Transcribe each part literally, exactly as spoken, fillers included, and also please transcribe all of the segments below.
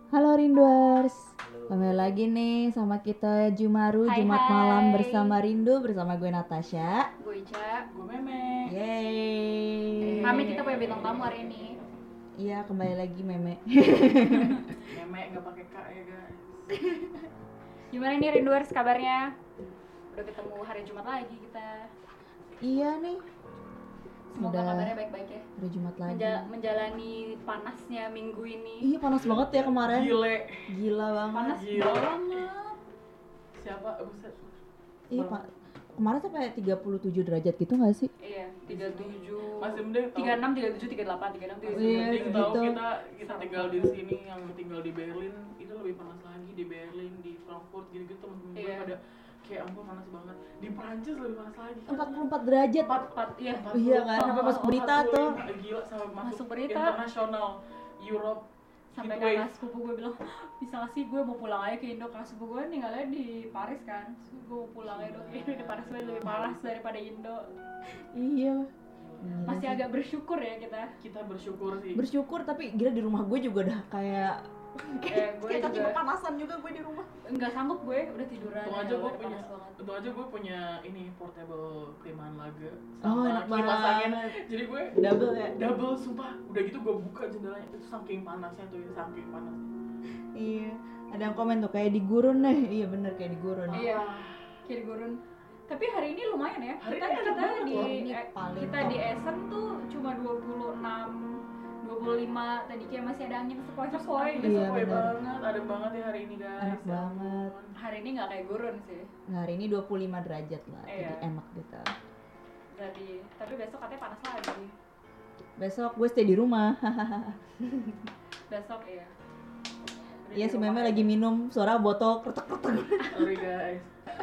Halo Rinduers, kembali lagi nih sama kita Jumaru Hai, Jumat hai. malam bersama Rindu, bersama gue Natasha. Gue Ica. Gue Meme. Yeay. Kami kita punya bintang tamu hari ini. Iya, kembali lagi Meme. Meme nggak pakai K ya guys. Gimana nih Rinduers kabarnya? Udah ketemu hari Jumat lagi kita. Iya nih, Semoga Udah. kabarnya baik-baik ya. udah Jumat lagi. Menja- menjalani panasnya minggu ini. Iya panas banget ya kemarin. Gile. Gila banget. Panas Gila. banget. Siapa? Buset. Iya pak. Kemarin sampai tiga puluh tujuh derajat gitu nggak sih? Iya, tiga puluh tujuh. Masih mending tahu. tiga puluh enam, tiga puluh tujuh, tiga puluh delapan, tiga puluh enam, tiga puluh Iya, tujuh. Mending tahu gitu. kita kita tinggal di sini, yang tinggal di Berlin itu lebih panas lagi. Di Berlin, di Frankfurt gitu-gitu temen-temen gue Iya. pada kayak ampun panas banget. Di Prancis lebih panas lagi. empat puluh empat derajat. Empat, empat, iya. Iya kan, sampai masuk berita tuh. Gila, sampai masuk, Masuk berita. internasional Europe. Sampai Heatwave. kakak sepupu gue bilang, bisa gak sih gue mau pulang aja ke Indo. Kakak sepupu gue tinggalnya di Paris kan. Terus gue mau pulang aja dong, ini di Paris lebih panas daripada Indo. Iya. Masih agak bersyukur ya kita. Kita bersyukur sih. Bersyukur, tapi gila di rumah gue juga udah kayak Eh, gue kayak kaki juga kepanasan juga gue di rumah. nggak sanggup, gue udah tiduran. Untung ya, aja gue udah punya, panas banget. untung aja gue punya ini portable klimaan laga Oh, enak kipas angin. banget. Jadi gue Double ya? double sumpah. Udah gitu gue buka jendelanya itu saking panasnya tuh, ya, saking panasnya. Iya. Ada yang komen tuh kayak di gurun nih. Iya bener kayak di gurun. Iya, kiri gurun. Tapi hari ini lumayan ya. Hari Kita ini enak kita banget di loh. Ini eh, paling kita top. di Essen tuh cuma dua puluh enam, dua puluh lima. Tadi kayak masih ada angin sepoi-sepoi. Iya, Iya, bener. banget, ada banget ya hari ini guys. Enak Ya banget. ampun. Hari ini nggak kayak gurun sih. Nah, hari ini dua puluh lima derajat lah. Jadi Iya. enak gitu. Jadi, tapi besok katanya panas lagi. Besok gue stay di rumah. Besok iya. Udah Iya di si rumah Meme aja. lagi minum suara botol kretek-kretek. Sorry guys.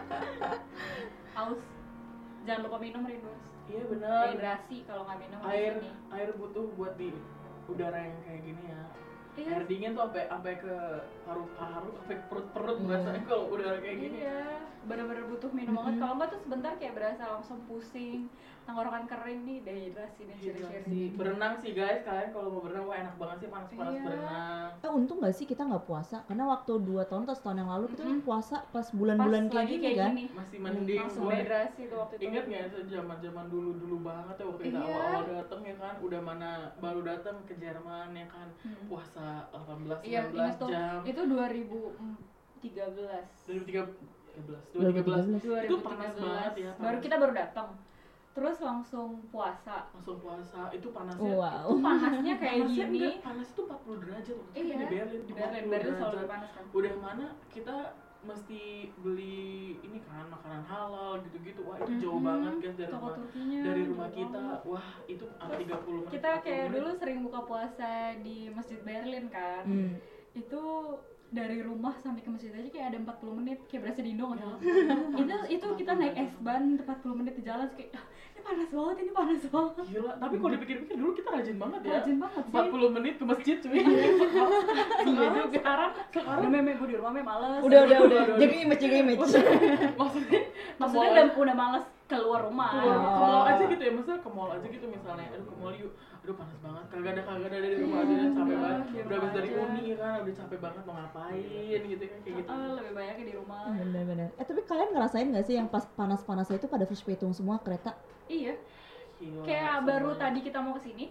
Haus. Jangan lupa minum Rinduers. Iya benar. Dehidrasi kalau nggak minum di Air sini. air butuh buat di udara yang kayak gini ya. Iya. Air dingin tuh sampai sampai ke paru-paru, sampai ke perut-perut Iya. berasanya kalau udara kayak gini. Iya, bener-bener butuh minum banget. Mm-mm. Kalau nggak tuh sebentar kayak berasa langsung pusing, tenggorokan kering nih, dehidrasi nih ciri-ciri. Hidrasi. Berenang sih guys, kalian kalau mau berenang wah enak banget sih panas-panas Iya. berenang. Eh untung gak sih kita gak puasa? Karena waktu dua tahun atau setahun yang lalu kita Mm-mm. puasa pas Pas bulan-bulan kayak lagi gini kayak kan. gini, Masih mending. langsung Gua dehidrasi tuh waktu itu. ingat nggak sih zaman-zaman dulu-dulu banget ya waktu kita Iya. awal-awal dateng ya kan, udah mana baru datang ke Jerman ya kan, Hmm. puasa delapan belas Iya, sembilan belas ingat tuh. jam. Itu dua ribu tiga belas. dua ribu tiga belas dua ribu tiga belas dua ribu tiga belas. itu panas banget ya. Baru panas. kita baru datang. Terus langsung puasa. langsung puasa itu panasnya. Wow. Itu panasnya kayak Panasnya gini. enggak, panas itu empat puluh derajat waktu Iya. di Berlin. Di Berlin, empat puluh Berlin selalu derajat. lebih panas kan. Udah mana kita mesti beli ini kan makanan halal gitu-gitu. Wah, itu jauh Mm-mm. banget guys dari Toko rumah Turkinya. dari rumah jauh kita. banget. Wah, itu sampai Terus tiga puluh menit. Kita empat puluh kayak menit. dulu sering buka puasa di Masjid Berlin kan. Hmm. Itu dari rumah sampai ke masjid aja kayak ada empat puluh menit, kayak berasa di Indo nggak Ya, sih? itu itu kita naik S ban empat puluh menit di jalan kayak "Ah, ini panas banget, ini panas banget. Gila, tapi kalau dipikir-pikir dulu kita rajin banget ya. Rajin banget sih. empat puluh menit ke masjid cuy. Iya juga. Sekarang Sekarang udah meme gue di rumah meme males. Udah udah Aduh, udah. aduh, Jaga image, jaga image. maksudnya Maksudnya ke udah mall udah males keluar rumah. keluar Oh. ke mall aja gitu ya, maksudnya ke mall aja gitu misalnya, aduh ke mall yuk, aduh panas banget, kagak ada kagak ada di rumah aja, capek Iya, banget, di udah rumah habis dari aja. uni ya kan, udah capek banget mau ngapain gitu kan kayak gitu. Eh, lebih banyaknya di rumah. Bener-bener. Eh tapi kalian ngerasain gak sih yang pas panas-panasnya itu pada verspätung semua kereta? Iya. Gila, Kayak semuanya. baru tadi kita mau kesini,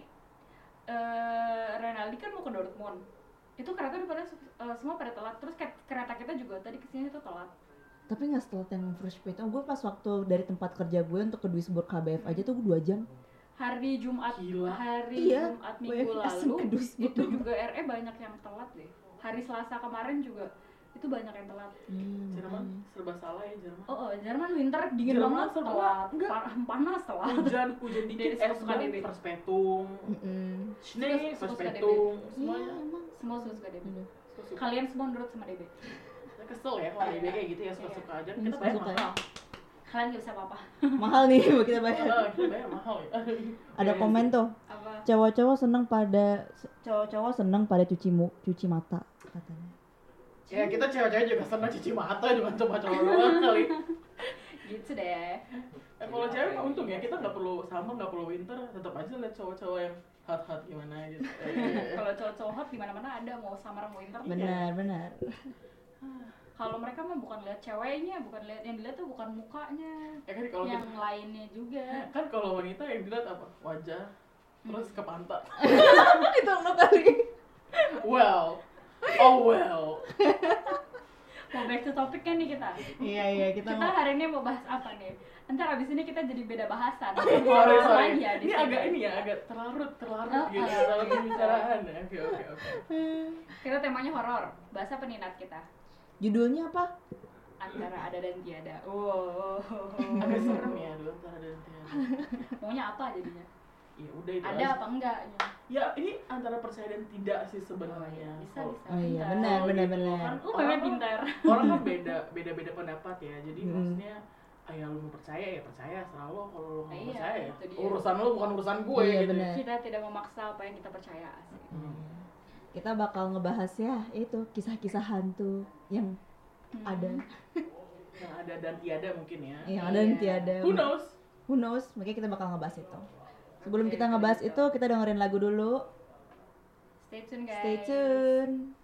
eh Renaldi kan mau ke Dortmund. Itu kereta udah pada eh, semua pada telat. Terus ke- kereta kita juga tadi kesini tuh telat. Tapi gak setelah yang verspätung. Gue pas waktu dari tempat kerja gue untuk ke Duisburg K B F aja tuh gue dua jam. Hari Jumat, Gila. hari Iya, Jumat W minggu F S lalu ke Duisburg. itu juga R E banyak yang telat deh. Hari Selasa kemarin juga itu banyak yang telat. Hmm, Jerman makanya. serba salah ya Jerman. Oh, oh Jerman winter dingin Jerman banget serba- telat, enggak. Pa- panas telat. Hujan hujan dikit Dari es suka ban, D B. verspätung, Mm-mm. schnee, Suka- suka verspätung, Iya semuanya. emang. Semua suka D B. Bener. Suka-suka. Kalian semua nurut sama D B. Saya kesel ya kalau D B kayak gitu ya, suka-suka aja. Iya, Kita bayar suka-suka ya. mahal. Kalian gak bisa apa-apa. Mahal nih buat kita bayar. Ah, kita bayar mahal ya. Ada komen tuh. Apa? Cowok-cowok seneng pada cowok-cowok seneng pada cuci mu, cuci mata katanya. Ya kita cewek-cewek juga senang cuci mata, bukan cuma cowok doang kali. Gitu deh. Eh kalau cewek mah untung ya, kita nggak perlu summer, nggak perlu winter, tetap aja lihat cowok-cowok yang hot-hot gimana gitu. Eh, Kalau cowok-cowok hot di mana-mana ada, mau summer mau winter. Benar, benar. Kalau mereka mah bukan lihat ceweknya, bukan lihat, yang dilihat tuh bukan mukanya, Ya kan kalau yang kita, lainnya juga. kan kalau wanita yang dilihat apa? Wajah, terus ke pantat. Itu lo kali. Well, oh well. Mau back to topic kan nih kita. Iya, iya, kita Kita mau hari ini mau bahas apa nih? Ntar abis ini kita jadi beda bahasan. Sorry, sorry. Aja di Ini sini. agak ini ya, agak terlarut, terlarut Oh, gitu oh. dalam pembicaraan. ya. Oke, oke, oke. Kita temanya horor. Bahas apa nih Nat kita? judulnya apa? Antara ada dan tiada. Wow. Agak serem ya dulu antara dan tiada. Maunya apa jadinya? Ya udah itu Ada aja. apa enggak? Ya ini antara percaya dan tidak sih sebenarnya. Bisa Kalau- bisa. Oh iya, Pintar. benar, kalau benar, gitu benar. kan Lu orang memang kan- pintar. Orang kan beda, beda-beda pendapat ya. Jadi Hmm. maksudnya ah, ya lu mau percaya ya percaya, serah lo. Kalau lu nggak Iya, percaya ya itu dia. urusan lo bukan urusan gue Iya, gitu. benar. Kita tidak memaksa apa yang kita percaya asli. Hmm. Kita bakal ngebahas ya itu kisah-kisah hantu yang Hmm. ada, Yang ada dan tiada mungkin ya. yang ada dan Iya. tiada. Who knows? Who knows? Makanya kita bakal ngebahas itu. Sebelum Oke, kita ngebahas gitu. itu, kita dengerin lagu dulu. Stay tune guys. Stay tune.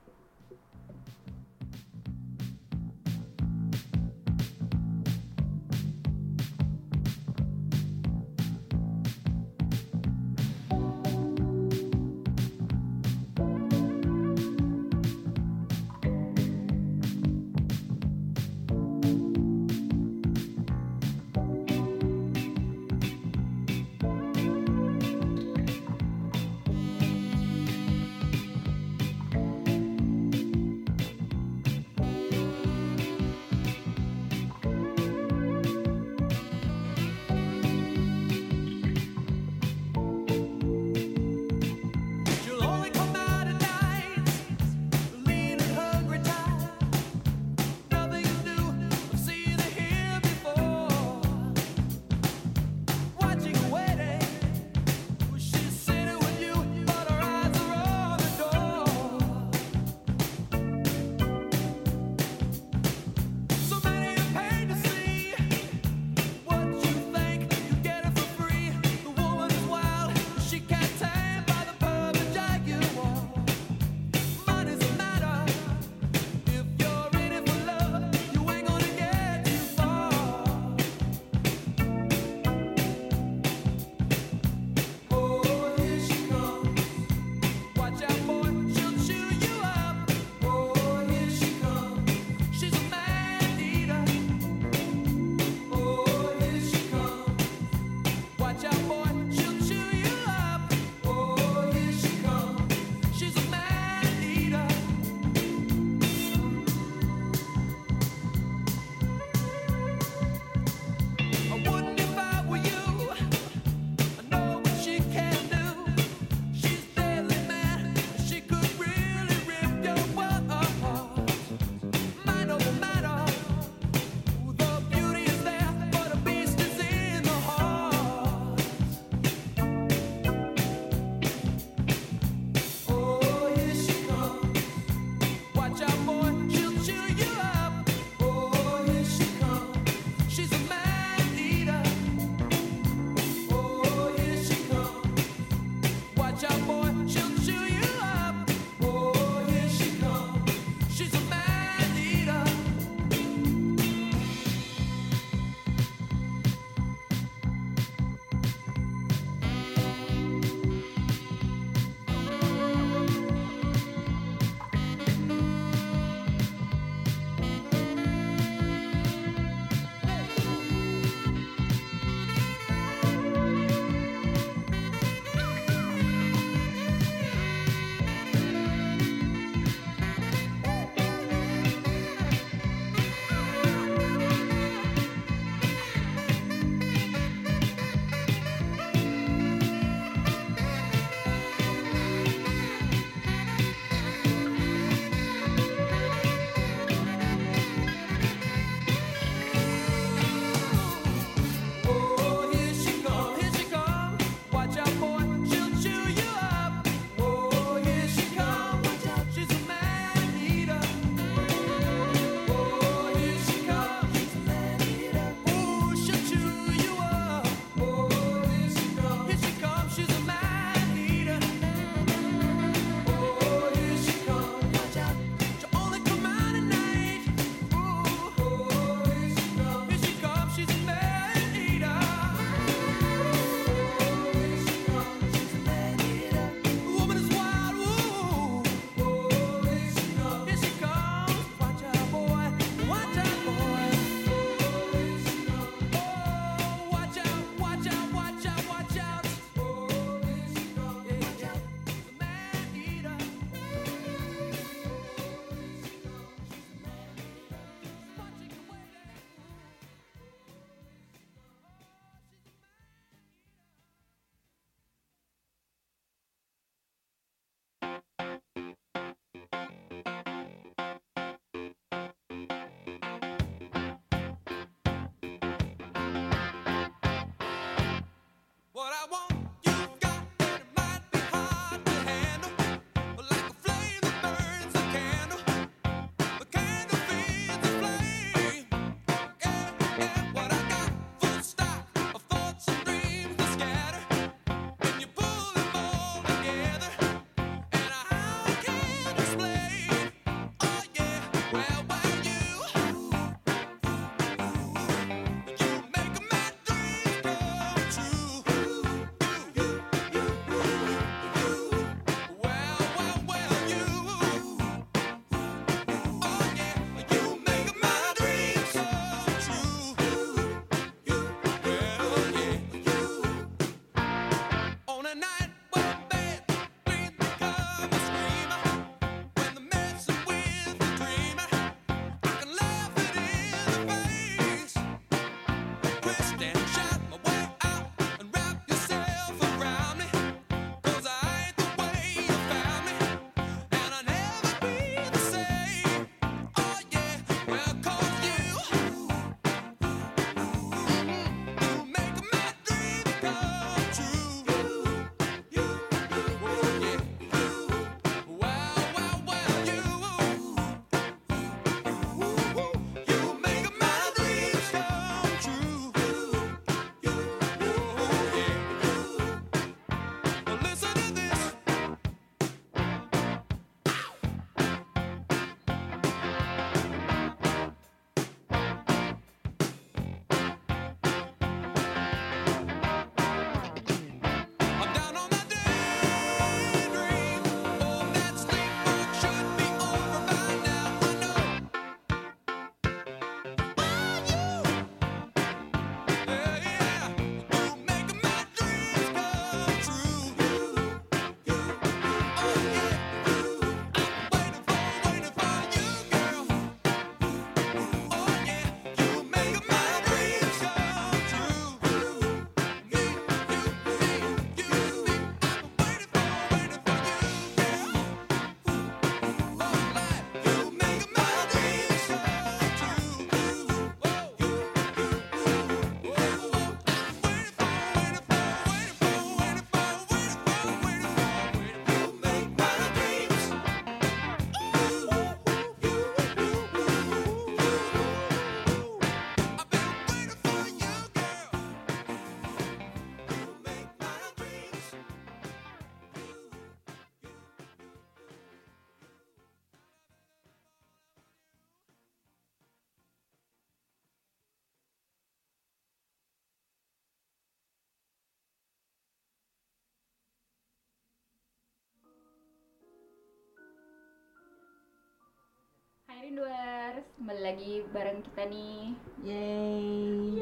Rinduers, kembali lagi bareng kita nih. Yeay.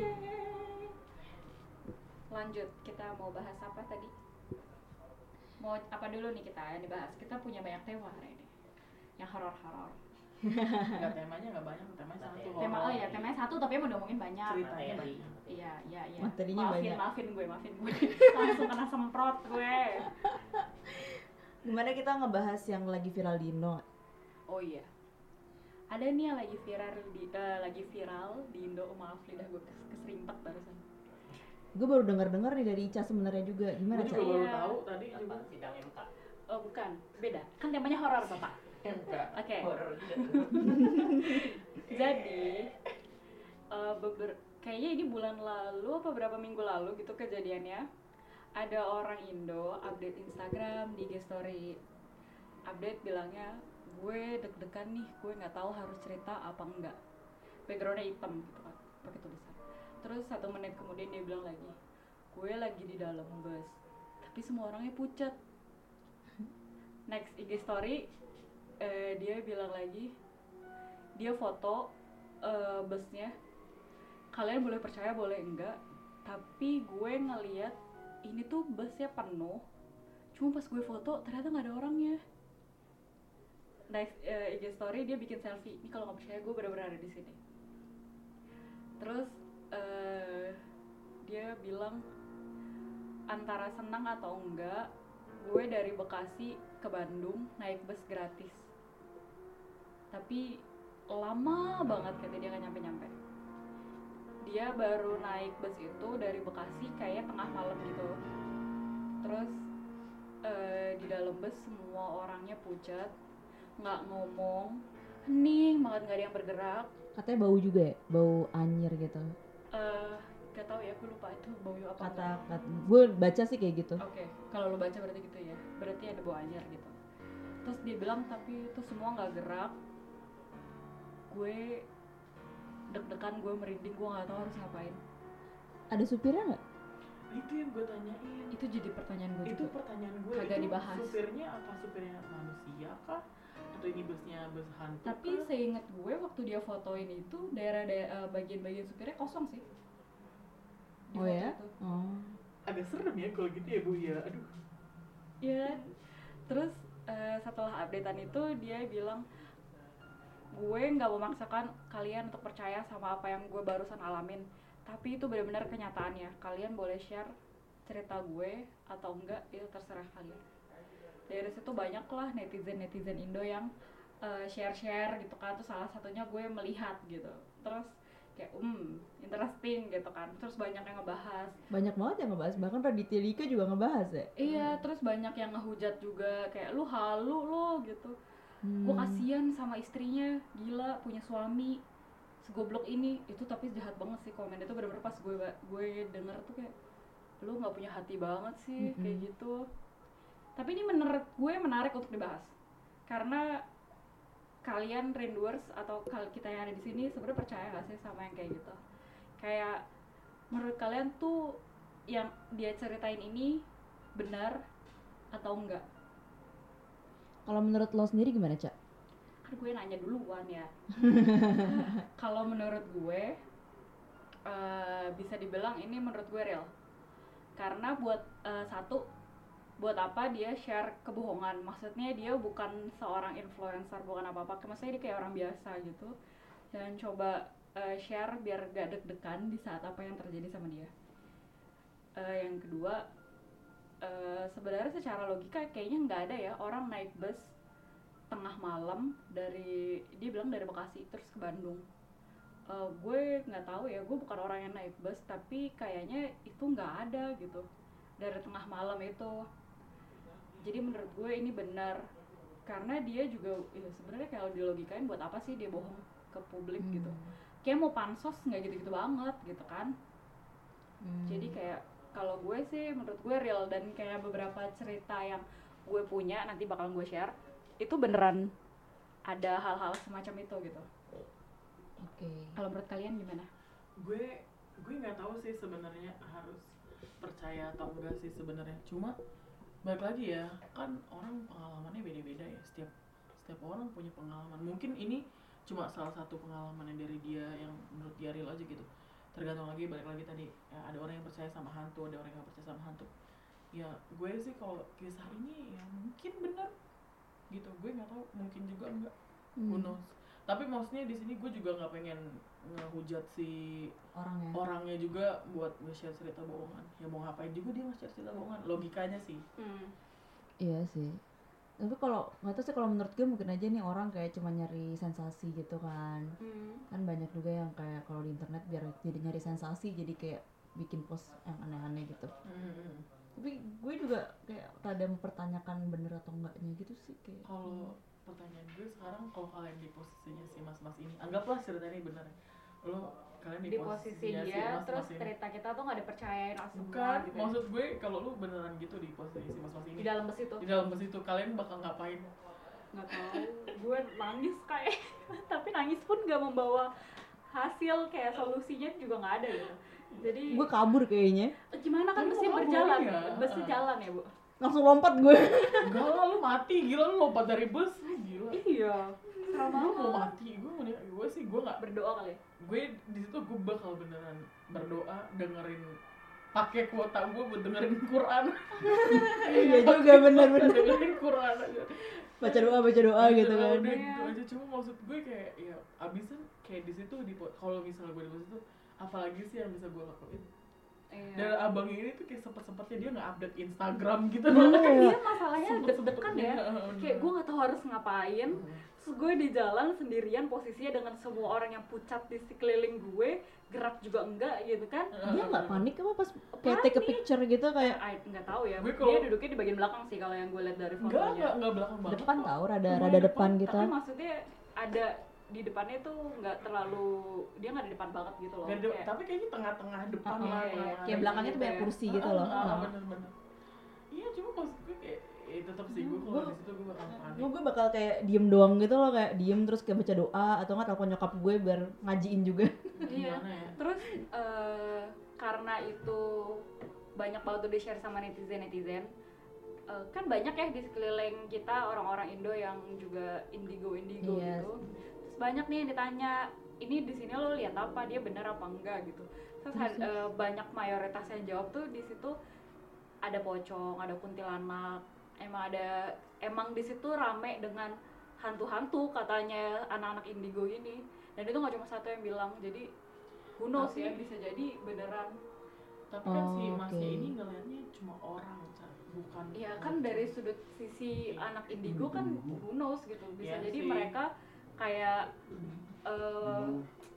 Lanjut, kita mau bahas apa tadi? Mau apa dulu nih kita yang dibahas? Kita punya banyak tema hari ini, yang horor-horor. Enggak, temanya enggak banyak, temanya satu. Tema oh ya, temanya satu tapi emang udah ngomongin banyak. Ceritanya banyak. Iya, iya, iya. Materinya maafin, banyak. maafin gue, maafin gue. Langsung kena semprot gue. Gimana kita ngebahas yang lagi viral di Indo? Oh iya. Ada nih yang lagi viral di eh, lagi viral di Indo. Oh, maaf lidah gue kes- keserimpet barusan. Gue baru dengar-dengar nih dari Ica sebenarnya juga. Gimana, Gue Ca? juga baru Iya. tahu tadi juga. Sidang M K. Oh, bukan. Beda. Kan temanya horor, Bapak. Enggak. Oke. Horor juga. Jadi eh, beber- kayaknya ini bulan lalu apa berapa minggu lalu gitu kejadiannya. Ada orang Indo update Instagram di I G story. Update bilangnya, gue deg-degan nih, gue nggak tahu harus cerita apa enggak. Backgroundnya hitam gitu kan, pakai tulisan. Terus satu menit kemudian dia bilang lagi, gue lagi di dalam bus, tapi semua orangnya pucat. Next I G story, eh, dia bilang lagi, dia foto eh, busnya. Kalian boleh percaya boleh enggak, tapi gue ngeliat ini tuh busnya penuh. Cuma pas gue foto ternyata nggak ada orangnya. Next uh, I G story dia bikin selfie. Ini kalau nggak percaya gue benar-benar ada di sini. Terus uh, dia bilang antara senang atau enggak, gue dari Bekasi ke Bandung naik bus gratis. Tapi lama banget katanya dia nggak nyampe-nyampe. Dia baru naik bus itu dari Bekasi kayak tengah malam gitu. Terus uh, di dalam bus semua orangnya pucat, nggak ngomong, hening banget, nggak ada yang bergerak. Katanya bau juga ya? Bau anyir gitu. Eh, gak tahu ya, gue lupa itu bau apa. Kata, kata gue baca sih kayak gitu. Oke, kalau lo baca berarti gitu ya. Berarti ada bau anyir gitu. Terus dia bilang tapi itu semua nggak gerak. Gue deg-degan, gue merinding, gue nggak tahu harus ngapain. Ada supirnya nggak? Itu yang gue tanyain. Itu jadi pertanyaan gue Itu juga. pertanyaan gue. Kagak Itu dibahas. Supirnya apa supirnya manusia kah? Atau ini busnya bus hantu? Tapi kah? seingat gue waktu dia fotoin itu daerah daerah bagian-bagian supirnya kosong sih. Di Oh foto ya? itu. Oh. Agak serem ya kalau gitu ya Bu ya. Aduh. Iya. Terus eh, setelah updatean itu dia bilang, gue nggak memaksakan kalian untuk percaya sama apa yang gue barusan alamin, tapi itu benar-benar kenyataannya. Kalian boleh share cerita gue atau enggak, itu terserah kalian. Dari situ banyak lah netizen-netizen Indo yang eh, share-share gitu kan. Terus salah satunya gue melihat gitu. Terus kayak hmm interesting gitu kan. Terus banyak yang ngebahas. Banyak banget yang ngebahas, bahkan Raditya Dika juga ngebahas ya. Iya, terus banyak yang ngehujat juga kayak lu halu lo gitu. Hmm. Gue kasihan sama istrinya, gila punya suami segoblok ini. Itu tapi jahat banget sih komen itu, bener-bener pas gue gue denger tuh kayak lu nggak punya hati banget sih. Mm-mm. Kayak gitu. Tapi ini menurut gue menarik untuk dibahas karena kalian Rinduers atau kal- kita yang ada di sini sebenarnya percaya gak sih sama yang kayak gitu? Kayak menurut kalian tuh yang dia ceritain ini benar atau enggak? Kalau menurut lo sendiri gimana, Cak? Kan gue nanya duluan ya. Kalau menurut gue eh, bisa dibilang ini menurut gue real. Karena buat eh, satu, buat apa dia share kebohongan? Maksudnya dia bukan seorang influencer, bukan apa-apa. Maksudnya dia kayak orang biasa gitu. Dan coba eh, share biar gak deg-degan di saat apa yang terjadi sama dia. Eh, yang kedua, eh, sebenarnya secara logika kayaknya nggak ada ya orang naik bus tengah malam dari, dia bilang dari Bekasi terus ke Bandung. Uh, gue nggak tahu ya, gue bukan orang yang naik bus, tapi kayaknya itu nggak ada gitu dari tengah malam itu. Jadi menurut gue ini benar karena dia juga ya sebenarnya kalau dilogikain buat apa sih dia bohong ke publik Hmm. gitu. Kayak mau pansos nggak gitu-gitu banget gitu kan. Hmm. Jadi kayak kalau gue sih menurut gue real, dan kayak beberapa cerita yang gue punya nanti bakal gue share itu beneran ada hal-hal semacam itu gitu. Oke. Kalau menurut kalian gimana? gue gue nggak tahu sih sebenarnya harus percaya atau enggak sih sebenarnya. Cuma balik lagi ya, kan orang pengalamannya beda-beda ya, setiap setiap orang punya pengalaman. Mungkin ini cuma salah satu pengalaman yang dari dia yang menurut dia real aja gitu. Tergantung lagi, balik lagi tadi ya, ada orang yang percaya sama hantu, ada orang yang gak percaya sama hantu. Ya gue sih kalau kisah ini ya mungkin benar gitu, gue nggak tahu, mungkin juga enggak, Hmm. who knows. Tapi maksudnya di sini gue juga nggak pengen ngehujat si Orangnya. orangnya juga buat nge-share cerita bohongan. Ya mau ngapain juga dia nge-share cerita bohongan, logikanya sih. Hmm. Iya sih. Tapi kalau nggak tahu sih, kalau menurut gue mungkin aja nih orang kayak cuma nyari sensasi gitu kan. Hmm. Kan banyak juga yang kayak kalau di internet biar jadi nyari sensasi, jadi kayak bikin post yang aneh-aneh gitu. Hmm. Tapi gue juga kayak rada mempertanyakan bener atau enggaknya gitu sih kayak. Kalau pertanyaan gue sekarang, kalau kalian di posisinya si mas-mas ini, anggaplah cerita ini benar, lo kalian di, Di posisi posisinya si dia, mas-mas terus ini. cerita kita tuh nggak dipercayain semua Bukan, gitu ya. maksud gue kalau lu beneran gitu di posisi si mas-mas ini, Di dalam bus itu di dalam bus itu kalian bakal ngapain? nggak tahu, gue nangis kayak tapi nangis pun nggak membawa hasil, kayak solusinya juga nggak ada gitu. Jadi Gue kabur kayaknya. gimana kan Tapi busnya mau kabur, berjalan, iya. busnya jalan ya bu. Langsung lompat gue. Enggak lah, lu mati, gila lu lompat dari bus, lu gila. Iya, serem Lu mau banget. mati, gue mau gue sih gue nggak, Berdoa kali. gue di situ gue bakal beneran berdoa, dengerin, pakai kuota gue buat dengerin Quran. Iya juga, bener-bener. Dengerin Quran aja. Baca doa, baca doa gitu Udah, kan. udah Iya. gitu aja. Cuma maksud gue kayak ya abisan kayak di situ di po- kalau misalnya gue di pos itu, apalagi sih yang bisa gue lakuin? Iya. Dan abang ini tuh kayak sempet-sempetnya dia nge-update Instagram gitu. Iya. Kan dia masalahnya deg-degan ya. Sempet-sempetnya, Kayak gue nggak tahu harus ngapain. Terus gue di jalan sendirian, posisinya dengan semua orang yang pucat di sekeliling gue, gerak juga enggak gitu kan. Dia nggak panik apa pas kayak take a Panik. picture gitu kayak I nggak tahu ya. Gue Dia kalau- duduknya di bagian belakang sih kalau yang gue lihat dari Enggak, fotonya. enggak, enggak belakang banget. depan kok. tahu, rada Lumayan rada depan depan, gitu. Tapi maksudnya ada di depannya tuh nggak terlalu, dia nggak di depan banget gitu loh. Nggak ada- Kayak- tapi kayaknya tengah-tengah depan Ah, lah. iya, iya. tengah-tengah Kayak belakangnya tuh gitu banyak ya. kursi gitu loh. Ah, Nah. bener-bener. Iya, cuma maksud gue kayak eh, tetap sih gue Hmm, kalau gua- di situ gue bakal panik. Gue gue bakal kayak diem doang gitu loh, kayak diem terus kayak baca doa atau nggak telepon nyokap gue biar ngajiin juga. Iya. Gimana ya? Terus eh, karena itu banyak banget tuh di share sama netizen-netizen. Eh, kan banyak ya di sekeliling kita orang-orang Indo yang juga indigo-indigo Iya. gitu. Terus banyak nih yang ditanya, ini di sini lo lihat apa, dia benar apa enggak gitu. Terus Terus, had- eh, banyak mayoritas yang jawab tuh di situ ada pocong, ada kuntilanak. Emang ada, emang di situ rame dengan hantu-hantu katanya anak-anak indigo ini. Dan itu nggak cuma satu yang bilang, jadi who knows Tapi- ya, bisa jadi beneran. Tapi kan si Oh, masnya oke. ini ngeliatnya cuma orang, Ca. Bukan. Iya kan dari sudut sisi anak indigo kan who knows gitu, bisa Iya jadi sih. mereka kayak eh,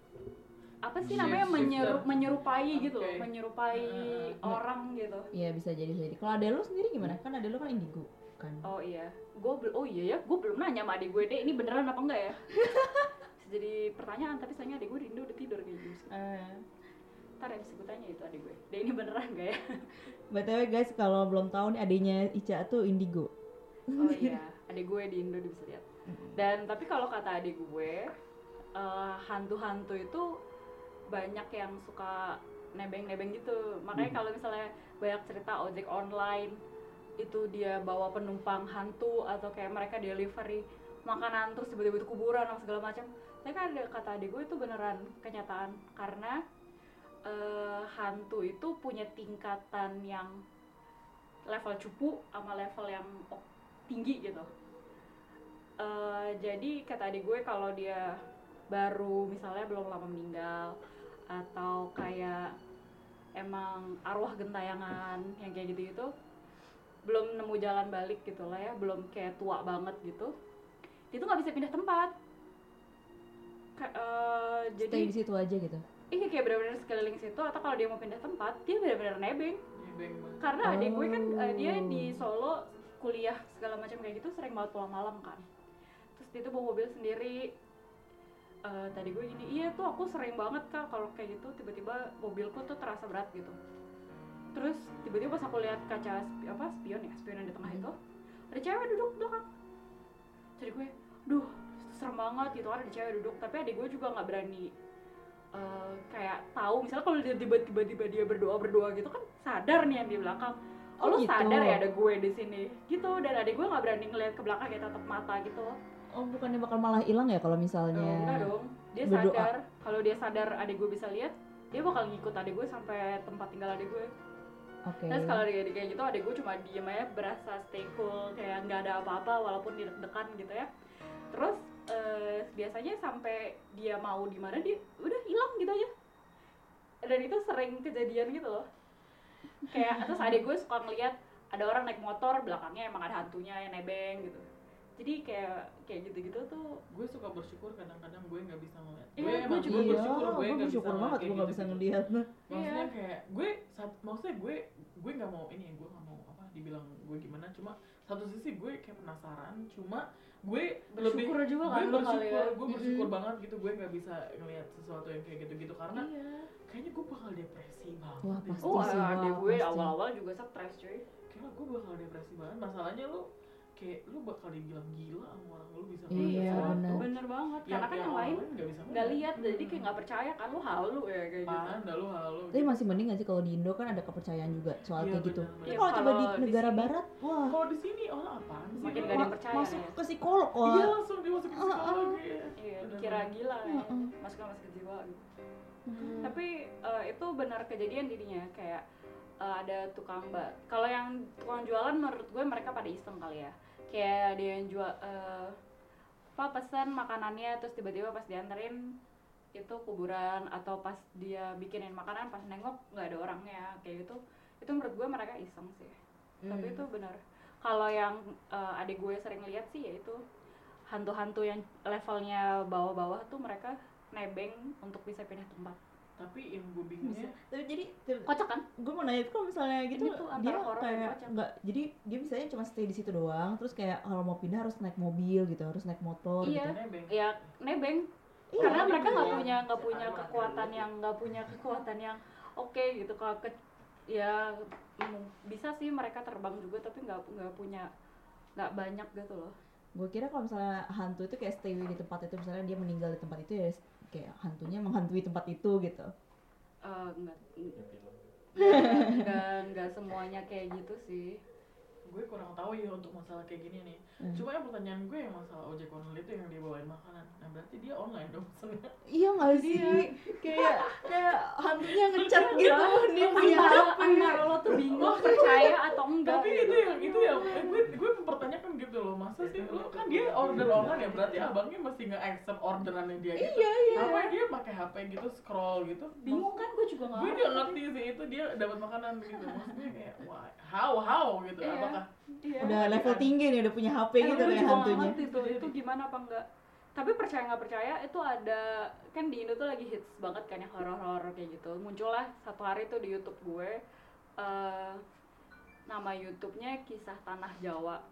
apa sih Shift- namanya, menyeru, shifter. menyerupai gitu loh, Oke. menyerupai Heeh. orang gitu. Iya bisa jadi bisa jadi. Kalau ada lu sendiri gimana? Kan ada lu kan indigo kan. Oh iya, gue oh iya ya, gue belum nanya sama adik gue deh, ini beneran apa enggak ya? Bisa jadi pertanyaan, tapi sayangnya adik gue di Indo udah tidur kayak gitu. Eh, Ntar ya bisa gue tanya itu adik gue, deh ini beneran gak ya? B T W guys, kalau belum tahu nih adiknya Ica tuh indigo. Oh iya, adik gue di Indo dia bisa lihat. Dan tapi kalau kata adik gue, eh, hantu-hantu itu banyak yang suka nebeng-nebeng gitu. Makanya kalau misalnya banyak cerita ojek online itu dia bawa penumpang hantu, atau kayak mereka delivery makanan terus tiba-tiba itu kuburan atau segala macam. Tapi kan ada kata adik gue itu beneran kenyataan, karena eh, hantu itu punya tingkatan yang level cupu sama level yang oh, tinggi gitu. Eh, jadi kata adik gue kalau dia baru misalnya belum lama meninggal, atau kayak emang arwah gentayangan yang kayak gitu-gitu, belum nemu jalan balik gitu lah ya, belum kayak tua banget gitu, dia tuh nggak bisa pindah tempat. Ka- eh, jadi Stay di situ aja gitu. iya kayak benar-benar sekeliling situ, atau kalau dia mau pindah tempat dia benar-benar nebeng. Nebeng banget. Karena adik gue kan eh, dia Oh. di Solo kuliah segala macam kayak gitu, sering banget pulang malam kan. Terus dia tuh bawa mobil sendiri. Eh, tadi gue gini, iya tuh aku sering banget kak kalau kayak gitu, tiba-tiba mobilku tuh terasa berat gitu. Terus tiba-tiba pas aku lihat kaca spi- apa spion ya, spion yang di tengah Hmm. itu, ada cewek duduk belakang. Jadi gue, duh serem banget gitu kan, ada cewek duduk. Tapi adik gue juga nggak berani eh, kayak tahu, misalnya kalau dia tiba-tiba tiba dia berdoa berdoa gitu kan, sadar nih yang di belakang. Oh, Oh, lu gitu. sadar ya ada gue di sini gitu. Dan adik gue nggak berani ngeliat ke belakang kayak tatap mata gitu. Oh bukannya bakal malah hilang ya kalau misalnya Oh, enggak dong, dia berdoa. sadar kalau dia sadar adik gue bisa lihat, dia bakal ngikut adik gue sampai tempat tinggal adik gue. Oke. Terus kalau dia kayak gitu, adik gue cuma diem aja, berasa stay cool, kayak nggak ada apa-apa walaupun dia deg-degan gitu ya. Terus eh, biasanya sampai dia mau di mana dia udah hilang gitu aja. Dan itu sering kejadian gitu loh. Kayak terus adik gue suka ngeliat ada orang naik motor, belakangnya emang ada hantunya yang nebeng gitu. Jadi kayak kayak gitu-gitu tuh. Gue suka bersyukur kadang-kadang gue nggak bisa ngeliat. Iya, gue gue emang juga gue Iya, bersyukur gue gue nggak bisa bersyukur ngeliat banget kayak gue nggak bisa gitu-gitu. ngeliat. Maksudnya Iya. kayak gue sat, maksudnya gue gue nggak mau ini gue nggak mau apa dibilang gue gimana, cuma satu sisi gue kayak penasaran, cuma gue Bersyukur lebih juga gue kan lo kali bersyukur ya. gue bersyukur Mm-mm. banget gitu, gue nggak bisa ngelihat sesuatu yang kayak gitu-gitu karena Iya. kayaknya gue bakal depresi banget. Wah, deh. pasti Oh, sih, adik wah, gue pasti. awal-awal juga stres cuy. Kayaknya gue bakal depresi banget. Masalahnya lu kayak lu bakal dibilang gila sama orang lu bisa Iya, ngeliat sesuatu. benar. Bener banget. Yang- Karena kan yang orang lain nggak bisa nggak lihat, jadi kayak nggak percaya kan, lu halu ya kayak gitu. Mana lu halu. Tapi masih mending gak sih kalau di Indo kan ada kepercayaan juga soal Iya, kayak gitu. benar, Tapi benar. kalau coba di Kalau di negara sini- barat, wah, Kalau di sini orang apaan sih? Makin Lu? nggak ada ma- percaya masuk ya. ke psikolog Iya wah. langsung dimasukin Ah, ah. psikolog ya. Iya, Benar, dikira benar. gila ya. Heeh. Masuknya masuk ke jiwa gitu. Hmm. Tapi eh, itu benar kejadian jadinya kayak eh, ada tukang mbak. Kalau yang tukang jualan menurut gue mereka pada iseng kali ya. Kayak dia yang jual eh, apa pesan makanannya terus tiba-tiba pas dianterin itu kuburan, atau pas dia bikinin makanan pas nengok nggak ada orangnya kayak gitu. Itu menurut gue mereka iseng sih. Tapi Hmm. itu benar. Kalau yang eh, adik gue sering lihat sih yaitu hantu-hantu yang levelnya bawah-bawah tuh mereka nebeng untuk bisa pindah tempat. Tapi yang gue bingungnya Tapi jadi Kocak kan? gue mau nanya itu kalau misalnya gitu Ini tuh antara dia horor dan kayak kocak. nggak, jadi dia misalnya cuma stay di situ doang, terus kayak kalau mau pindah harus naik mobil gitu, harus naik motor Iya. gitu. nebeng. Ya nebeng. Iya, Karena mereka nggak iya. punya nggak punya kekuatan yang nggak punya kekuatan yang oke gitu. Kalau ke ya mm, bisa sih mereka terbang juga tapi nggak nggak punya nggak banyak gitu loh. Gue kira kalau misalnya hantu itu kayak stay di tempat itu, misalnya dia meninggal di tempat itu ya kayak hantunya menghantui tempat itu gitu. Eh, nggak Ya, film. nggak nggak semuanya kayak gitu sih. Gue kurang tahu ya untuk masalah kayak gini nih. Hmm. Cuma yang pertanyaan gue yang masalah ojek online itu yang dia bawain makanan. Nah berarti dia online dong pesennya. Iya nggak sih? kayak kayak hantunya ngechat gitu, dia punya H Antara, P. antara lo tuh bingung percaya atau enggak. Tapi gitu. itu yang itu yang eh, gue gue mempertanyakan gitu loh. Masa sih lo kan dia order online ya, berarti abangnya mesti nge-accept orderannya dia gitu. Iya iya. Apa dia pakai H P gitu scroll gitu? Bingung kan, gue juga nggak Gue nggak ngerti sih itu dia dapat makanan gitu. Maksudnya kayak wah, how how gitu. Iya. Apakah Iya. Udah level tinggi nih, udah punya H P Eh, gitu gue kayak juga nggak hantunya. ngerti tuh itu gimana apa enggak. Tapi percaya nggak percaya itu ada kan di Indo tuh lagi hits banget kan yang horor-horor kayak gitu. Muncullah satu hari tuh di YouTube gue eh nama YouTube-nya Kisah Tanah Jawa.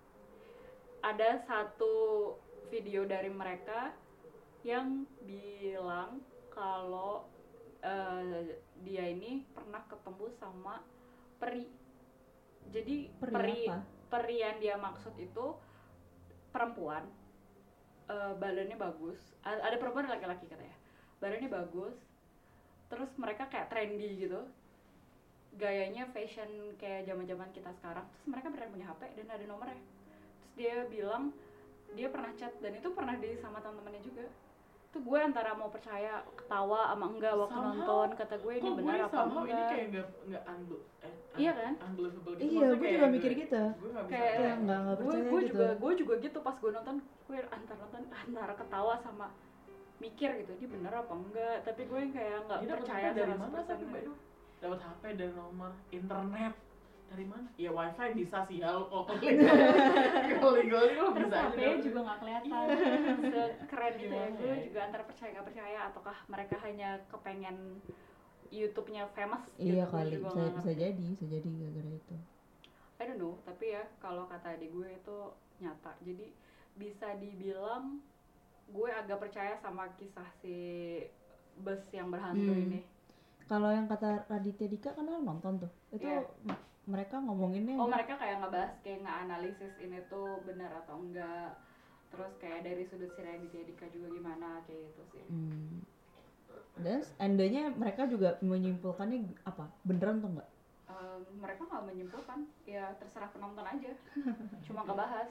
Ada satu video dari mereka yang bilang kalau eh, dia ini pernah ketemu sama peri. Jadi Peri peri apa? peri yang dia maksud itu perempuan, eh, badannya bagus. A- ada perempuan dan laki-laki katanya, badannya bagus. Terus mereka kayak trendy gitu, gayanya fashion kayak zaman-zaman kita sekarang. Terus mereka beneran punya H P dan ada nomornya. Terus dia bilang dia pernah chat dan itu pernah di sama teman-temannya juga. Tuh gue antara mau percaya ketawa sama enggak waktu Somehow, nonton, kata gue ini kok benar gue apa somehow ini enggak. kayak nggak nggak unbe eh, un- Iya kan? unbelievable gitu. Iya, Maksudnya gue kayak juga mikir gue- gitu. Gue nggak bisa Kayak Kayak nggak nggak gue percaya gue gitu. juga gue juga gitu pas gue nonton, gue antara nonton antara ketawa sama mikir gitu, ini bener apa enggak, tapi gue kayak nggak Dia dapat percaya H P dari seratus mana persen. tapi Mbak Du? Dapat H P dari nomor internet dari mana? Ya wifi bisa sih ya lo kalau kalau legal lo Terus bisa H aja. P-nya dapet. juga nggak kelihatan sekeren gitu ya. Gimana Gue ya? juga antara percaya nggak percaya, ataukah mereka hanya kepengen YouTube-nya famous Iya gitu. Gue kali, juga bisa nggak bisa ngerti. jadi, bisa jadi gara-gara itu. I don't know, tapi ya kalau kata adik gue itu nyata. Jadi bisa dibilang gue agak percaya sama kisah si bus yang berhantu Hmm. ini. Kalau yang kata Raditya Dika kan lo nonton tuh, itu Iya. m- mereka ngomonginnya Oh, mereka kayak ngebahas, kayak nge-analisis ini tuh benar atau enggak. Terus kayak dari sudut si Raditya Dika juga gimana, kayak gitu sih. Hmm. Dan endanya mereka juga menyimpulkannya apa? Beneran tuh enggak? Em, mereka nggak menyimpulkan, ya terserah penonton aja. Cuma ngebahas.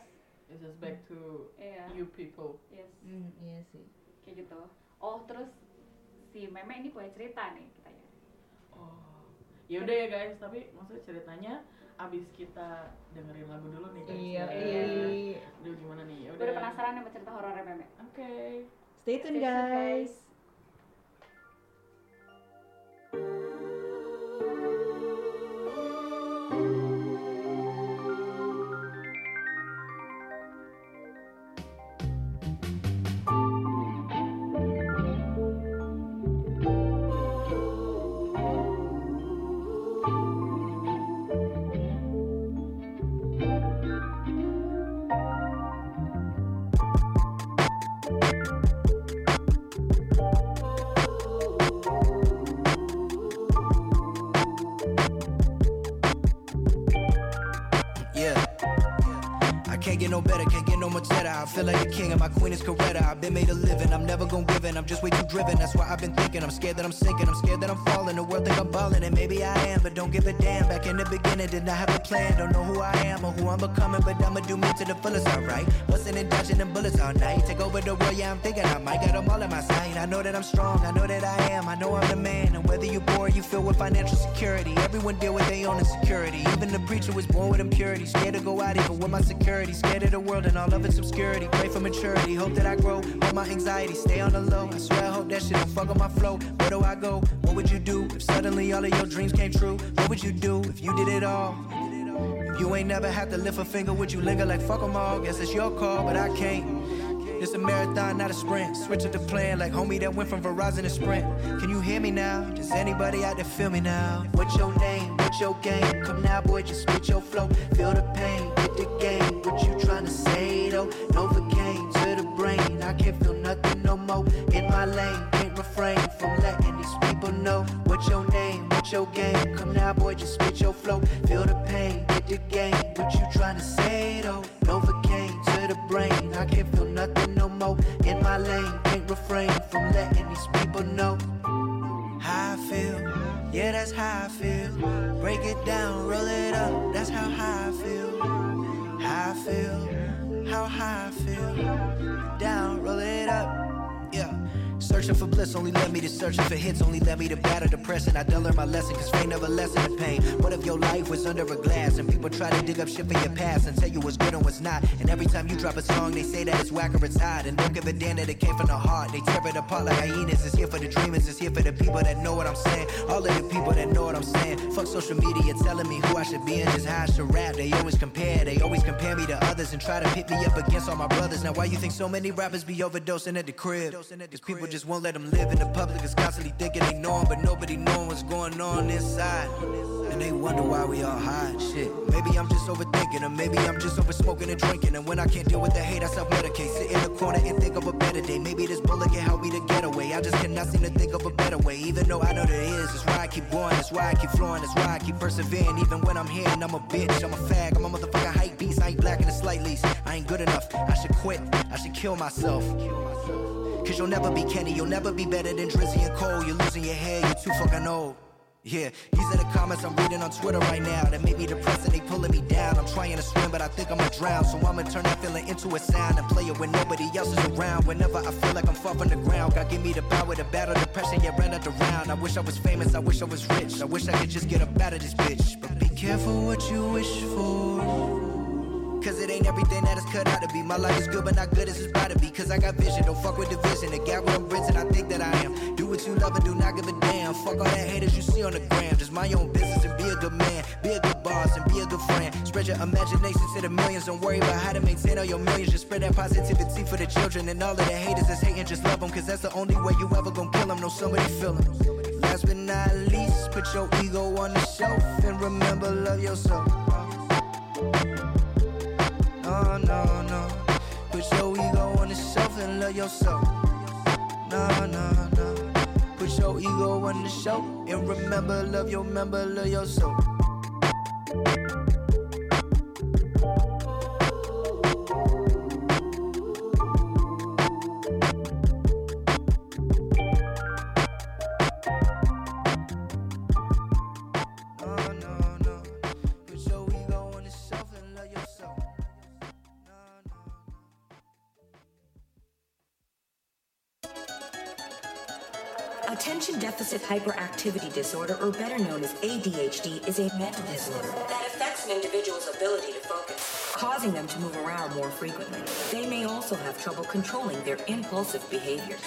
It's just back to Iya. you people. Yes. Hmm, iya sih. Kayak gitu. Oh, terus si Meme ini punya cerita nih katanya. Oh, ya udah ya guys. Tapi maksudnya ceritanya abis kita dengerin lagu dulu nih guys. Iya, iya. iya. Aduh gimana nih? Ya Gue udah. udah penasaran sama cerita horornya Meme. Oke. Stay tune guys. Yeah. I can't get no better, can't get no much better. I feel like a king and my queen is Coretta. I've been made a living, I'm never gonna give in. I'm just way too driven, that's why I've been thinking. I'm scared that I'm sinking, I'm scared that I'm falling. The world think I'm balling, and maybe I am, but don't give a damn. Back in the beginning, did not have a plan. Don't know who I am or who I'm becoming, but I'ma do me to the fullest, alright. Bustin' and dodging them bullets all night. Take over the world, yeah, I'm thinking I might got them all in my sight. I know that I'm strong, I know that I am, I know I'm the man. And whether you're poor, you feel with financial security. Everyone deal with their own insecurity. Even the preacher was born with impurity. Scared to go out even with my security. Scared of the world and all of its obscurity. Pray for maturity, hope that I grow. Hold my anxiety, stay on the low. I swear I hope that shit don't fuck up my flow. Where do I go? What would you do if suddenly all of your dreams came true? What would you do if you did it all? If you ain't never had to lift a finger, would you linger like fuck 'em all? Guess it's your call, but I can't. It's a marathon, not a sprint. Switch up the plan like homie that went from Verizon to Sprint. Can you hear me now? Does anybody out there feel me now? What's your name? What's your game? Come now, boy, just spit your flow. Feel the pain, hit the game. What you tryna say though? Novocaine to the brain. I can't feel nothing no more. In my lane, can't refrain from letting these people know. What's your name? What's your game? Come now, boy, just spit your flow. Feel the pain, hit the game. What you tryna say though? Novocaine to the brain. I can't feel nothing no more. In my lane, can't refrain from letting these people know how I feel. Yeah, that's how I feel. Break it down, roll it up. That's how high I feel. How I feel. How high I feel. Down, roll it up. Yeah. Searching for bliss only led me to searching for hits, only led me to battle depression. I done learned my lesson, cause fame never lessen the pain. What if your life was under a glass and people try to dig up shit for your past and tell you what's good and what's not? And every time you drop a song, they say that it's whack or it's hot, and don't give a damn that it came from the heart. They tear it apart like hyenas. It's here for the dreamers, it's here for the people that know what I'm saying. All of the people that know what I'm saying. Fuck social media telling me who I should be and just how I should rap. They always compare, they always compare me to others and try to pit me up against all my brothers. Now why you think so many rappers be overdosing at the crib? Cause people just won't let them live in the public, is constantly thinking they know 'em, but nobody knowing what's going on inside. And they wonder why we all hide shit. Maybe I'm just overthinking, or maybe I'm just over smoking and drinking. And when I can't deal with the hate, I self-medicate. Sit in the corner and think of a better day. Maybe this bullet can help me to get away. I just cannot seem to think of a better way. Even though I know there is, that's why I keep going, that's why I keep flowing, that's why I keep persevering. Even when I'm here and I'm a bitch, I'm a fag, I'm a motherfucking hype beast. I ain't black in the slight least, I ain't good enough. I should quit, I should kill myself. Cause you'll never be Kenny, you'll never be better than Drizzy and Cole. You're losing your hair, you're too fucking old. Yeah, these are the comments I'm reading on Twitter right now that make me depressed and they pulling me down. I'm trying to swim, but I think I'ma drown. So I'ma turn that feeling into a sound and play it when nobody else is around. Whenever I feel like I'm far from the ground, God give me the power to battle depression, yeah, run out around. I wish I was famous, I wish I was rich, I wish I could just get up out of this bitch. But be careful what you wish for, cause it ain't everything that it's cut out to be. My life is good but not good as it's about to be. Cause I got vision, don't fuck with division. The gap with them bricks and I think that I am. Do what you love and do not give a damn. Fuck all that haters you see on the gram. Just mind your own business and be a good man. Be a good boss and be a good friend. Spread your imagination to the millions. Don't worry about how to maintain all your millions. Just spread that positivity for the children. And all of the haters that's hating, just love them. Cause that's the only way you ever gonna kill them. Know somebody feel them. Last but not least, put your ego on the shelf and remember, love yourself. No, no, no. Put your ego on the shelf and love yourself. No, no, no. Put your ego on the shelf and remember, love your member, love yourself. No, no, no. Put your ego on the shelf and love yourself. No, no. Attention Deficit Hyperactivity Disorder, or better known as A D H D, is a mental disorder that affects an individual's ability to focus, causing them to move around more frequently. They may also have trouble controlling their impulsive behaviors.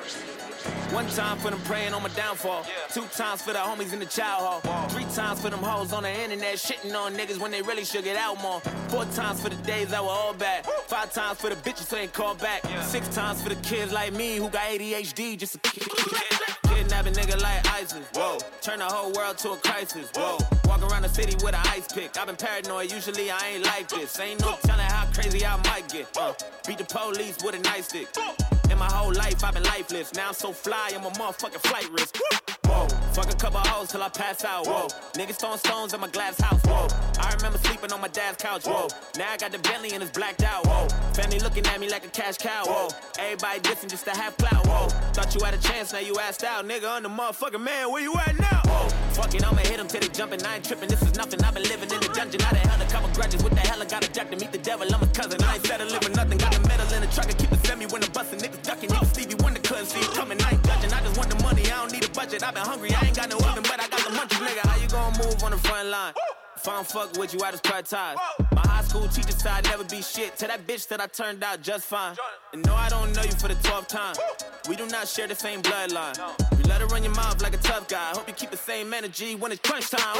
One time for them praying on my downfall. Yeah. Two times for the homies in the child hall. Whoa. Three times for them hoes on the internet shitting on niggas when they really should get out more. Four times for the days that were all bad. Woo. Five times for the bitches who ain't called back. Yeah. Six times for the kids like me who got A D H D just a kidnap a nigga like ISIS. Whoa. Turn the whole world to a crisis. Whoa. Walk around the city with an ice pick. I've been paranoid, usually I ain't like this. Ain't no telling how crazy I might get. Uh, beat the police with a nightstick. In my whole life, I've been lifeless. Now I'm so fly, I'm a motherfucking flight risk. Whoa, fuck a couple hoes till I pass out. Whoa, niggas throwing stones in my glass house. Whoa, I remember sleeping on my dad's couch. Whoa, now I got the Bentley and it's blacked out. Whoa, family looking at me like a cash cow. Whoa, everybody dissing just to have clout. Whoa, thought you had a chance, now you asked out. Nigga, I'm the motherfucking man, where you at now? Whoa, fuck it, I'ma hit them till they jumping. I ain't tripping, this is nothing. I've been living in the dungeon. I done held a couple grudges. What the hell, I got a jack to meet the devil. I'm a cousin, I ain't settling for nothing. Got the metal in the truck and keep the semi when I'm busting. Niggas ducking, even Stevie Wonder couldn't see it coming. I ain't judging, I just want the money, I don't need a budget. I've been hungry, I ain't got no oven, but I got the munchies. Nigga, how you gonna move on the front line? If I don't fuck with you, I just cut ties. My high school teacher said I'd never be shit. To that bitch that I turned out just fine. And no, I don't know you for the twelfth time. We do not share the same bloodline. You let her run your mouth like a tough guy. Hope you keep the same energy when it's crunch time.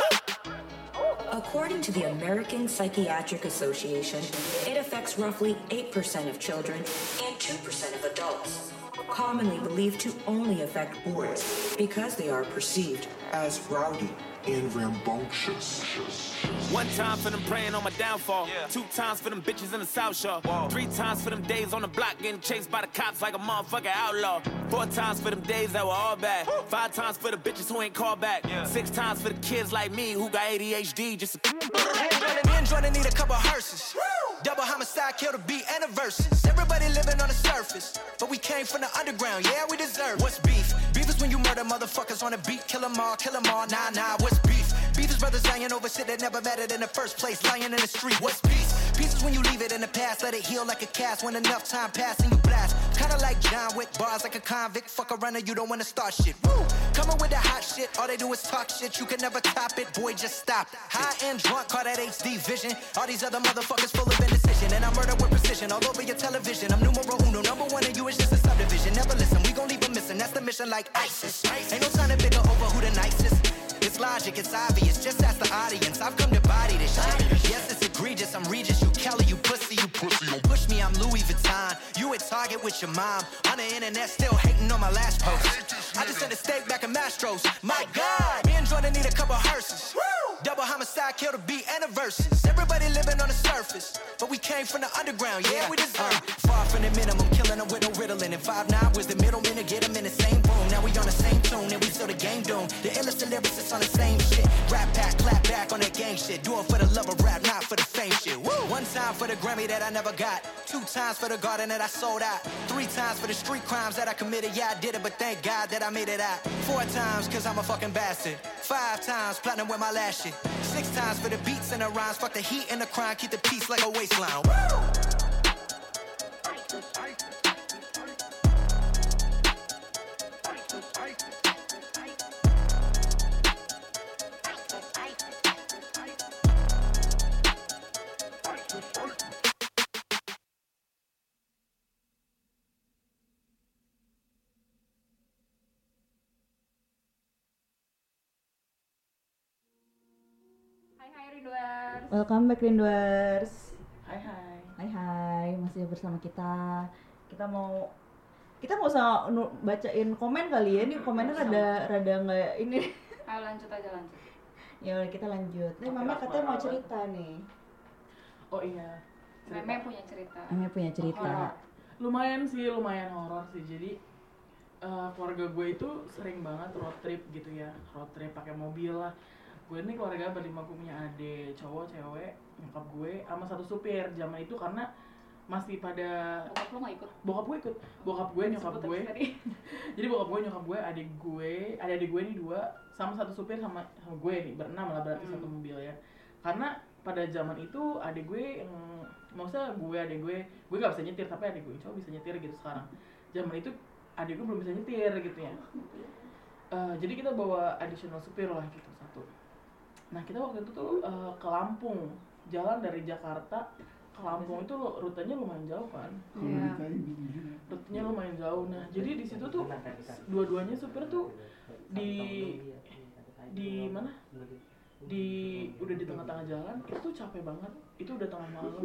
According to the American Psychiatric Association, it affects roughly eight percent of children and two percent of adults, commonly believed to only affect boys because they are perceived as rowdy and rambunctious. One time for them praying on my downfall. Yeah. Two times for them bitches in the South Shore. Whoa. Three times for them days on the block getting chased by the cops like a motherfucking outlaw. Four times for them days that were all bad. Woo. Five times for the bitches who ain't called back. Yeah. Six times for the kids like me who got A D H D just a Me and Jordan need a couple hearses. Woo. Double homicide, kill the beat and the verses. Everybody living on the surface, but we came from the underground, yeah, we deserve it. What's beef? Beef is when you murder motherfuckers on the beat. Kill them all, kill them all, nah, nah, what's beef? Beef is brothers lying over shit that never mattered in the first place. Lying in the street, what's peace? Peace is when you leave it in the past, let it heal like a cast. When enough time pass and you blast. Kinda like John Wick, bars like a convict. Fuck a runner, you don't wanna start shit. Woo! Coming with the hot shit, all they do is talk shit. You can never top it, boy, just stop. High and drunk, call that H D vision. All these other motherfuckers full of indecision. And I murder with precision all over your television. I'm numero uno, number one, and you is just a subdivision. Never listen, we gon' leave them missing. That's the mission like ISIS. Ain't no time to bigger over who the nicest. It's logic, it's obvious, just ask the audience. I've come to body this shit. Yes, it's egregious, I'm Regis, you Kelly, you pussy, you pussy. Don't push me, I'm Louis Vuitton. You at Target with your mom. On the internet, still hating on my last post. I just sent a steak back in Mastros. My God, me and Jordan need a couple hearses. Double homicide, kill the beat and the verses. Everybody living on the surface, but we came from the underground, yeah, we deserve it. Far from the minimum, killing them with no riddling. And five nine was the middleman to get them in the same room. Now we on the same tune, and we still the game doomed. The illest lyricists on the same shit. Rap pack, clap back on that gang shit. Do it for the love of rap, not for the fame shit. Woo! One time for the Grammy that I never got. Two times for the garden that I sold out. Three times for the street crimes that I committed. Yeah, I did it, but thank God that I made it out. Four times, cause I'm a fucking bastard. Five times, platinum with my last shit. Six times for the beats and the rhymes. Fuck the heat and the crime. Keep the peace like a waistline. Woo! Hai hai Rinduers. Welcome back Rinduers. Hai hai. Hai hai, masih bersama kita. Kita mau kita mau usah nu- bacain komen kali ya. Ini komennya rada rada nggak ini. Ayo lanjut aja lanjut. Ya udah kita lanjut. Nih Oke, Mama apa- katanya mau apa? cerita nih. Oh iya. Cerita. Meme punya cerita. Mama punya cerita. Horor. Lumayan sih, lumayan horor sih. Jadi eh, keluarga gue itu sering banget road trip gitu ya. Road trip pakai mobil lah. Gue ini keluarga berlima, gue punya adik, cowok, cewek, nyokap gue, sama satu supir. Zaman itu karena masih pada Bokap lu nggak ikut? bokap gue ikut, bokap gue, nyokap Sebut gue. tadi. Jadi bokap gue, nyokap gue, adik gue, adik-adik gue ini dua, sama satu supir sama, sama gue nih, berenam lah berarti Hmm. satu mobil ya. Karena pada zaman itu adik gue, yang, maksudnya gue, adik gue, gue gak bisa nyetir, tapi adik gue cowok bisa nyetir gitu sekarang. Zaman itu adik gue belum bisa nyetir gitu ya. uh, jadi kita bawa additional supir lah gitu satu. Nah kita waktu itu tuh uh, ke Lampung, jalan dari Jakarta ke Lampung itu lo, rutenya lumayan jauh kan. Iya. Rutenya lumayan jauh. Nah jadi di situ tuh dua-duanya supir tuh di di mana? Di udah di tengah-tengah jalan itu tuh capek banget. Itu udah tengah malam,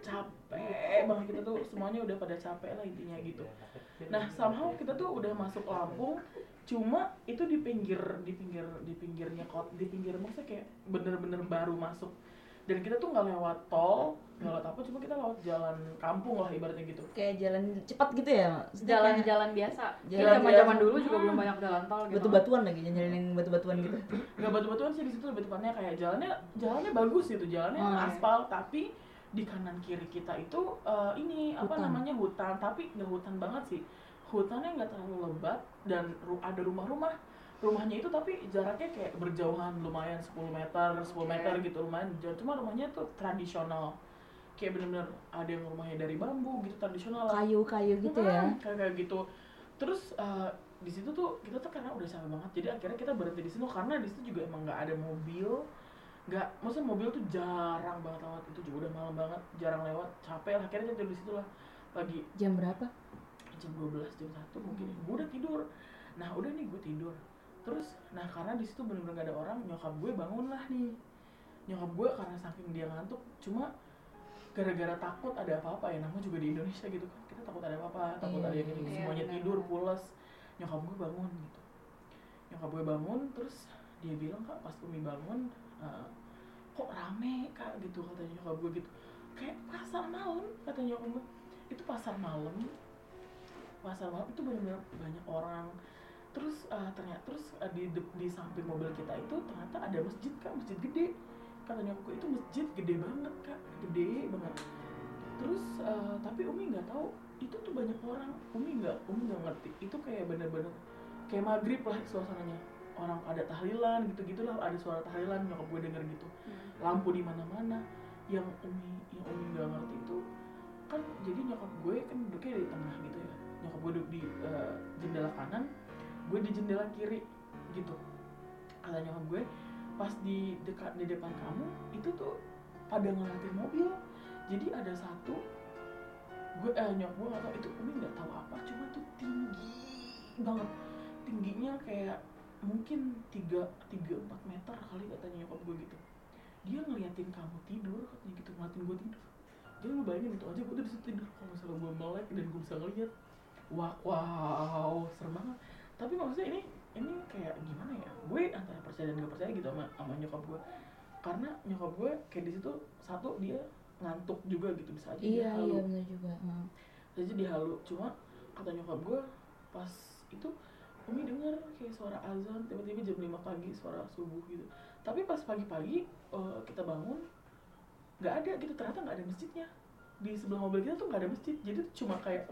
capek banget kita tuh semuanya udah pada capek lah intinya gitu. Nah somehow kita tuh udah masuk Lampung, cuma itu di pinggir di pinggir di pinggirnya kot di pinggir maksudnya kayak bener-bener baru masuk. Dan kita tuh nggak lewat tol, nggak lewat apa, cuma kita lewat jalan kampung lah ibaratnya gitu. Kayak jalan cepat gitu ya? Jalan-jalan biasa. Jalan Jalan zaman dulu juga belum banyak jalan tol gitu. Batu-batuan lagi, jalanin batu-batuan gitu. Nggak batu-batuan sih di situ, lebih tepatnya kayak jalannya jalannya bagus gitu, jalannya Hmm. aspal, tapi di kanan kiri kita itu uh, ini apa Hutan. namanya hutan, tapi nggak hutan banget sih. Hutannya nggak terlalu lebat dan ru- ada rumah-rumah. Rumahnya itu tapi jaraknya kayak berjauhan lumayan sepuluh meter, sepuluh meter gitu lumayan jauh. Cuma rumahnya tuh tradisional. Kayak bener-bener ada yang rumahnya dari bambu gitu, tradisional lah. Kayu-kayu gitu ya? Hmm, kayak kayak gitu. Terus uh, di situ tuh kita tuh karena udah capek banget, jadi akhirnya kita berhenti di situ karena di situ juga emang nggak ada mobil, nggak, maksudnya mobil tuh jarang banget lewat, itu juga udah malam banget, jarang lewat, capek lah, akhirnya tidur di situ lah pagi. Jam berapa? Jam dua belas, jam satu mungkin, gue udah tidur. Nah udah nih gue tidur. Terus, nah karena di situ bener-bener gak ada orang, nyokap gue bangun lah nih. Nyokap gue karena saking dia ngantuk, cuma gara-gara takut ada apa-apa ya, namanya juga di Indonesia gitu kan, kita takut ada apa-apa, takut Iya, ada yang ini, iya, semuanya benar. tidur, pulas. Nyokap gue bangun gitu. Nyokap gue bangun, terus dia bilang, Kak pas Umi bangun, uh, kok rame Kak gitu, katanya nyokap gue gitu. Kayak pasar malam, katanya nyokap gue. Itu pasar malam, pasar malam itu benar-benar banyak orang. Terus uh, ternyata terus uh, di, di di samping mobil kita itu ternyata ada masjid Kak, masjid gede. Katanya aku itu masjid gede banget Kak, gede banget. Terus uh, tapi Umi nggak tahu itu tuh banyak orang. Umi nggak Umi nggak ngerti. Itu kayak bener-bener kayak maghrib lah suasananya. Orang ada tahlilan gitu-gitu lah, ada suara tahlilan, nyokap gue denger gitu. Lampu di mana-mana. Yang Umi yang Umi nggak ngerti itu kan, jadi nyokap gue kan duduknya di tengah gitu ya. Nyokap gue duduk di uh, jendela kanan, gue di jendela kiri gitu. Kata nyokap gue, pas di dekat di depan kamu itu tuh pada ngeliatin mobil. Jadi ada satu, gue eh nyokap gue nggak tahu itu, Umi nggak tahu apa, cuma tuh tinggi banget, tingginya kayak mungkin tiga tiga empat meter kali, katanya nyokap gue gitu. Dia ngeliatin kamu tidur, katanya gitu, ngeliatin gue tidur. Jadi lu bayangin itu aja, gue udah bisa tidur. Kalau misalnya gue melek dan gue bisa ngeliat, wah wow, serem banget. Tapi maksudnya ini ini kayak gimana ya? Gue antara percaya dan gak percaya gitu sama sama nyokap gue. Karena nyokap gue kayak di situ satu dia ngantuk juga gitu, bisa aja Iya, dia halu. iya benar juga. Hmm. Jadi dia halu. Cuma kata nyokap gue pas itu Umi denger kayak suara azan tiba-tiba jam lima pagi, suara subuh gitu. Tapi pas pagi-pagi uh, kita bangun nggak ada gitu, ternyata nggak ada masjidnya. Di sebelah mobil kita tuh nggak ada masjid, jadi tuh cuma kayak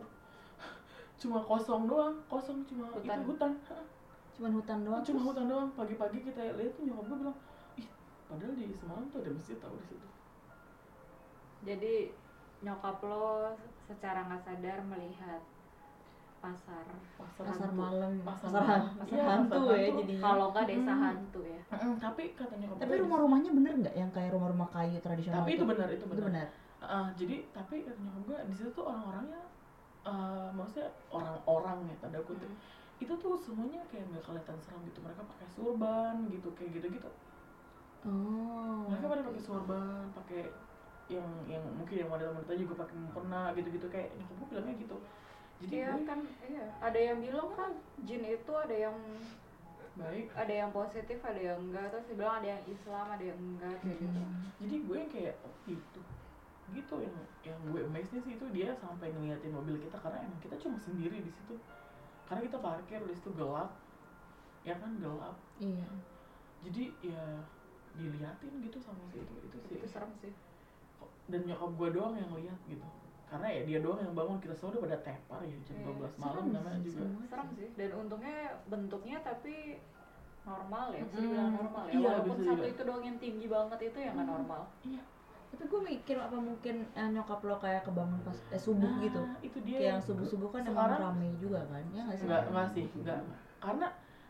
cuma kosong doang, kosong cuma Hutan. itu hutan. Cuman hutan doang. Cuma terus? hutan doang. Pagi-pagi kita lihat tuh nyokap gue bilang, ih padahal di semalam tuh ada masjid tau di situ. Jadi nyokap lo secara nggak sadar melihat pasar. Pasar, Pasar hantu. malam, pasar, pasar, malam. pasar Iya, hantu pasar ya hantu. jadinya. Kalau nggak desa Hmm. hantu ya. Mm-mm, tapi kata nyokap Tapi gue, rumah-rumahnya bener nggak yang kayak rumah-rumah kayu tradisional tapi itu benar, itu Itu benar. benar. Uh, jadi tapi kata nyokap gue di situ tuh orang-orangnya, uh, maksudnya orang-orang ya tanda kutip, Hmm. itu tuh semuanya kayak nggak kelihatan seram gitu. Mereka pakai surban gitu, kayak gitu-gitu. Oh. Mereka pada pakai sorban, pakai yang yang mungkin yang wanita-wanita juga pakai mukena gitu-gitu, kayak nyokap gue bilangnya gitu. Jadi Iya gue kan, iya. Ada yang bilang kan jin itu ada yang baik. ada yang positif, ada yang enggak. Terus dia bilang ada yang Islam, ada yang enggak kayak gitu. Jadi gue yang kayak oh gitu, gitu yang yang gue amazed-nya sih itu dia sampai ngeliatin mobil kita karena emang kita cuma sendiri di situ. Karena kita parkir di situ gelap, ya kan gelap. Iya. Jadi ya diliatin gitu sama si itu itu sih. Itu serem sih. Dan nyokap gue doang yang lihat gitu. Karena ya dia doang yang bangun, kita semua udah pada tepar ya jam Iya, dua belas serem malam namanya sih, juga. semua. Serem sih. Dan untungnya bentuknya tapi normal ya, bisa Mm-mm. dibilang normal ya. Iya, Walaupun bisa satu dibilang. itu doang yang tinggi banget itu ya nggak normal. Iya. Tapi gue mikir apa mungkin eh, nyokap lo kayak kebangun pas eh, subuh Nah, gitu. itu dia Kayak yang subuh-subuh kan emang sekarang- rame juga kan? Ya nggak sih? Enggak, enggak sih, enggak. Karena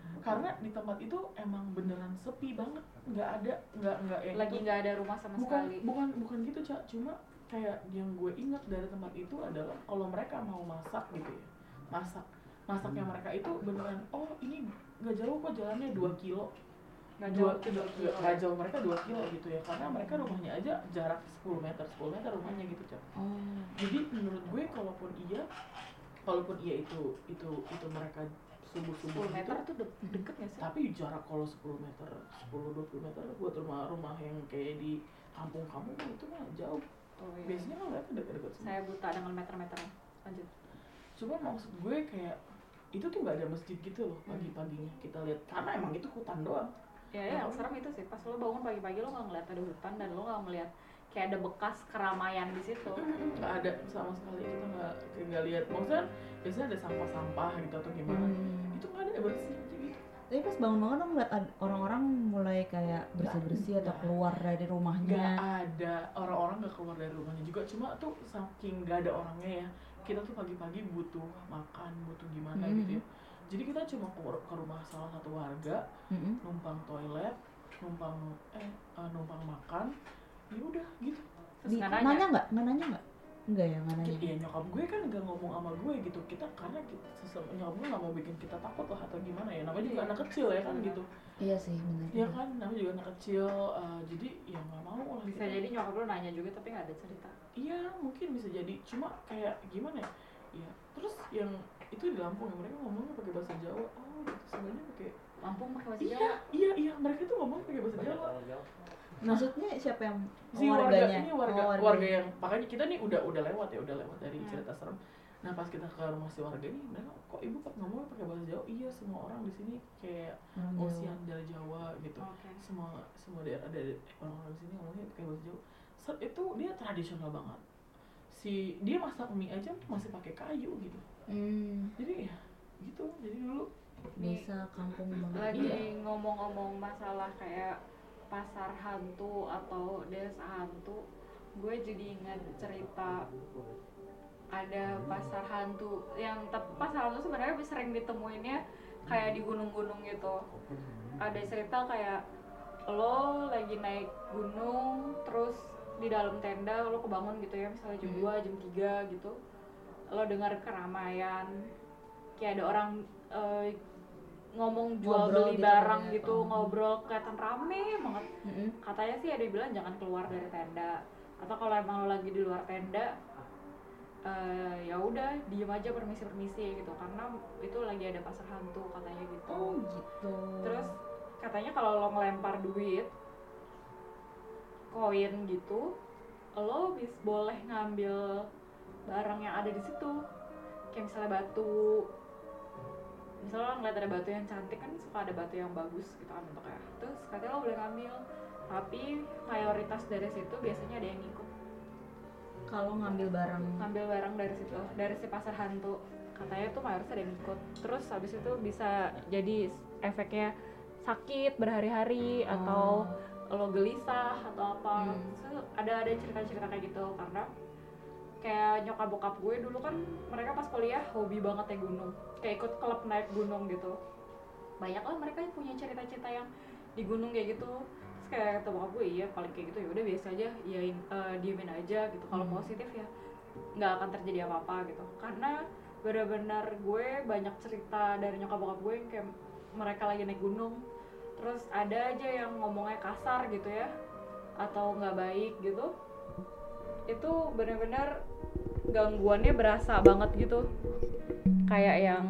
karena di tempat itu emang beneran sepi banget, nggak ada nggak nggak yang Lagi itu. nggak ada rumah sama bukan sekali. bukan bukan gitu Cak, cuma kayak yang gue ingat dari tempat itu adalah kalau mereka mau masak gitu ya, masak masaknya mereka itu beneran, oh ini nggak jauh kok jalannya dua kilo, Nggak dua jauh, kilo dua kilo. nggak jauh mereka dua kilo gitu ya, karena mereka rumahnya aja jarak sepuluh meter sepuluh meter rumahnya gitu Cak. Oh. Jadi menurut gue kalaupun iya kalaupun iya itu itu itu mereka subuh-subuh sepuluh meter gitu, tuh de- deket nggak sih? tapi jarak kalau sepuluh meter sepuluh dua puluh meter buat rumah-rumah yang kayak di kampung-kampung itu mah jauh. Oh, iya. Biasanya kan mereka dekat-dekat semua. Saya buta dengan meter-meternya. Lanjut. Cuma maksud gue kayak itu tuh nggak ada masjid gitu loh pagi-paginya kita lihat, karena emang itu hutan doang. Ya, ya yang serem itu sih pas lo bangun pagi-pagi lo nggak ngeliat ada hutan dan lo nggak ngeliat kayak ada bekas keramaian di situ. Nggak ada sama sekali, kita nggak kayak nggak lihat. Maksudnya biasanya ada sampah-sampah gitu atau gimana, Hmm. itu nggak ada, bersih aja gitu. Tapi pas bangun-bangun dong ngeliat ad- orang-orang mulai kayak bersih-bersih atau Nggak. keluar dari Nggak rumahnya. ada orang-orang nggak keluar dari rumahnya juga, cuma tuh saking nggak ada orangnya ya, kita tuh pagi-pagi butuh makan, butuh gimana Mhm. gitu ya. Jadi kita cuma ke, ke rumah salah satu warga, Mm-mm. numpang toilet, numpang eh uh, numpang makan, ya udah gitu. Terus Di- nggak nanya nanya. nggak? Nggak nanya nggak? Enggak ya, nggak nanya. Ya nyokap gue kan nggak ngomong sama gue gitu, kita karena kita, sesama nyokap gue nggak mau bikin kita takut lah atau gimana ya, namanya juga anak kecil ya kan gitu, Iya sih, benar. ya kan namanya juga anak kecil, uh, jadi ya nggak mau lah. Bisa kita. jadi nyokap lo nanya juga tapi nggak ada cerita. Iya mungkin bisa jadi, cuma kayak gimana ya, ya terus yang itu di Lampung ya, mereka ngomongnya pakai bahasa Jawa, oh gitu sebenarnya pakai Lampung pakai bahasa iya Jawa. iya iya mereka tuh ngomong pakai bahasa Jawa. Maksudnya siapa yang Si warga warganya? ini warga Oh, warga yang makanya kita nih udah udah lewat ya udah lewat dari Hmm. cerita serem. Nah pas kita ke rumah si warga ini, mereka kok ibu pak ngomongnya pakai bahasa Jawa? Iya semua orang di sini kayak Orang Jawa. Ocean dari Jawa gitu. Oke. Semua semua daerah ada orang-orang di sini ngomongnya pakai bahasa Jawa. Set, itu dia tradisional banget. Si dia masak mie aja masih pakai kayu gitu. Hmm, Jadi ya gitu. Jadi dulu desa kampung banget. Lagi Iya. ngomong-ngomong masalah kayak pasar hantu atau desa hantu, gue jadi ingat cerita ada pasar hantu yang tapi pasar hantu sebenarnya sering ditemuinnya kayak di gunung-gunung gitu. Ada cerita kayak lo lagi naik gunung terus di dalam tenda lo kebangun gitu ya, misalnya jam dua, jam tiga gitu, lo dengar keramaian kayak ada orang eh, ngomong jual Ngobrol beli gitu barang kan ya. gitu, Oh. ngobrol kelihatan rame banget. Mm-mm. Katanya sih ada yang bilang jangan keluar dari tenda, atau kalau emang lo lagi di luar tenda eh, ya udah diem aja, permisi permisi gitu, karena itu lagi ada pasar hantu katanya gitu. Oh gitu. Terus katanya kalau lo ngelempar duit koin gitu, lo bis boleh ngambil barang yang ada di situ, kayak misalnya batu. Misalnya lo ngeliat ada batu yang cantik kan, suka ada batu yang bagus gitu kan bentuknya, terus katanya lo boleh ngambil, tapi mayoritas dari situ biasanya ada yang ikut Kalau ngambil barang ngambil barang dari situ, dari si pasar hantu, katanya tuh mayoritas ada yang ikut. Terus habis itu bisa jadi efeknya sakit berhari-hari atau lo gelisah atau apa. Hmm. Terus ada ada cerita-cerita kayak gitu, karena kayak nyokap bokap gue dulu kan mereka pas kuliah hobi banget naik gunung, kayak ikut klub naik gunung gitu. Banyak lah mereka yang punya cerita-cerita yang di gunung kayak gitu. Terus kayak kata bokap gue, iya paling kayak gitu ya udah biasa aja, ya diemin aja gitu. Kalau Hmm. positif ya nggak akan terjadi apa-apa gitu, karena benar-benar gue banyak cerita dari nyokap bokap gue yang kayak mereka lagi naik gunung terus ada aja yang ngomongnya kasar gitu ya atau nggak baik gitu, itu benar-benar gangguannya berasa banget gitu, kayak yang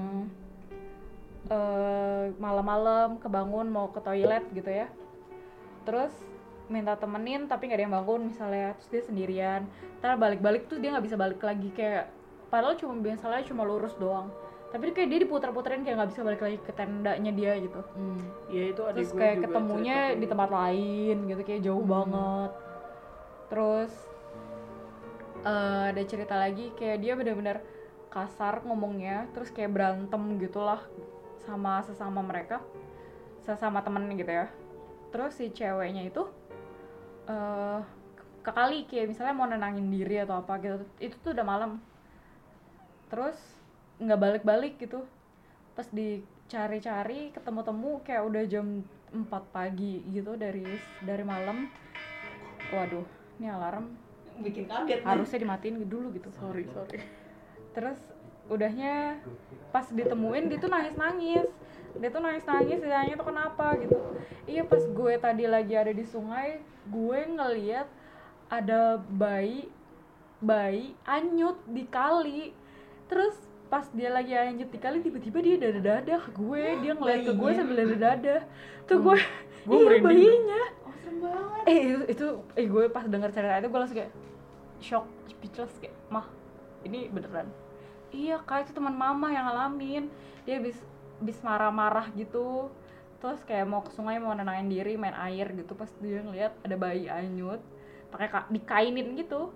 eh, malam-malam kebangun mau ke toilet gitu ya, terus minta temenin tapi nggak ada yang bangun misalnya, terus dia sendirian, ntar balik-balik tuh dia nggak bisa balik lagi, kayak padahal cuma misalnya cuma lurus doang, tapi kayak dia diputar-puterin kayak nggak bisa balik lagi ke tendanya dia gitu. hmm. ya itu adik Terus gue kayak juga ketemunya cerita kayak di gitu. tempat lain gitu, kayak jauh Hmm. banget. Terus eh, ada cerita lagi kayak dia benar-benar kasar ngomongnya, terus kayak berantem gitulah sama sesama mereka, sesama temen gitu ya. Terus si ceweknya itu eh ke kali kayak misalnya mau nenangin diri atau apa gitu, itu tuh udah malam, terus nggak balik-balik gitu. Pas di cari-cari ketemu-temu kayak udah jam empat pagi gitu dari dari malam. Waduh, ini alarm bikin kaget harusnya dimatiin dulu gitu. Sorry, sorry. Terus udahnya pas ditemuin dia tuh nangis-nangis. Dia tuh nangis-nangis, dia nanya tuh kenapa gitu. Iya, pas gue tadi lagi ada di sungai, gue ngeliat ada bayi bayi anyut di kali. Terus pas dia lagi anyut di kali, tiba-tiba dia dadah-dadah ke gue. Dia ngeliat ke gue sambil dadah-dadah. Tuh gue, Gue iya merinding. bayinya. oh serem banget. Eh itu, itu eh gue pas denger cerita itu gue langsung kayak shock, speechless kayak, mah ini beneran. Iya kak, itu teman mama yang ngalamin. Dia habis habis marah-marah gitu. Terus kayak mau ke sungai mau nenangin diri, main air gitu. Pas dia ngeliat ada bayi anyut pakai ka- dikainin gitu.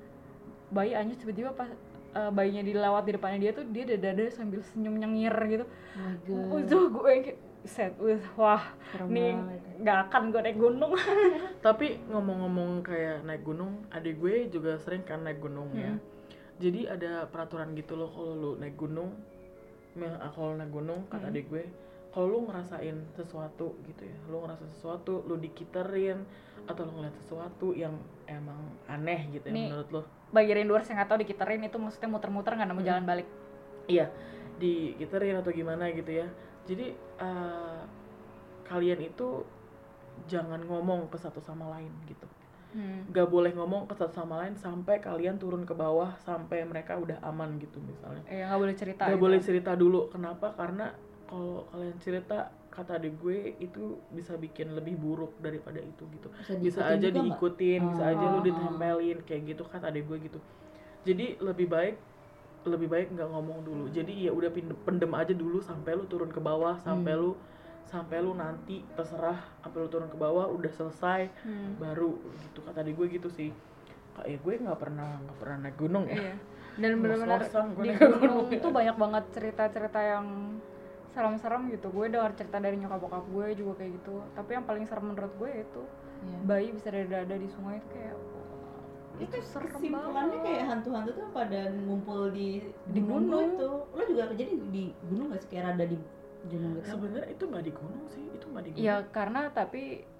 Bayi anyut tiba-tiba pas uh, bayinya dilewat di depannya dia tuh dia dada-dada sambil senyum nyengir gitu. Oh my god. Oh, itu gue kayak set, wah Serem nih banget. nggak akan gue naik gunung. Tapi ngomong-ngomong kayak naik gunung, adik gue juga sering kan naik gunung ya. Hmm. Jadi ada peraturan gitu loh kalau lu naik gunung, ya, kalau naik gunung kata Hmm. adik gue, kalau lu ngerasain sesuatu gitu ya, lu ngerasa sesuatu, lu dikiterin atau lu ngeliat sesuatu yang emang aneh gitu ya Nih. menurut lo, Bagi rinduers yang nggak tahu dikiterin itu maksudnya muter-muter nggak nemu Hmm. jalan balik. iya, dikiterin atau gimana gitu ya. Jadi uh, kalian itu jangan ngomong ke satu sama lain gitu. Hmm. Gak boleh ngomong ke satu sama lain sampai kalian turun ke bawah sampai mereka udah aman gitu misalnya. Eh nggak boleh cerita. Gak gitu. boleh cerita dulu. Kenapa? Karena kalau kalian cerita, kata adik gue itu bisa bikin lebih buruk daripada itu gitu. Bisa Bisa diikutin aja juga nggak? diikutin, bisa Oh, aja lu oh, ditempelin kayak gitu, kata adik gue gitu. Jadi lebih baik lebih baik nggak ngomong dulu. Jadi ya udah pindem- pendem aja dulu sampai lu turun ke bawah, sampai Hmm. lu sampai lu nanti terserah sampai lu turun ke bawah udah selesai Hmm. baru gitu, kata adik gue gitu sih. Kayak gue nggak pernah nggak pernah naik gunung ya. Iya. Dan benar-benar Ngos-ngosan gue di naik gunung gunung. tuh banyak banget cerita-cerita yang serem-serem gitu. Gue dengar cerita dari nyokap bokap gue juga kayak gitu. Tapi yang paling serem menurut gue itu Iya. bayi bisa dada-dada di sungai itu kayak wah, Itu serem kesimpulannya banget. kayak hantu-hantu tuh pada ngumpul di Di gunung. itu. Lo juga kejadian di gunung gak sih, kayak rada di gunung gitu? Sebenarnya itu nggak di gunung sih, itu nggak di gunung. Ya karena tapi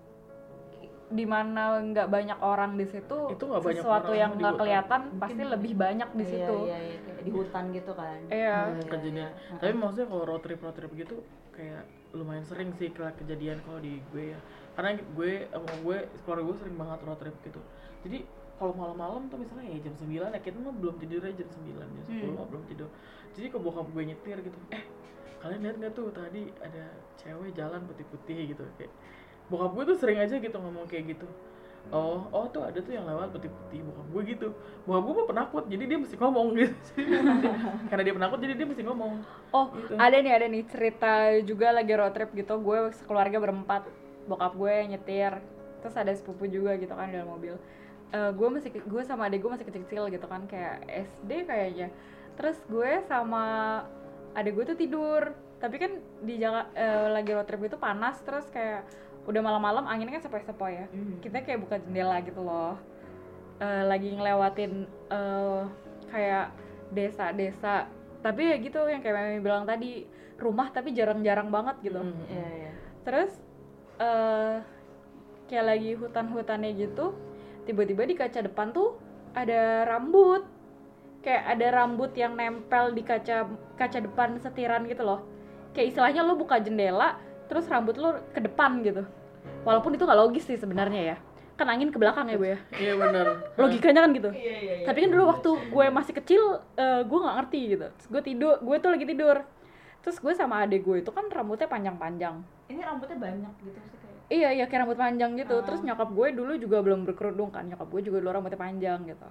di mana nggak banyak orang di situ, Itu nggak banyak sesuatu orang yang di nggak hutan. kelihatan Mungkin pasti lebih banyak di Iya, situ. Iya, iya, kayak di hutan gitu kan. Iya. Kejadian. Tapi maksudnya kalau road trip road trip gitu kayak lumayan sering sih ke- kejadian kalau di gue ya. Karena gue sama gue keluarga gue sering banget road trip gitu. Jadi kalau malam-malam tuh misalnya ya jam sembilan ya kita mah belum tidur aja jam sembilan, jam sepuluh Hmm. mah belum tidur. Jadi kalau bokap gue nyetir gitu, eh kalian lihat nggak tuh tadi ada cewek jalan putih-putih gitu, kayak bokap gue tuh sering aja gitu ngomong kayak gitu. Oh, oh tuh ada tuh yang lewat putih-putih, bokap gue gitu. Bokap gue mah penakut, jadi dia mesti ngomong gitu. Karena dia penakut, jadi dia mesti ngomong. Oh, Gitu. ada nih, ada nih cerita juga lagi road trip gitu. Gue sekeluarga berempat, bokap gue nyetir, terus ada sepupu juga gitu kan di dalam mobil. Eh, gue masih, gue sama adik gue masih kecil-kecil gitu kan, kayak S D kayaknya. Terus gue sama adik gue tuh tidur, tapi kan di jalan eh, lagi road trip itu panas, terus kayak udah malam-malam anginnya kan sepoi-sepoi ya. Hmm. Kita kayak buka jendela gitu loh. Eh, lagi ngelewatin eh, kayak desa-desa, tapi ya gitu yang kayak Mami bilang tadi, rumah tapi jarang-jarang banget gitu. Mm, mm, Iya, mm. iya. Terus eh kayak lagi hutan-hutannya gitu, tiba-tiba di kaca depan tuh ada rambut. Kayak ada rambut yang nempel di kaca kaca depan setiran gitu loh. Kayak istilahnya lo buka jendela, terus rambut lo ke depan gitu. Walaupun itu nggak logis sih sebenarnya ya. Kan angin ke belakang ya, Bu ya. Iya benar. Logikanya kan gitu. Iya, iya, iya. Tapi kan dulu waktu gue masih kecil, eh, gue nggak ngerti gitu. Terus gue tidur, gue tuh lagi tidur. Terus gue sama adik gue itu kan rambutnya panjang-panjang. Ini rambutnya banyak gitu sih kayak. Iya, iya kayak rambut panjang gitu. Ah. Terus nyokap gue dulu juga belum berkerudung kan. Nyokap gue juga dulu rambutnya panjang gitu.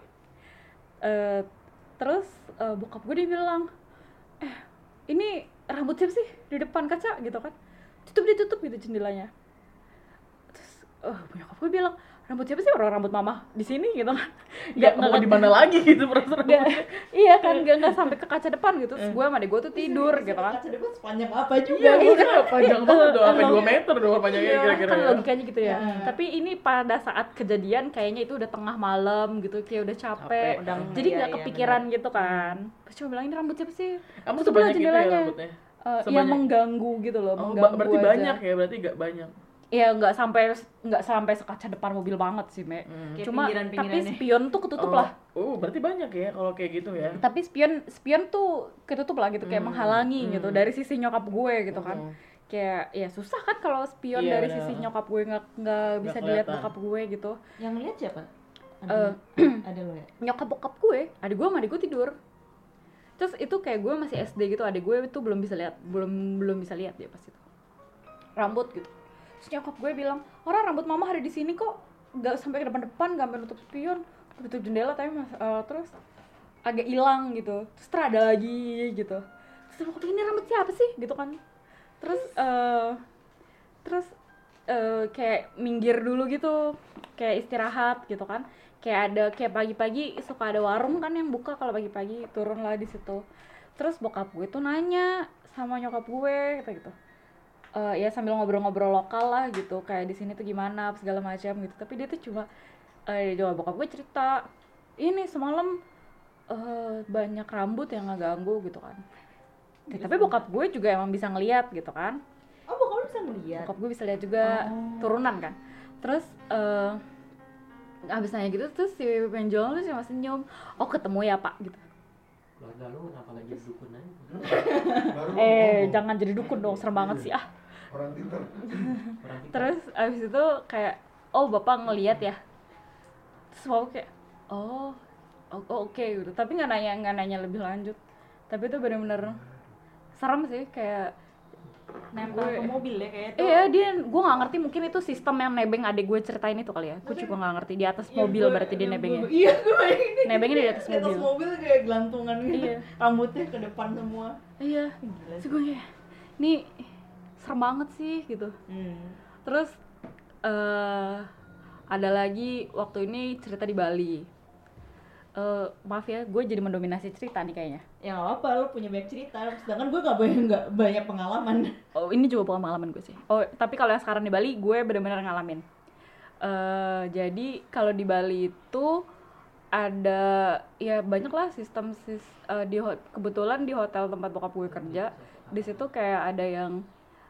Eh, terus eh, bokap gue dia bilang, eh ini rambut siapa sih di depan kaca gitu kan? Tutup ditutup gitu jendelanya. Terus, oh nyokap gue bilang, rambut siapa sih, orang rambut mama di sini gitu kan? Ya mau di mana lagi gitu perasaan. Nggak- iya kan, nggak nggak sampai ke kaca depan gitu. Terus gue sama adik gue tuh tidur gitu kan. Kaca depan sepanjang apa juga Iya, gitu. iya, panjang banget dong, sampai Iya. dua meter dong panjangnya Iya, kira-kira kan ya. logikanya gitu ya. Ya. Tapi ini pada saat kejadian kayaknya itu udah tengah malam gitu, kayak udah capek. Capek. Udah, Jadi iya, nggak iya, kepikiran gitu kan. Terus cuma bilang, ini rambut siapa sih? Kamu Tutup lah sebanyak itu ya jendelanya. rambutnya? uh, Sebanyak- yang mengganggu gitu loh, Oh, mengganggu ba- berarti aja. banyak ya, berarti gak banyak. Ya nggak sampai nggak sampai sekaca depan mobil banget sih, Me. Hmm. Kayak Cuma tapi pinggiran-pinggirannya. spion tuh ketutup Oh. lah. Oh, berarti banyak ya kalau kayak gitu ya. Tapi spion spion tuh ketutup lah gitu, kayak Hmm. menghalangi Hmm. gitu dari sisi nyokap gue gitu kan. Hmm. Kayak ya susah kan kalau spion Iya, dari bener. sisi nyokap gue nggak nggak bisa dilihat kelihatan. bokap gue gitu. Yang lihat siapa? Ada, Eh, ada lo ya? Nyokap bokap gue, adik gue sama adik gue tidur. Terus itu kayak gue masih S D gitu, adik gue itu belum bisa lihat, belum belum bisa lihat dia pas itu. Rambut gitu. Terus nyokap gue bilang, orang rambut mama ada di sini kok, nggak sampai ke depan-depan, nggak sampai nutup spion, tutup jendela tapi mas, uh, terus agak hilang gitu. Terus terus ada lagi gitu. Terus aku pikir ini rambut siapa sih gitu kan. Terus uh, terus uh, kayak minggir dulu gitu, kayak istirahat gitu kan. Kayak ada kayak pagi-pagi suka ada warung kan yang buka kalau pagi-pagi, turun lah di situ. Terus bokap gue tuh nanya sama nyokap gue gitu gitu. Uh, ya sambil ngobrol-ngobrol lokal lah gitu, kayak di sini tuh gimana segala macam gitu. Tapi dia tuh cuma eh coba bokap gue cerita, ini semalam uh, banyak rambut yang ngeganggu gitu kan. Ya, tapi bokap gue juga emang bisa ngeliat gitu kan. Oh, bokap lu bisa ngeliat? Bokap gue bisa lihat juga, Oh. turunan kan. Terus uh, abis nanya gitu, terus si penjual tuh cuma senyum, oh ketemu ya pak gitu. Keluarga lu kenapa lagi jadi dukun aja? Baru Eh ngomong. jangan jadi dukun dong, serem banget sih ah. Orang pintar. Orang kita Terus abis itu kayak, oh bapak ngeliat ya. Terus bapak kayak, oh, oh, oh, oke gitu. Tapi nggak nanya nggak nanya lebih lanjut. Tapi itu benar-benar serem sih, kayak Nempel ke mobil ya kayak itu. iya dia, gue nggak ngerti, mungkin itu sistem yang nebeng adik gue ceritain itu kali ya. Gue juga nggak ngerti, di atas Yang mobil gua- berarti dia yang nebengnya. gua- Iya, gue bayangin. Nebengnya di atas Di atas mobil. mobil kayak gelantungan gitu. Iya. Rambutnya ke depan semua. Iya. Gila Terus gue kayak, ini serem banget sih gitu. Hmm. Terus eh ada lagi waktu ini cerita di Bali. Eh maaf ya, gue jadi mendominasi cerita nih kayaknya. Ya nggak apa, lu punya banyak cerita. Sedangkan gue nggak banyak nggak banyak pengalaman. Oh ini juga bukan pengalaman gue sih. Oh tapi kalau yang sekarang di Bali gue benar-benar ngalamin. Eh jadi kalau di Bali itu ada ya banyak lah sistem sis, eh, di ho- kebetulan di hotel tempat bokap gue kerja, di situ kayak ada yang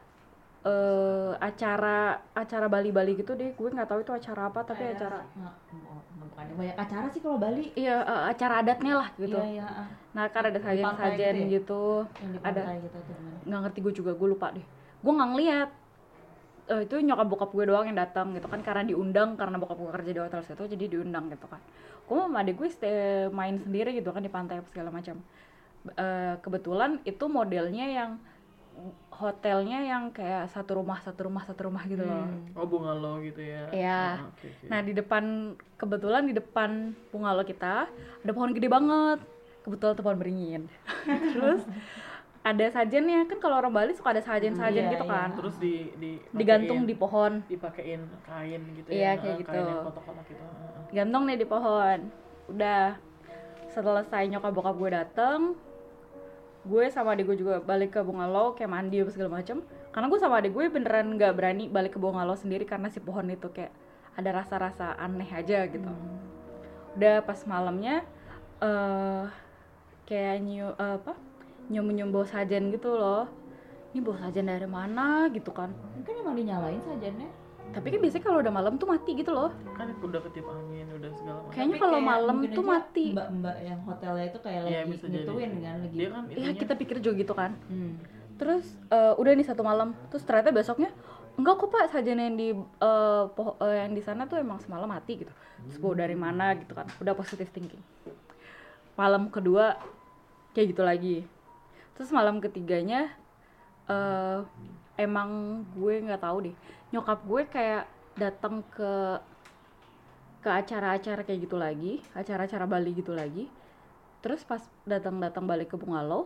eh acara acara Bali-Bali gitu deh. Gue nggak tahu itu acara apa, tapi Kayak- acara Nggak, oh, bukan banyak acara sih kalau Bali. iya eh, acara adatnya lah gitu. Iya, iya. ah. Nah kan ada Di pantai sajian-sajian gitu ya? gitu, Yang di ada pantai gitu atau gimana? nggak ngerti gue juga, gue lupa deh. Gue nggak ngeliat. Eh, itu nyokap bokap gue doang yang datang gitu kan, karena diundang, karena bokap gue kerja di hotel situ jadi diundang gitu kan. Gue sama adik gue stay main sendiri gitu kan di pantai apa segala macam. Eh, kebetulan itu modelnya yang hotelnya yang kayak satu rumah satu rumah satu rumah gitu loh. Oh, bungalow gitu ya. Iya. Ah, oke, oke. Nah di depan, kebetulan di depan bungalow kita ada pohon gede banget, kebetulan tuh pohon beringin. Terus ada sajennya, kan kalau orang Bali suka ada sajen-sajen Iya, gitu iya. kan, Terus di, di digantung pakein- di pohon, dipakein kain gitu Iya, ya. kayak ah, gitu. Kain yang kotak-kotak gitu. ah, ah. gantung nih di pohon. Udah selesai nyokap bokap gue dateng, gue sama adik gue juga balik ke bungalow kayak mandi apa segala macem. Karena gue sama adik gue beneran nggak berani balik ke bungalow sendiri karena si pohon itu kayak ada rasa-rasa aneh aja gitu. Udah pas malamnya eh kayak nyium eh, apa nyium-nyium bau sajen gitu loh. Ini bau sajen dari mana gitu kan. Mungkin emang dinyalain sajennya. Tapi kan biasanya kalau udah malam tuh mati gitu loh. Kan udah ketiup angin, udah segala macam. Kayaknya Tapi kalau kayak malam mungkin tuh aja mati. Mbak-mbak yang hotelnya itu kayak Iya, lagi bisa jadi. ngituin kan lagi. Dia kan Ya itunya kita pikir juga gitu kan. Hmm. Terus eh, udah nih satu malam, terus ternyata besoknya enggak kok pak, sajen yang di eh, poho- eh, yang di sana tuh emang semalam mati gitu. Terus bau dari mana gitu kan, udah positive thinking. Malam kedua kayak gitu lagi. Terus malam ketiganya eh emang gue nggak tahu deh, nyokap gue kayak datang ke ke acara-acara kayak gitu lagi, acara-acara Bali gitu lagi. Terus pas datang-datang balik ke bungalow,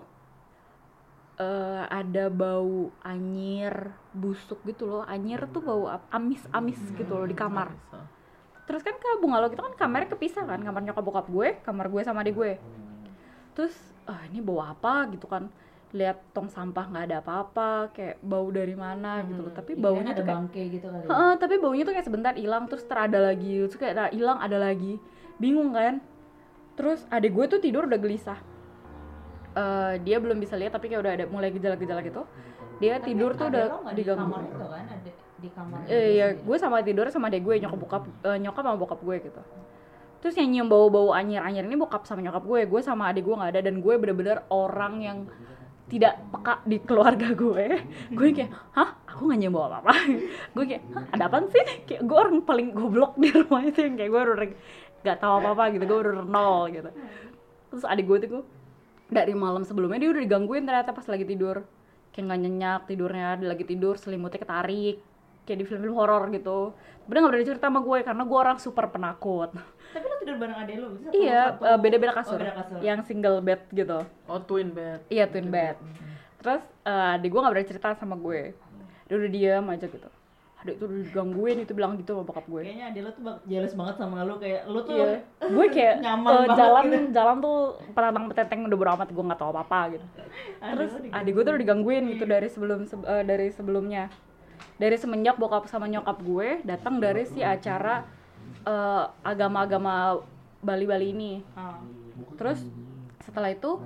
eh ada bau anyir busuk gitu loh. Anyir tuh bau ap- amis-amis gitu loh di kamar. bisa. Terus kan ke bungalow kita kan kamarnya kepisah kan, kamar nyokap bokap gue, kamar gue sama adik gue. Terus ah ini bau apa gitu kan, lihat tong sampah nggak ada apa-apa, kayak bau dari mana gitu loh. Tapi Iya, baunya ada tuh kayak bangke gitu kali. ya. Heeh, tapi baunya tuh kayak sebentar hilang, terus terada lagi, terus kayak ada hilang ada lagi, bingung kan. Terus adik gue tuh tidur udah gelisah. uh, dia belum bisa lihat tapi kayak udah ada mulai gejala-gejala gitu. Dia Tapi tidur tuh adek udah lo nggak di diganggu. kamar itu kan, ada di kamar. Eh ya, gue sama tidur sama adek gue, nyokap bokap uh, nyokap sama bokap gue gitu. Terus yang nyium bau-bau anyir-anyir ini bokap sama nyokap gue, gue sama adik gue nggak ada, dan gue bener-bener orang yang tidak peka di keluarga gue. Gue kayak, hah? Aku nggak nyium bau apa-apa. Gue kayak, hah? Ada apaan sih? Kayak gue orang paling goblok di rumah itu yang kayak gue udah nggak tahu apa-apa gitu, gue udah nol gitu. Terus adik gue tuh dari malam sebelumnya dia udah digangguin ternyata pas lagi tidur, kayak nggak nyenyak tidurnya, dia lagi tidur selimutnya ketarik kayak di film-film horor gitu. Tapi dia nggak berani cerita sama gue karena gue orang super penakut. Tapi lo tidur bareng adek lo? Bisa Iya, satu- uh, beda-beda kasur. Oh, beda kasur. Yang single bed gitu. Oh, twin bed. Iya, twin bed. Terus uh, adik gue nggak berani cerita sama gue. Dia udah diam aja gitu. Adik tuh udah digangguin, itu bilang gitu sama bokap gue. Kayaknya adek lo tuh bak- jealous banget sama lo, kayak lo tuh Iya. Gue kayak nyaman uh, banget jalan gitu. jalan tuh petantang petenteng udah bodo amat, gue nggak tahu apa-apa gitu. Terus Adek lo adik gue tuh udah digangguin gitu dari sebelum se- uh, dari sebelumnya. Dari semenjak bokap sama nyokap gue datang dari si acara uh, agama-agama Bali-Bali ini. Ah. Terus setelah itu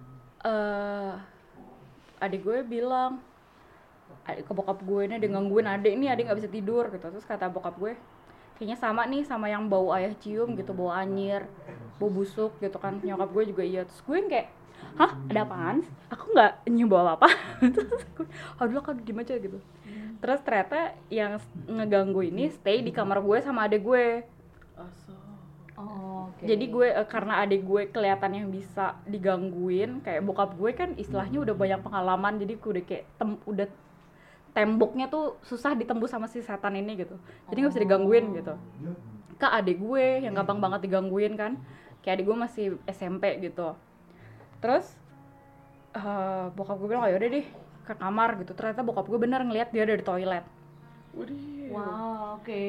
uh, adik gue bilang, adik ke bokap gue ini ada gangguin adik ini, adik nggak bisa tidur gitu. Terus kata bokap gue, kayaknya sama nih sama yang bau ayah cium gitu, bau anyir, bau busuk gitu kan. Nyokap gue juga iya. Terus gue yang kayak, hah, ada apaan? Aku nggak nyium bau apa. Terus gue, aduh kan gimana aja gitu. Terus ternyata yang ngeganggu ini stay di kamar gue sama adik gue. Asal. Oh, oke. Jadi gue uh, karena adik gue kelihatan yang bisa digangguin, kayak bokap gue kan istilahnya udah banyak pengalaman, jadi gue udah kayak tem- udah temboknya tuh susah ditembus sama si setan ini gitu. Jadi nggak bisa digangguin gitu. Ke adik gue yang gampang banget digangguin kan, kayak adik gue masih S M P gitu. Terus uh, bokap gue bilang, ayo udah deh ke kamar gitu. Ternyata bokap gue bener ngeliat dia ada di toilet. Waduh. Wow, oke.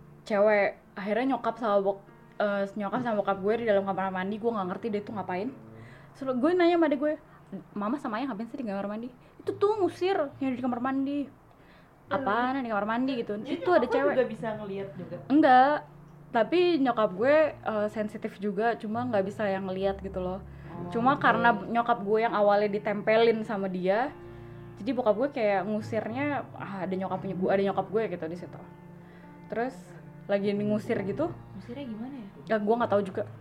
Cewek. Akhirnya nyokap sama bok uh, nyokap sama bokap gue di dalam kamar mandi. Gue nggak ngerti dia tuh ngapain. Terus gue nanya sama adek gue, mama sama ayah ngapain sih di kamar mandi? Itu tuh ngusir yang di kamar mandi. Apaan yang di kamar mandi gitu? Jadi Itu ada nyokap cewek. juga bisa ngelihat juga. Enggak. Tapi nyokap gue uh, sensitif juga, cuma nggak bisa yang ngeliat gitu loh. Cuma karena nyokap gue yang awalnya ditempelin sama dia, jadi bokap gue kayak ngusirnya, ah, ada nyokapnya gue, ada nyokap gue gitu di situ. Terus lagi ngusir gitu, Ngusirnya gimana ya? ya gue nggak tahu juga.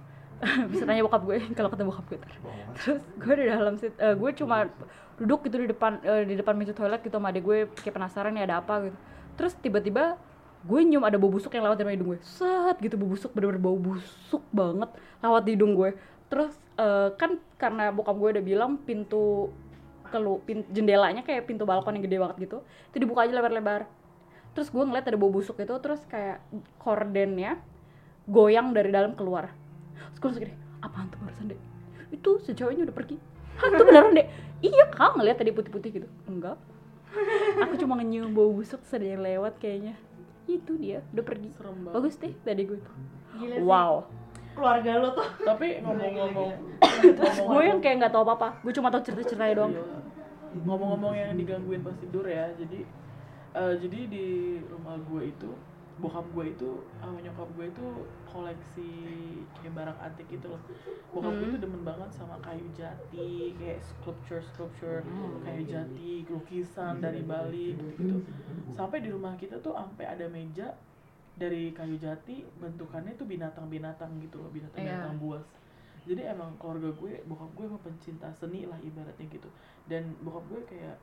Bisa tanya bokap gue kalau ketemu bokap gue. Ntar. Terus gue di dalam sit, uh, gue cuma duduk gitu di depan uh, di depan pintu toilet gitu sama adek gue, kayak penasaran nih ada apa gitu. Terus tiba-tiba gue nyium ada bau busuk yang lewat dari hidung gue. Set gitu, bau busuk, bener-bener bau busuk banget lewat di hidung gue. Terus uh, kan karena bokap gue udah bilang pintu kelu pin, jendelanya kayak pintu balkon yang gede banget gitu, itu dibuka aja lebar-lebar. Terus gue ngeliat ada bau busuk itu, terus kayak kordennya goyang dari dalam keluar. Terus gue langsung gini, apaan tuh barusan dek? Itu si ceweknya udah pergi. Hah, itu beneran dek? Iya kak, ngeliat tadi putih-putih gitu. Enggak, aku cuma nyium bau busuk terus ada yang lewat kayaknya. Itu dia, udah pergi. Serem banget. Bagus deh tadi gue tuh. Gila sih. Wow. Keluarga lo tuh. Tapi ngomong-ngomong Terus gue yang kayak nggak tahu apa-apa, gue cuma tahu cerita-ceritanya doang. Iya. Ngomong-ngomong yang digangguin pas tidur ya, jadi eh, jadi di rumah gue itu bokap gue itu sama nyokap gue itu koleksi kayak barang antik gitu loh. Bokap gue tuh demen banget sama kayu jati, kayak sculpture sculpture kayu jati, lukisan dari Bali gitu. Sampai di rumah kita tuh sampai ada meja dari kayu jati, bentukannya tuh binatang-binatang gitu loh, binatang-binatang Iya. buas. Jadi emang keluarga gue, bokap gue emang pencinta seni lah ibaratnya gitu. Dan bokap gue kayak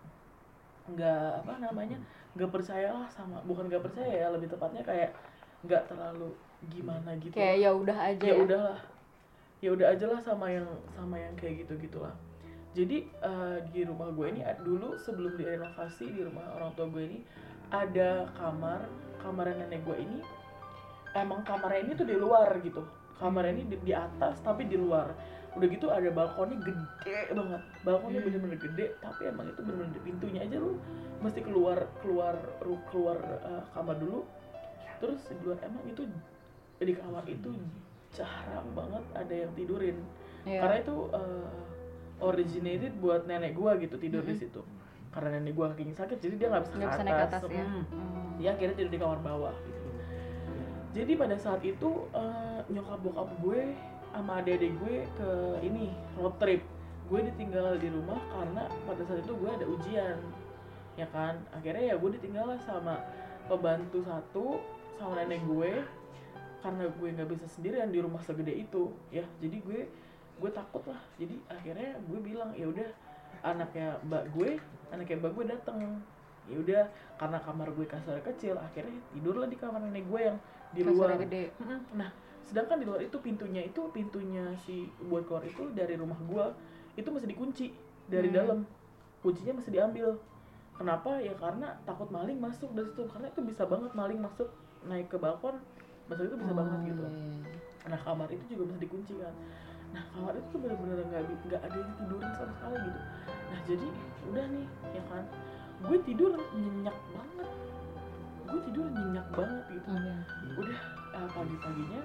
nggak apa namanya nggak percaya lah sama, bukan nggak percaya ya, lebih tepatnya kayak nggak terlalu gimana gitu. Kayak ya udah aja. Ya udahlah, ya udah aja lah sama yang sama yang kayak gitu gitulah. Jadi eh, di rumah gue ini dulu sebelum direnovasi, di rumah orang tua gue ini ada kamar kamar nenek gue ini, emang kamarnya ini tuh di luar gitu. Kamarnya ini di, di atas tapi di luar. Udah gitu ada balkonnya gede banget. Balkonnya bener-bener gede, tapi emang itu bener-bener pintunya aja lu mesti keluar keluar keluar uh, kamar dulu. Terus di luar emang itu di kamar itu jarang banget ada yang tidurin. Iya. Karena itu uh, originated buat nenek gua gitu tidur di situ. Karena nenek gua kakinya sakit jadi dia nggak bisa, Nggak bisa ke naik ke atas. atas ya. Hmm. Hmm. Dia akhirnya tidur di kamar bawah gitu. Jadi pada saat itu uh, nyokap bokap gue sama adik-adik gue ke ini road trip gue ditinggal di rumah karena pada saat itu gue ada ujian, ya kan. Akhirnya ya gue ditinggal lah sama pembantu satu sama nenek gue karena gue nggak bisa sendirian di rumah segede itu ya. Jadi gue gue takut lah. Jadi akhirnya gue bilang ya udah anaknya mbak gue anaknya mbak gue datang. Ya udah karena kamar gue kasar kecil, akhirnya tidurlah di kamar nenek gue yang di luar. Kasurnya gede. Nah sedangkan di luar itu pintunya itu pintunya si buat keluar itu dari rumah gue itu masih dikunci dari Hmm. dalam, kuncinya masih diambil. Kenapa? Ya karena takut maling masuk dari situ, karena itu bisa banget maling masuk naik ke balkon, masuk itu bisa Oh, banget gitu. iya. Nah kamar itu juga masih dikunci kan. Nah kamar itu tuh benar-benar nggak nggak ada yang tidurin sama sekali gitu. Nah jadi udah nih ya kan, gue tidur nyenyak banget, gue tidur nyenyak banget gitu. Oke. Udah uh, pagi-paginya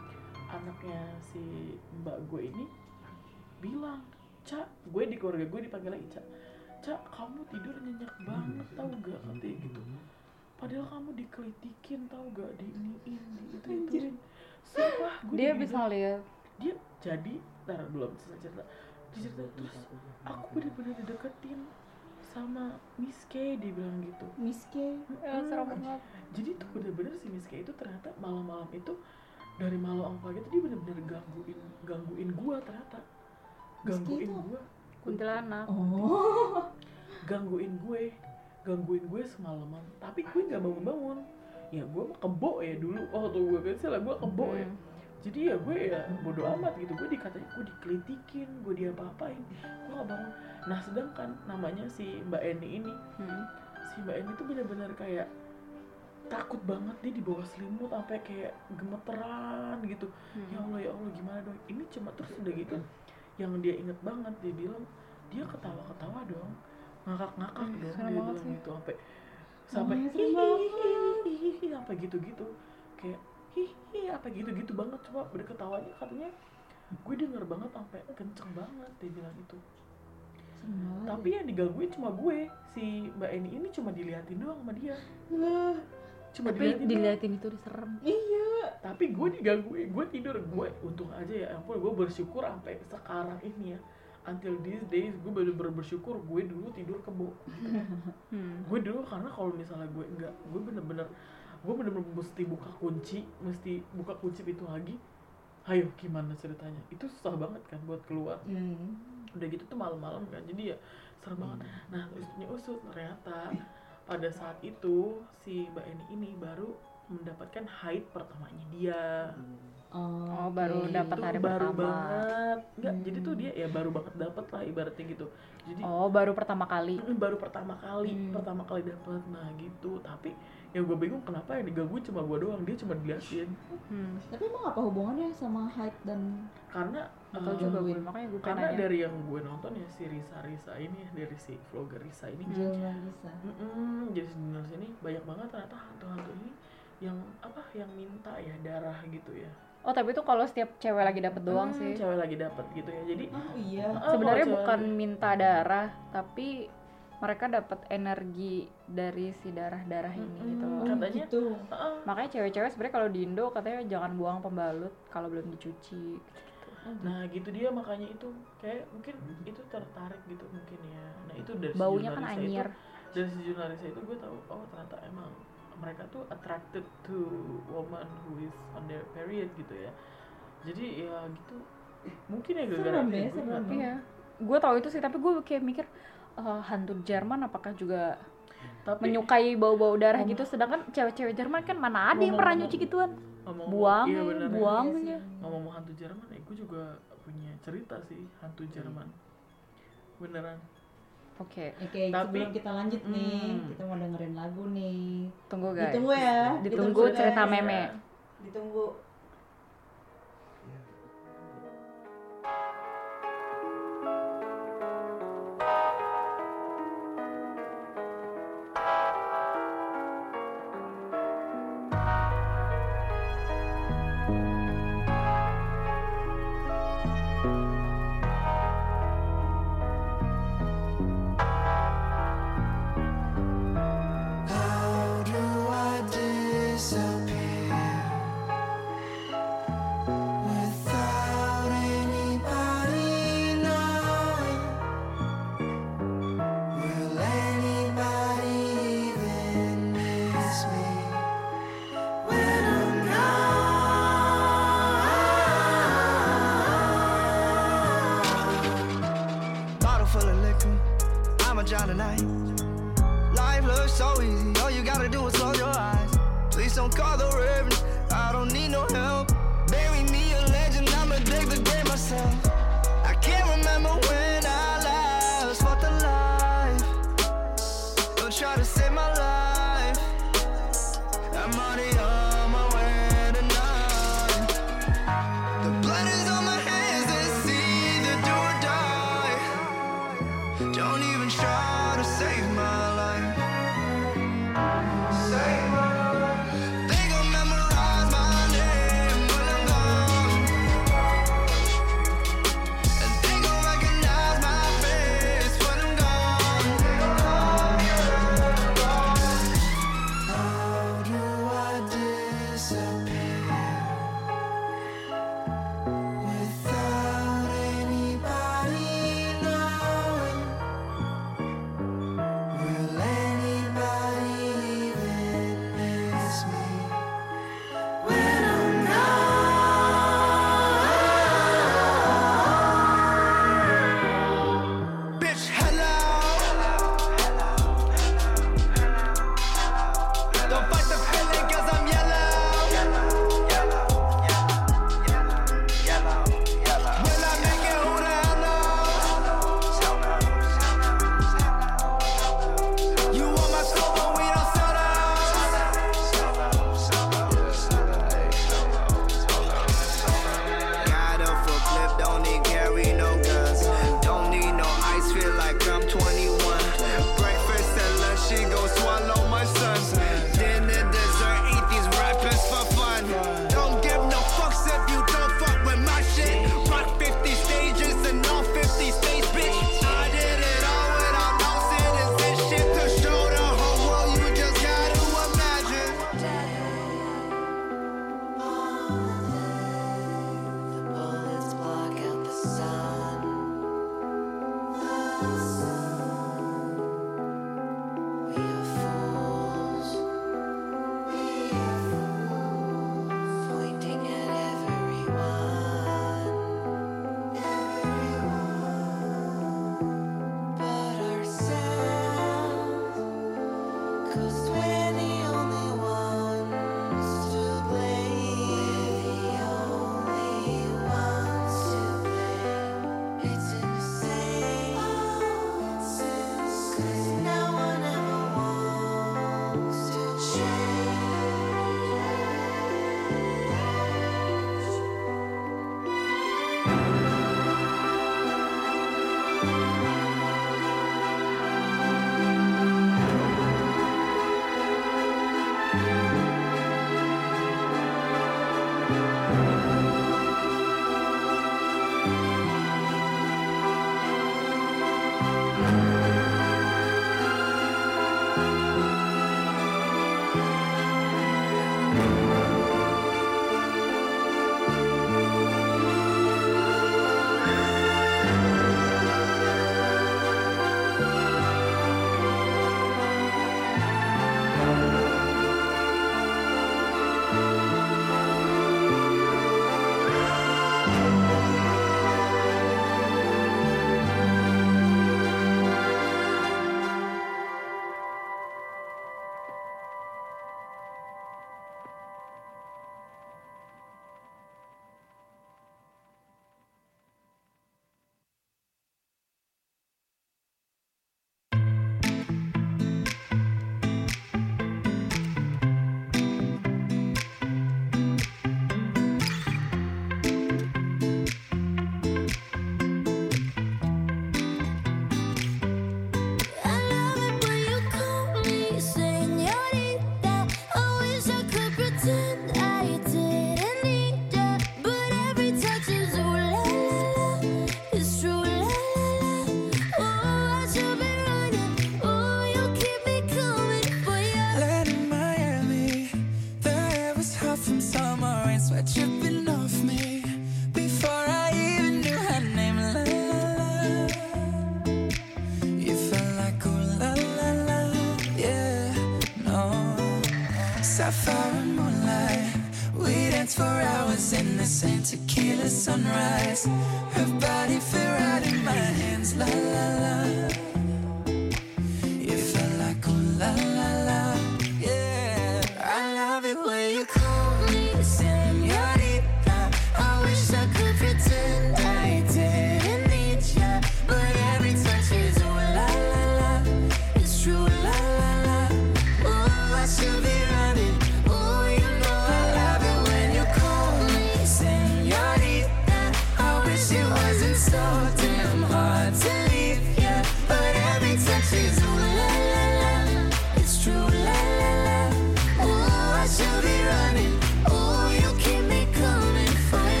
anaknya si mbak gue ini bilang, Ca, gue di keluarga gue dipanggil lagi Ca, Ca, kamu tidur nyenyak banget tau gak, katanya gitu. Padahal kamu dikelitikin tau gak, diiniin, di itu ituin. Sumpah gue Dia dibilang- bisa lihat. dia jadi, ntar belum selesai cerita, dia cerita terus aku bener-bener dideketin sama Miss K, dia bilang gitu. Miss K. Ya, serem banget. Jadi tuh bener-bener si Miss K itu ternyata malam-malam itu dari malam pagi itu dia bener-bener gangguin gangguin gua ternyata, Miss K gangguin itu gua, Kuntilanak. Oh. gangguin gue, gangguin gue semalaman. Tapi gue nggak bangun-bangun. Ya gue mah kebo ya dulu. Oh tuh gue kecil lah gue kebo ya. Hmm. Jadi ya gue ya bodo amat gitu. Gue dikatain, gue dikelitikin, gue diapa-apain, gue nggak bangun. Nah sedangkan namanya si Mbak Eni ini, Hmm. si Mbak Eni tuh bener-bener kayak takut banget, dia di bawah selimut sampai kayak gemeteran gitu. Hmm. Ya Allah ya Allah gimana dong ini, cuma terus udah gitu yang dia inget banget, dia bilang dia ketawa-ketawa dong, ngakak-ngakak Hmm, dong, serem dia banget bilang sih. gitu sampai sampai Oh, serem banget. hihihi sampai gitu-gitu kayak hihi apa gitu-gitu banget, coba berketawanya katanya gue denger banget sampai kenceng banget, dia bilang itu. Serem banget. Tapi yang digangguin cuma gue, si Mbak Eni ini cuma diliatin doang sama dia, Wah, cuma Tapi diliatin doang. diliatin itu diserem. iya. Tapi gue digangguin, gue tidur, gue untung aja ya ampun, gue bersyukur sampai sekarang ini ya, until these days gue bener-bener bersyukur gue dulu tidur kebo. Hmm. Gue dulu karena kalau misalnya gue enggak, gue bener-bener gue bener-bener mesti buka kunci, mesti buka kunci pintu lagi. Ayo gimana ceritanya? Itu susah banget kan buat keluar. Hmm. Udah gitu tuh malam-malam kan, jadi ya serem banget. Nah usutnya usut, ternyata pada saat itu si Mbak Eni ini baru mendapatkan haid pertamanya dia. Oh, Oke. baru dapat Itu hari baru pertama. banget. Enggak, Hmm. jadi tuh dia ya baru banget dapat lah ibaratnya gitu. Jadi Oh, baru pertama kali. mm, baru pertama kali, Hmm. pertama kali dapat. Nah gitu. Tapi yang gue bingung kenapa yang digangguin cuma gue doang, dia cuma diliatin. Hmm. Tapi emang apa hubungannya sama height dan Karena Atau eh, juga gue, gangguin. makanya gue pengen karena nanya. dari yang gue nonton ya si Risa Risa ini ya, dari si vlogger Risa ini. Jelma bisa? Mm-mm, jadi sebenarnya sini banyak banget ternyata hantu-hantu ini yang apa yang minta ya darah gitu ya. Oh, tapi itu kalau setiap cewek lagi dapet doang Hmm, sih. Cewek lagi dapat gitu ya. Jadi Oh iya. ah, Sebenarnya kalau bukan cewek- minta darah, tapi mereka dapat energi dari si darah-darah ini Mm-mm. gitu loh. Oh Katanya- gitu. Ah, Makanya cewek-cewek sebenarnya kalau di Indo katanya jangan buang pembalut kalau belum dicuci. nah gitu dia, makanya itu kayak mungkin itu tertarik gitu mungkin ya. Nah itu dari si Baunya kan jurnalisnya anyir. itu, dari si jurnalisnya itu gue tahu oh ternyata emang mereka tuh attracted to woman who is on their period gitu ya. Jadi ya gitu mungkin ya gara-gara Serem itu ya, gue serem. nggak tahu. Iya. Gue tahu itu sih, tapi gue kayak mikir eh, hantu Jerman apakah juga Tapi menyukai bau-bau darah Ngomong- gitu, sedangkan cewek-cewek Jerman kan mana ada yang pernah Ngomong-ngomong- nyuci gituan. ngomong Buang, iya ya, bener, buang Iya aja. sih. ngomong hantu Jerman ya gue juga punya cerita sih hantu Jerman beneran. Oke, Oke, Tapi- sebelum kita lanjut nih, Hmm. kita mau dengerin lagu nih. tunggu guys. Ditunggu ya. Ditunggu guys. cerita meme. Ditunggu. How do I disappear my job tonight. Life looks so easy, all you gotta do is close your eyes. Please don't call the reverend, I don't need no help. Bury me a legend, I'ma dig the grave myself. I can't remember when I last fought the life. Don't try to save my life. I'm already on my way tonight. The blood is on my hands, it's either do or die. Don't even try to save my life. Save my life. They gon' memorize my name when I'm gone. And they gon' recognize my face when I'm gone. How do I disappear without anybody knowing? Will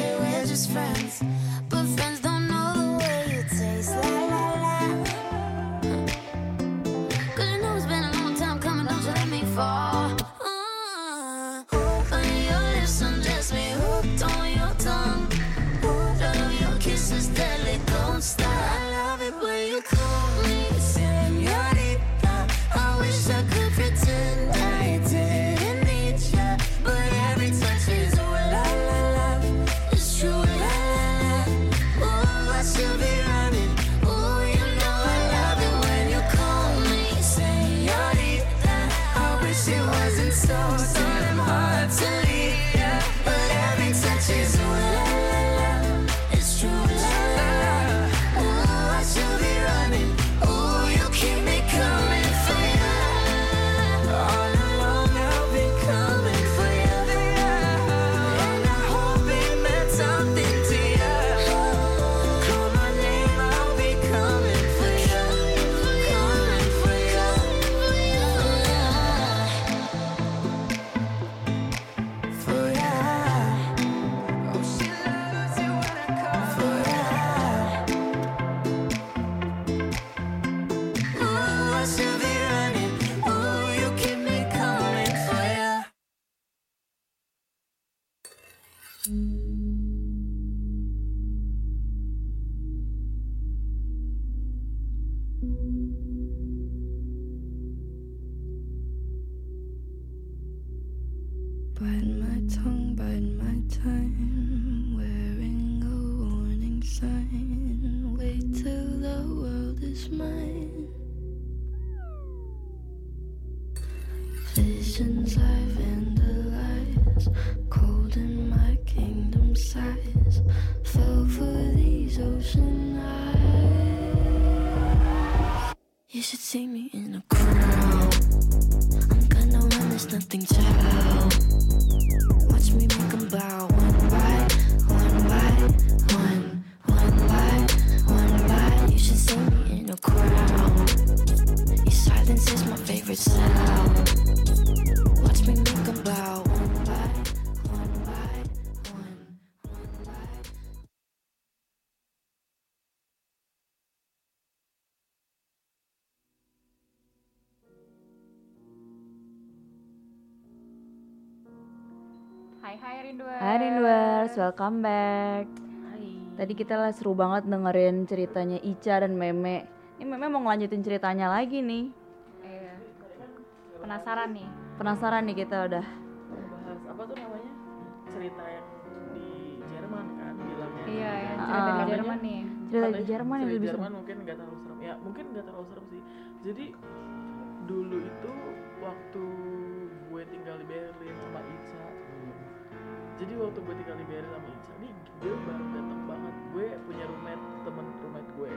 say we're just friends, but friends don't know the way you taste. La la la. Cause you know it's been a long time coming, don't you let me fall. Uh, on your lips undress me, hooked on your tongue. Love your kisses deadly, don't stop. I love it when you call me señorita. I wish I could pretend I didn't need ya, but every touch is ooh la la la. It's true la la la. Ooh, I should be running. Ooh, you know I love it when you call me señorita. I wish it wasn't so so damn hard to leave ya, but every touch is ooh la la la. It's true la la la. Ooh, I should be running. Ooh, you keep me coming for ya. All along I've been coming for ya, and I hope it meant something to ya. Call my name, I'll be coming for ya, coming for ya, for ya. Oh, she loves it when I call for ya. Ooh, I should be running. Ooh, you keep me coming for ya. Bite my tongue, bite my time, wearing a warning sign. Wait till the world is mine. Visions I vandalize, cold in my kingdom size. Fell for these ocean eyes. You should see me in a crowd. I'm gonna run, there's nothing to help. Watch me make 'em bow one by one by one, one by one by. You should see me in a crowd. Your silence is my favorite sound. Watch me make 'em bow one by one by one, one by. Hai hai Rinduers. Hai Rinduers, welcome back. Tadi kita lah seru banget dengerin ceritanya Ica dan Meme. Ini Meme mau ngelanjutin ceritanya lagi nih. Iya. Penasaran nih. Penasaran nih kita udah. Bahas apa tuh namanya? Cerita yang di Jerman kan bilangnya. Iya, yang Ah, cerita di ah. Jerman nih. Cerita di Katanya Jerman yang cerita lebih di seru. Jerman mungkin nggak terlalu serem. Ya mungkin nggak terlalu serem sih. Jadi dulu itu waktu gue tinggal di Berlin sama Ica. Jadi waktu gue tinggal di Berlin sama Ica nih, dia baru datang banget. Gue punya roommate, temen roommate gue.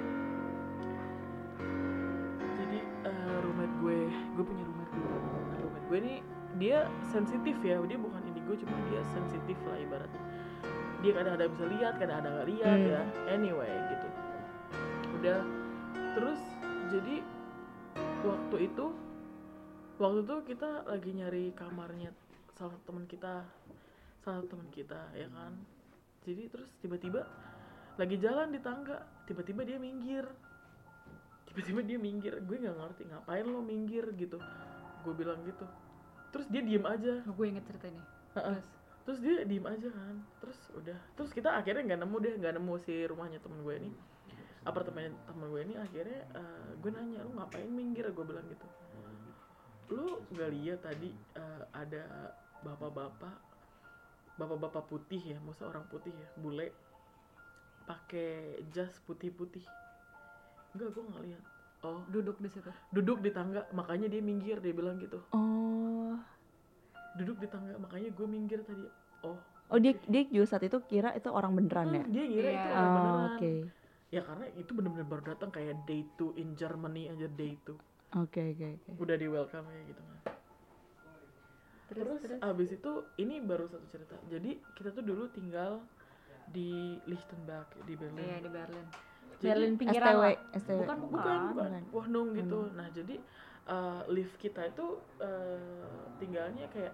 Jadi uh, roommate gue, gue punya roommate dulu. Nah, roommate gue nih dia sensitif ya, dia bukan indigo, cuma dia sensitif lah ibaratnya. Dia kadang-kadang bisa lihat, kadang-kadang nggak lihat Hmm. ya. Anyway gitu. Udah, terus jadi waktu itu, waktu itu kita lagi nyari kamarnya salah satu teman kita, salah satu teman kita ya kan. Jadi terus tiba-tiba lagi jalan di tangga, tiba-tiba dia minggir. Tiba-tiba dia minggir, gue nggak ngerti ngapain lo minggir gitu. Gue bilang gitu. Terus dia diem aja. Oh, gue inget cerita ini. Ha-ha. Terus dia diem aja kan. Terus udah. Terus kita akhirnya nggak nemu deh, nggak nemu si rumahnya temen gue ini, apartemen temen gue ini. Akhirnya uh, gue nanya, lu ngapain minggir? Gue bilang gitu. Lu nggak lihat tadi uh, ada bapak-bapak, bapak-bapak putih ya, maksudnya orang putih ya, bule, pakai jas putih-putih? Enggak, gue nggak lihat. Oh, Duduk di situ. duduk di tangga, makanya dia minggir, dia bilang gitu. Oh. Duduk di tangga, makanya gue minggir tadi. Oh. Oh dia dia juga saat itu kira itu orang beneran ya? Hmm, dia ngira Iya. itu orang Oh, beneran. oke. Ya karena itu bener-bener baru datang kayak day two in Germany aja, day two. Oke oke oke. Udah di welcome kayak gitu kan. Terus, abis itu ini baru satu cerita. Jadi kita tuh dulu tinggal di Lichtenberg di Berlin. Iya, di Berlin. Jadi, Berlin S T pinggiran W lah. S T W. Bukan, bukan. bukan bukan bukan. Wohnung gitu. Nah jadi uh, lift kita itu uh, tinggalnya kayak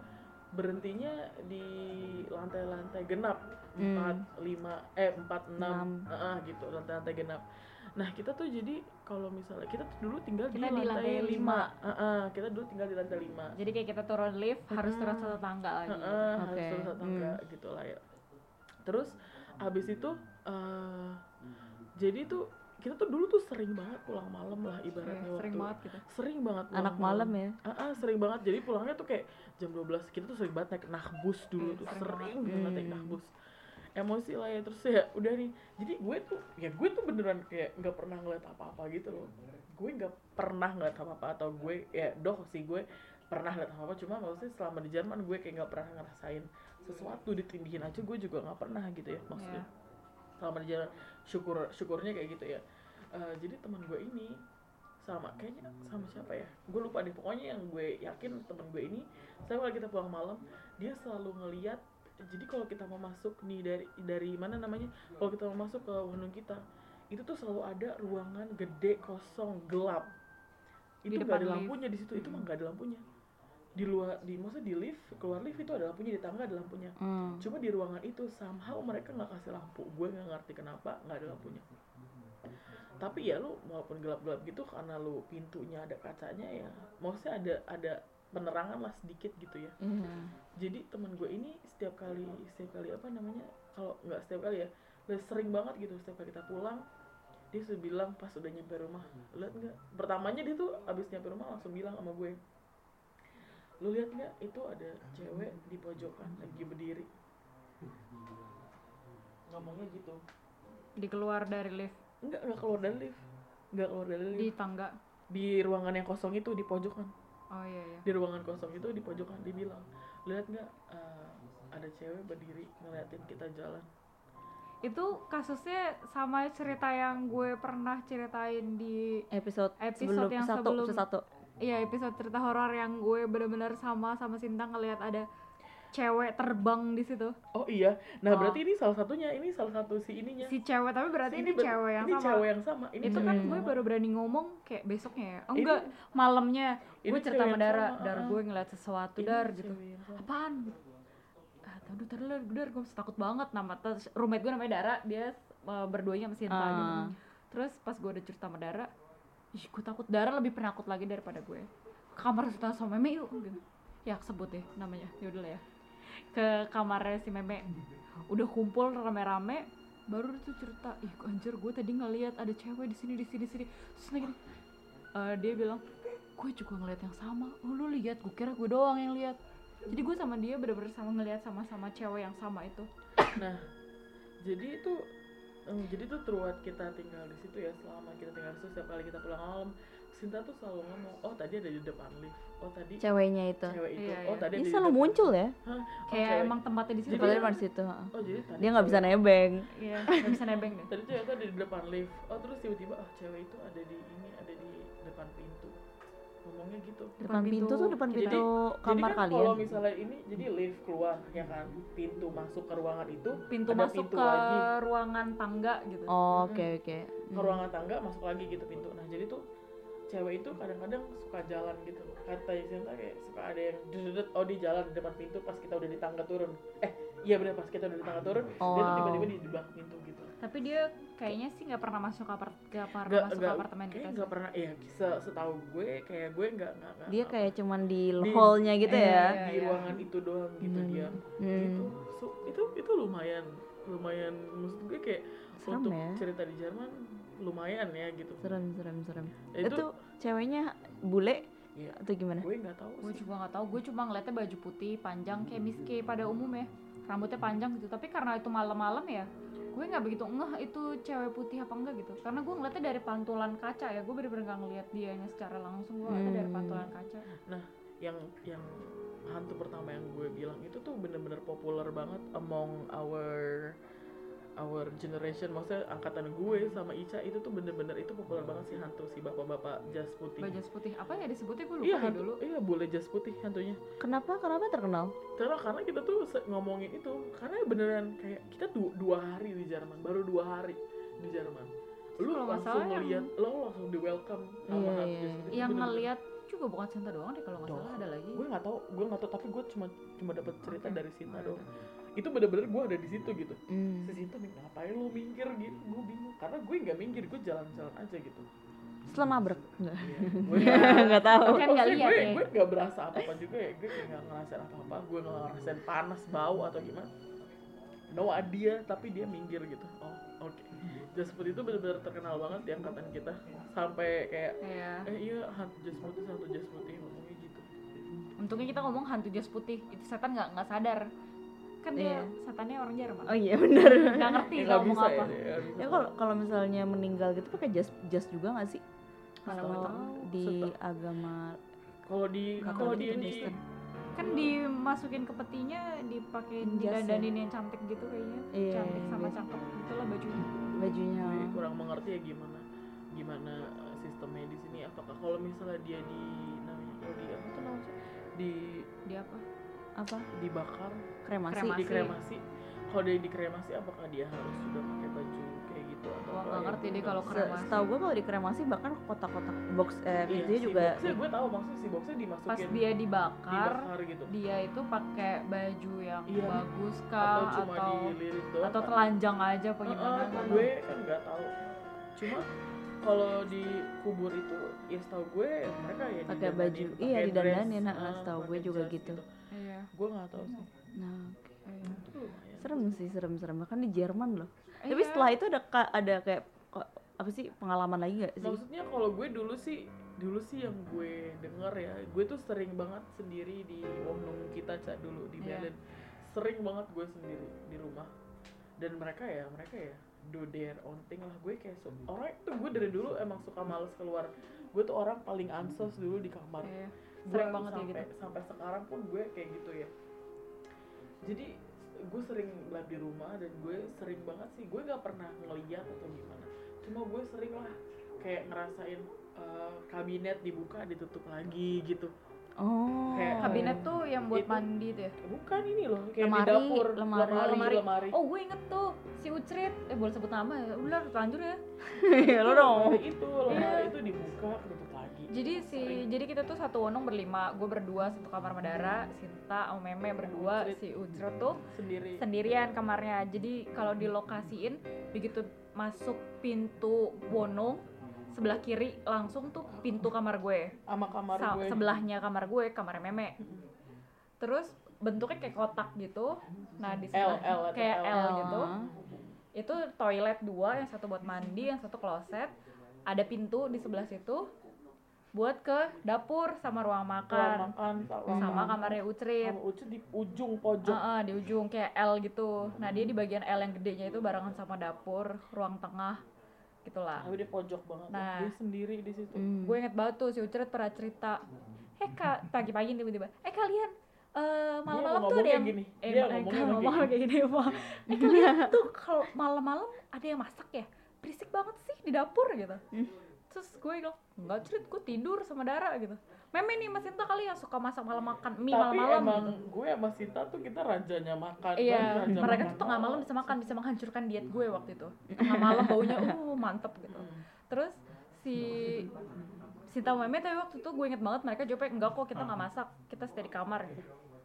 berhentinya di lantai-lantai genap Hmm. empat, lima, eh empat, enam, Enam. uh, gitu lantai-lantai genap. Nah kita tuh jadi kalau misalnya kita tuh dulu tinggal Kita di di lantai lantai lima, uh, kita dulu tinggal di lantai lima. Jadi kayak kita turun lift harus turun satu tangga lagi. Uh, gitu. harus Oke, turun satu tangga hmm. gitu lah ya. Terus abis itu uh, jadi tuh kita tuh dulu tuh sering banget pulang malam lah ibaratnya Iya, sering waktu banget gitu. sering banget pulang Anak malam ya. Ah, ah, sering banget. Jadi pulangnya tuh kayak jam dua belas. Kita tuh sering banget naik Nakhbus dulu Iya, tuh, sering sering banget. banget naik Hmm. Nakhbus. Emosi lah ya, terus ya udah nih. Jadi gue tuh ya gue tuh beneran kayak nggak pernah ngeliat apa-apa gitu loh. Gue nggak pernah ngeliat apa-apa, atau gue ya doh sih gue pernah ngeliat apa-apa, cuma maksudnya selama di Jerman gue kayak nggak pernah ngerasain sesuatu ditindihin aja, gue juga nggak pernah gitu ya maksudnya. Iya. Selama di Jerman syukur syukurnya kayak gitu ya. Uh, jadi teman gue ini sama kayaknya sama siapa ya, gue lupa deh, pokoknya yang gue yakin teman gue ini setiap kali kita pulang malam dia selalu ngeliat. Jadi kalau kita mau masuk nih dari dari mana namanya, kalau kita mau masuk ke Wonung kita itu tuh selalu ada ruangan gede kosong gelap, Di itu depan nggak ada lift. lampunya di situ. Itu mah nggak ada lampunya di luar, di maksudnya di lift, keluar lift itu ada lampunya, di tangga ada lampunya. Hmm. Cuma di ruangan itu somehow mereka nggak kasih lampu, gue nggak ngerti kenapa nggak ada lampunya. Tapi ya lu walaupun gelap-gelap gitu, karena lu pintunya ada kacanya ya, maksudnya ada ada penerangan lah sedikit gitu ya. Iya. Jadi teman gue ini setiap kali setiap kali apa namanya, kalau nggak setiap kali ya, udah sering banget gitu, setiap kali kita pulang dia sudah bilang pas udah nyampe rumah, lihat nggak, pertamanya dia tuh abis nyampe rumah langsung bilang sama gue, lu lihat nggak itu ada cewek di pojokan lagi berdiri, ngomongnya gitu. Dikeluar dari lift Enggak, enggak keluar dari lift. Enggak keluar dari lift. di tangga. Di ruangan yang kosong itu, di pojokan. Oh iya iya. Di ruangan kosong itu, di pojokan, dia bilang, lihat nggak uh, ada cewek berdiri ngeliatin kita jalan. Itu kasusnya sama cerita yang gue pernah ceritain di Episode, Episode sebelum yang satu, sebelum- episode satu. iya episode cerita horor yang gue bener-bener sama sama Sinta ngelihat ada cewek terbang di situ. Oh iya, nah Oh. berarti ini salah satunya, ini salah satu si ininya. Si cewek, tapi berarti ini, ber- cewek yang ini sama. cewek yang sama. Ini Itu cewek kan yang gue sama. baru berani ngomong kayak besoknya ya. Oh Ini- enggak, malamnya ini gue cerita cewek sama yang Dara, sama, Dar uh-uh. gue ngeliat sesuatu Ini Dar cewek gitu. yang sama. Apaan? Ah, tahu taruh Dar, Dar, gue takut banget, nama terus roommate gue namanya Dara, dia uh, berduanya sama Sinta Ah. gitu. Terus pas gue udah cerita sama Dara, ih gue takut, Dara lebih penakut lagi daripada gue. Ke kamar cerita sama Meme yuk gitu. Ya sebut deh namanya, yaudah lah ya. Ke kamarnya si Meme, udah kumpul rame-rame, baru tuh cerita, ih anjir gue tadi ngeliat ada cewek di sini di sini di sini. Terus lagi uh, dia bilang, gue juga ngeliat yang sama. Oh lu lihat, gue kira gue doang yang lihat. Jadi gue sama dia bener-bener sama ngeliat sama-sama cewek yang sama itu. Nah, jadi itu em, jadi tuh throughout kita tinggal di situ ya, selama kita tinggal di situ, setiap kali kita pulang malam, Sinta tuh selalu ngomong, oh tadi ada di depan lift, oh tadi Ceweknya itu. cewek itu, Iya, oh iya. tadi ada Dia di selalu depan- muncul ya. Hah? Oh, Kayak cewek. emang tempatnya di situ. Jadi- Padahal di situ. heeh. Oh jadi tadi Dia nggak bisa cewek- nebeng. Iya, nggak bisa nebeng deh. Tadi cewek itu ada di depan lift, oh terus tiba-tiba oh cewek itu ada di ini, ada di depan pintu, ngomongnya gitu. Depan pintu tuh depan Jadi- pintu kamar jadi kan kalian. kalau misalnya ini, jadi lift keluar ya kan, pintu masuk ke ruangan itu, Pintu ada masuk pintu ke lagi ruangan tangga gitu. Oh, oke oke. ke ruangan tangga, masuk lagi gitu pintu. Nah jadi tuh cewek itu kadang-kadang suka jalan gitu, kata Sinta kayak suka ada yang dudet, oh di jalan di depan pintu pas kita udah di tangga turun, eh iya benar pas kita udah di tangga turun, dia tuh Oh. tiba-tiba di di belakang pintu gitu. Tapi dia kayaknya sih nggak pernah masuk ke apart ke apart Nggak- masuk ke nggak- apartemen kayaknya kita. nggak sih. pernah, iya se- setahu gue kayak gue nggak nggak nggak- Dia nggak- kayak cuman di, Di- hall-nya gitu eh, ya. di Iya, ruangan itu doang gitu Hmm. dia Hmm. gitu. So, itu itu lumayan lumayan maksud gue kayak Serem untuk ya. cerita di Jerman lumayan ya gitu. Serem serem serem. Ya, Itu, ceweknya bule Iya. atau gimana? Gue nggak tahu Gue sih. juga nggak tahu. Gue cuma ngeliatnya baju putih panjang kayak miski pada umumnya, rambutnya panjang gitu. Tapi karena itu malam-malam ya, gue nggak begitu ngeh itu cewek putih apa enggak gitu. Karena gue ngeliatnya dari pantulan kaca ya, gue bener-bener nggak ngeliat dianya secara langsung. Gue ngeliatnya dari Hmm. pantulan kaca. yang yang hantu pertama yang gue bilang itu tuh bener-bener populer banget among our our generation, maksudnya angkatan gue sama Ica itu tuh bener-bener itu populer banget si hantu, si bapak-bapak jas putih. Baju putih apa ya disebutnya, gue lupa Iya deh hantu, dulu. iya bule jas putih hantunya. Kenapa? Kenapa terkenal? Karena karena kita tuh se- ngomongin itu karena beneran kayak kita du- dua hari di Jerman, baru dua hari di Jerman. Lu Kalau nggak langsung salah yang- ngeliat, lo langsung di welcome sama Iya, hantu iya, jas iya. putih. Yang Bener-bener. ngeliat juga bukan Sinta doang deh kalau nggak salah, ada lagi. Gue nggak tahu, gue nggak tahu tapi gue cuma cuma dapat cerita okay. dari Sinta doang. Itu bener-bener gue ada di situ gitu. Mm. Si Sinta nih ngapain lo minggir gitu, gue bingung karena gue nggak minggir, gue jalan-jalan aja gitu. Setelah nabrak nggak? Iya, gue nggak tahu. Kan nggak lihat gue, ya. Gue nggak berasa apa-apa juga ya, gue nggak ngerasain apa-apa, gue nggak ngerasain panas, bau atau gimana. No idea, tapi dia minggir gitu. Oh oke. Okay. Jas putih itu benar-benar terkenal banget di angkatan kita. Sampai kayak, yeah. eh iya hantu jas putih, hantu jas putih ngomongnya gitu. Untungnya kita ngomong hantu jas putih, itu setan nggak nggak sadar. Kan dia yeah. setannya orang Jerman. Oh iya benar. Nggak ngerti ya, kalau ngomong apa. Ya, ya kalau kalau misalnya meninggal gitu pakai jas jas juga nggak sih? Kalau di Setelah. agama kalau di kalau dia di kan dimasukin ke petinya, dipakein didandanin yang cantik gitu kayaknya. Iya, cantik sama iya. cakep gitulah bajunya. Bajunya. Gue kurang mengerti ya gimana gimana sistemnya di sini. Apakah kalau misalnya dia di namanya kalau di apa tuh namanya di di apa? Apa? Dibakar, kremasi. Kremasi. Di kremasi. Kalau dia dikremasi apakah dia harus sudah pakai baju kayak gitu atau Gua nggak ngerti deh kalau Se- kremasi. Setahu gue kalau dikremasi bahkan kotak-kotak box eh iya, dia si juga boxnya gue tahu maksudnya si boxnya dimasukin Pas dia dibakar, dibakar gitu. dia itu pakai baju yang Iya. bagus Atau kah cuma atau dililit doang atau kan? telanjang aja apa gimana? Uh-uh, kan? gue kan nggak tahu. Cuma kalau di kubur itu ya setahu gue mereka ya pakai baju, didandanin, iya pakai didandanin, dress, nah, uh, setahu gue pakai juga jas gitu. Iya. Gue nggak tahu sih. Nah, Iya. Itu lumayan. serem sih, serem-serem bahkan di Jerman loh. Iya. Tapi setelah itu ada ka- ada kayak kok- apa sih pengalaman lagi nggak sih? Maksudnya kalau gue dulu sih dulu sih yang gue denger ya, gue tuh sering banget sendiri di Wonong kita cak dulu di Iya. Berlin. Sering banget gue sendiri di rumah. Dan mereka ya, mereka ya do their own thing lah. Gue kayak su- orang itu gue dari dulu emang suka males keluar. Gue tuh orang paling ansos dulu di kamar. Iya. Gue Sering banget kayak sampai gitu. sampai sekarang pun gue kayak gitu ya. Jadi gue sering live di rumah dan gue sering banget sih, gue gak pernah ngeliat atau gimana, cuma gue sering lah kayak ngerasain uh, kabinet dibuka ditutup lagi gitu. Oh. Kayak Kabinet tuh yang buat Itu- mandi tuh ya? bukan ini loh kayak Lemari, di dapur lemari. lemari, lemari. lemari. Oh gue inget tuh si Ucrit, eh boleh sebut nama ya? Udah lanjut ya. Ya lo dong. Lemari itu lemari Iya. itu dibuka ditutup lagi. Jadi si jadi kita tuh satu Wonong berlima, gue berdua satu kamar Madara, Sinta sama Meme berdua, si Ucrit tuh Sendiri. sendirian kamarnya. Jadi kalau dilokasiin begitu masuk pintu Wonong sebelah kiri langsung tuh pintu kamar gue. Sama kamar Sa- gue. sebelahnya kamar gue, kamarnya Meme. Terus bentuknya kayak kotak gitu. Nah, di L, sebelah L atau kayak L. L gitu. Itu toilet dua, yang satu buat mandi, yang satu kloset. Ada pintu di sebelah situ buat ke dapur sama ruang Ruang makan. makan ruang Sama makan. kamarnya Ucrit. Sama Ucu di ujung pojok. Heeh, di ujung kayak L gitu. Nah, dia di bagian L yang gedenya itu barengan sama dapur, ruang tengah gitulah. Tapi dia pojok banget. Nah. Dia sendiri di situ. Hmm. Gue inget banget tuh si Ucrit pernah cerita, eh kak pagi-pagi tiba-tiba, eh kalian eh malam-malam tuh ada ngomongnya yang gini. eh Dia ma- ngomongnya kalau kayak ngomong kayak gini apa? Eh kalian tuh kalau malam-malam ada yang masak ya, berisik banget sih di dapur gitu. Terus gue bilang, enggak Crit, gue tidur sama Dara gitu. Meme nih Mas Sinta kali yang suka masak malam makan mie Tapi malam-malam emang gitu. gue sama Sinta tuh kita rajanya makan. Iya, raja mereka makan tuh tengah malam bisa makan, bisa menghancurkan diet gue waktu itu. Tengah malam baunya, uh mantep gitu. Terus si Sinta sama Meme tapi waktu itu gue inget banget mereka jawabnya enggak kok kita nggak masak, kita stay di kamar gitu.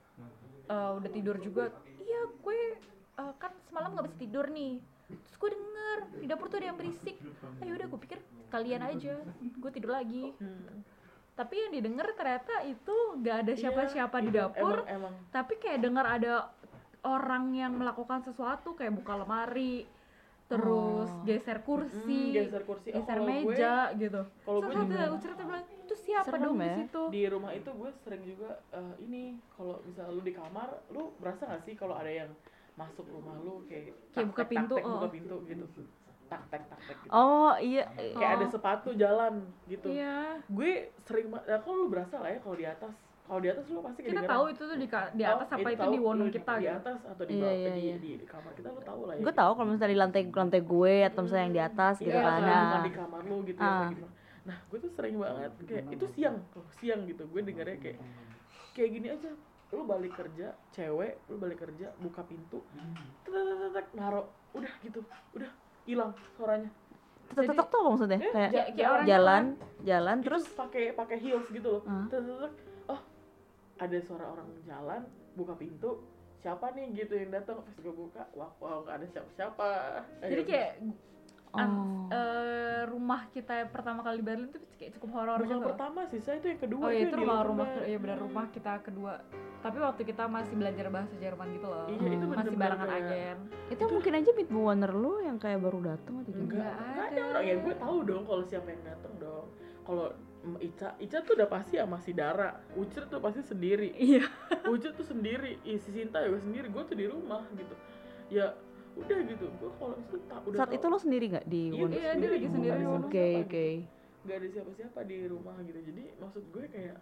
Eh, udah tidur juga. Iya gue eh, kan semalam nggak bisa tidur nih. Terus gue denger di dapur tuh ada yang berisik. Ayo udah gue pikir kalian aja, gue tidur lagi. Tapi yang didengar ternyata itu nggak ada siapa-siapa di Iya, dapur. Emang, emang. Tapi kayak dengar ada orang yang melakukan sesuatu kayak buka lemari, terus Oh. geser kursi, Hmm, geser kursi. Oh, geser kalau gue- meja gitu. kalau Terus gue ada juga- Ucrit bilang, itu siapa Serem dong di ya. situ? Di rumah itu gue sering juga eh, ini kalau misal lu di kamar, lu berasa gak sih kalau ada yang masuk rumah lu kayak Kayak buka tak-tek, pintu, tak-tek, oh. buka pintu gitu. Tak tek tak tek gitu. Oh iya. Kayak ada sepatu jalan gitu. Iya. Gue sering banget, ya kalau lu berasa lah ya kalau di atas. Kalau di atas lu pasti Kita kedengeran. tahu itu tuh di, ka- di atas Oh, apa itu tahu di Wonong lu kita di gitu. atas atau di Iya, bawah iya, di, iya. di, di kamar kita lu tahu lah ya. Gue tahu kalau misalnya di lantai lantai gue atau misalnya yang di atas gitu Iya, kan. atau Nah. bukan di kamar lu gitu ya, Ah. atau gimana. Nah, gue tuh sering banget kayak itu siang, tuh siang gitu. Gue dengarnya kayak kayak gini aja. Lu balik kerja, cewek, lu balik kerja, buka pintu, tek tek tek, tek, naruh, udah gitu, udah hilang suaranya. Tetek tuh apa maksudnya? Eh, Kayak ja- kayak orang jalan, jalan Itu terus pakai pakai heels gitu loh. Ah. Terus, terus, terus, oh ada suara orang jalan, buka pintu, siapa nih gitu yang datang. Pas gue buka, wah wow nggak ada siapa-siapa. Jadi Ayo. kayak an- Oh. eh, rumah kita pertama kali di Berlin tuh kayak cukup horor bukan gitu. pertama sih, saya itu yang kedua. Oh iya yang itu di rumah Rotterdam. rumah ya benar rumah kita kedua. Tapi waktu kita masih belajar bahasa Jerman gitu loh. Iya, itu masih bener-bener barengan kayak- agen. itu mungkin aja Midwinter lu yang kayak baru datang atau gimana? Enggak, Nggak enggak ada. ada orang ya. Gue tahu dong kalau siapa yang datang dong. Kalau mm, Ica, Ica tuh udah pasti sama si Dara. Ucir tuh pasti sendiri. Iya. Ucir tuh sendiri. Ih, si Sinta juga sendiri. Gue tuh di rumah gitu. Ya udah gitu. Gue kalau itu tak udah. Saat tahu. itu lo sendiri nggak di Iya, Won? Iya, dia lagi Nggak sendiri ada di siapa-siapa Oke gitu. oke. Nggak ada siapa-siapa di rumah gitu. Jadi maksud gue kayak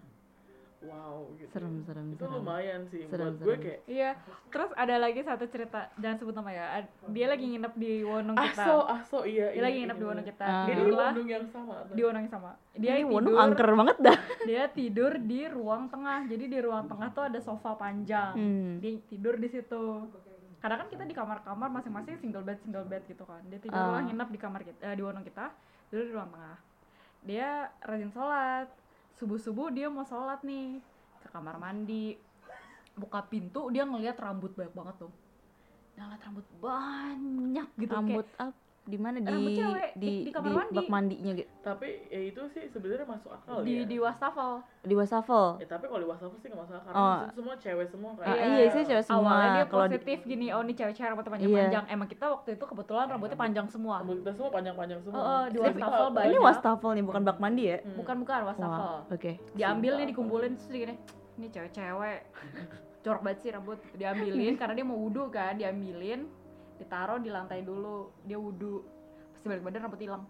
wow gitu. Serem serem Itu serem. lumayan sih Serem, buat gue serem. kayak Iya. Terus ada lagi satu cerita, jangan sebut nama ya. Ad- Dia lagi nginep di Wonong kita. Aso, Aso iya. Dia ini- lagi nginep ini di Wonong bener. kita. Ah. Dia di Tidurlah Wonong yang sama. tuh. di Wonong yang sama. Dia Ini Wonong tidur. angker banget dah. Dia tidur di ruang tengah. Jadi di ruang tengah tuh ada sofa panjang. Hmm. Dia tidur di situ. Karena kan kita di kamar-kamar masing-masing single bed single bed gitu kan. Dia tidurlah Ah. nginep di kamar kita, eh, di Wonong kita, tidur di ruang tengah. Dia rajin sholat. Subuh-subuh dia mau sholat nih ke kamar mandi. Buka pintu dia ngelihat rambut banyak banget tuh. Dia ngeliat rambut banyak gitu Rambut kayak up di mana di Rambut cewek, di di- di kamar di mandi. bak mandinya gitu. Tapi ya itu sih sebenarnya masuk akal di ya. di wastafel. Di wastafel. Ya tapi kalau di WhatsApp sih nggak masalah karena Oh. di situ semua cewek semua kan. Ah, iya, sih cewek semua. Awalnya dia Kalau di- positif gini, oh ini cewek-cewek rambutnya Iya. panjang-panjang. Emang kita waktu itu kebetulan rambutnya panjang semua. Rambut kita semua panjang-panjang semua. Oh, oh, di Tapi wastafel kalau- banyak. Ini wastafel nih bukan bak mandi ya? Hmm. Bukan bukan wastafel. Wah, oke. Diambil nih Sumpah. dikumpulin terus dia gini, ini cewek-cewek. Jorok banget sih rambut. Diambilin karena dia mau wudhu kan, diambilin, ditaruh di lantai dulu. Dia wudhu. Pasti balik badan rambut hilang.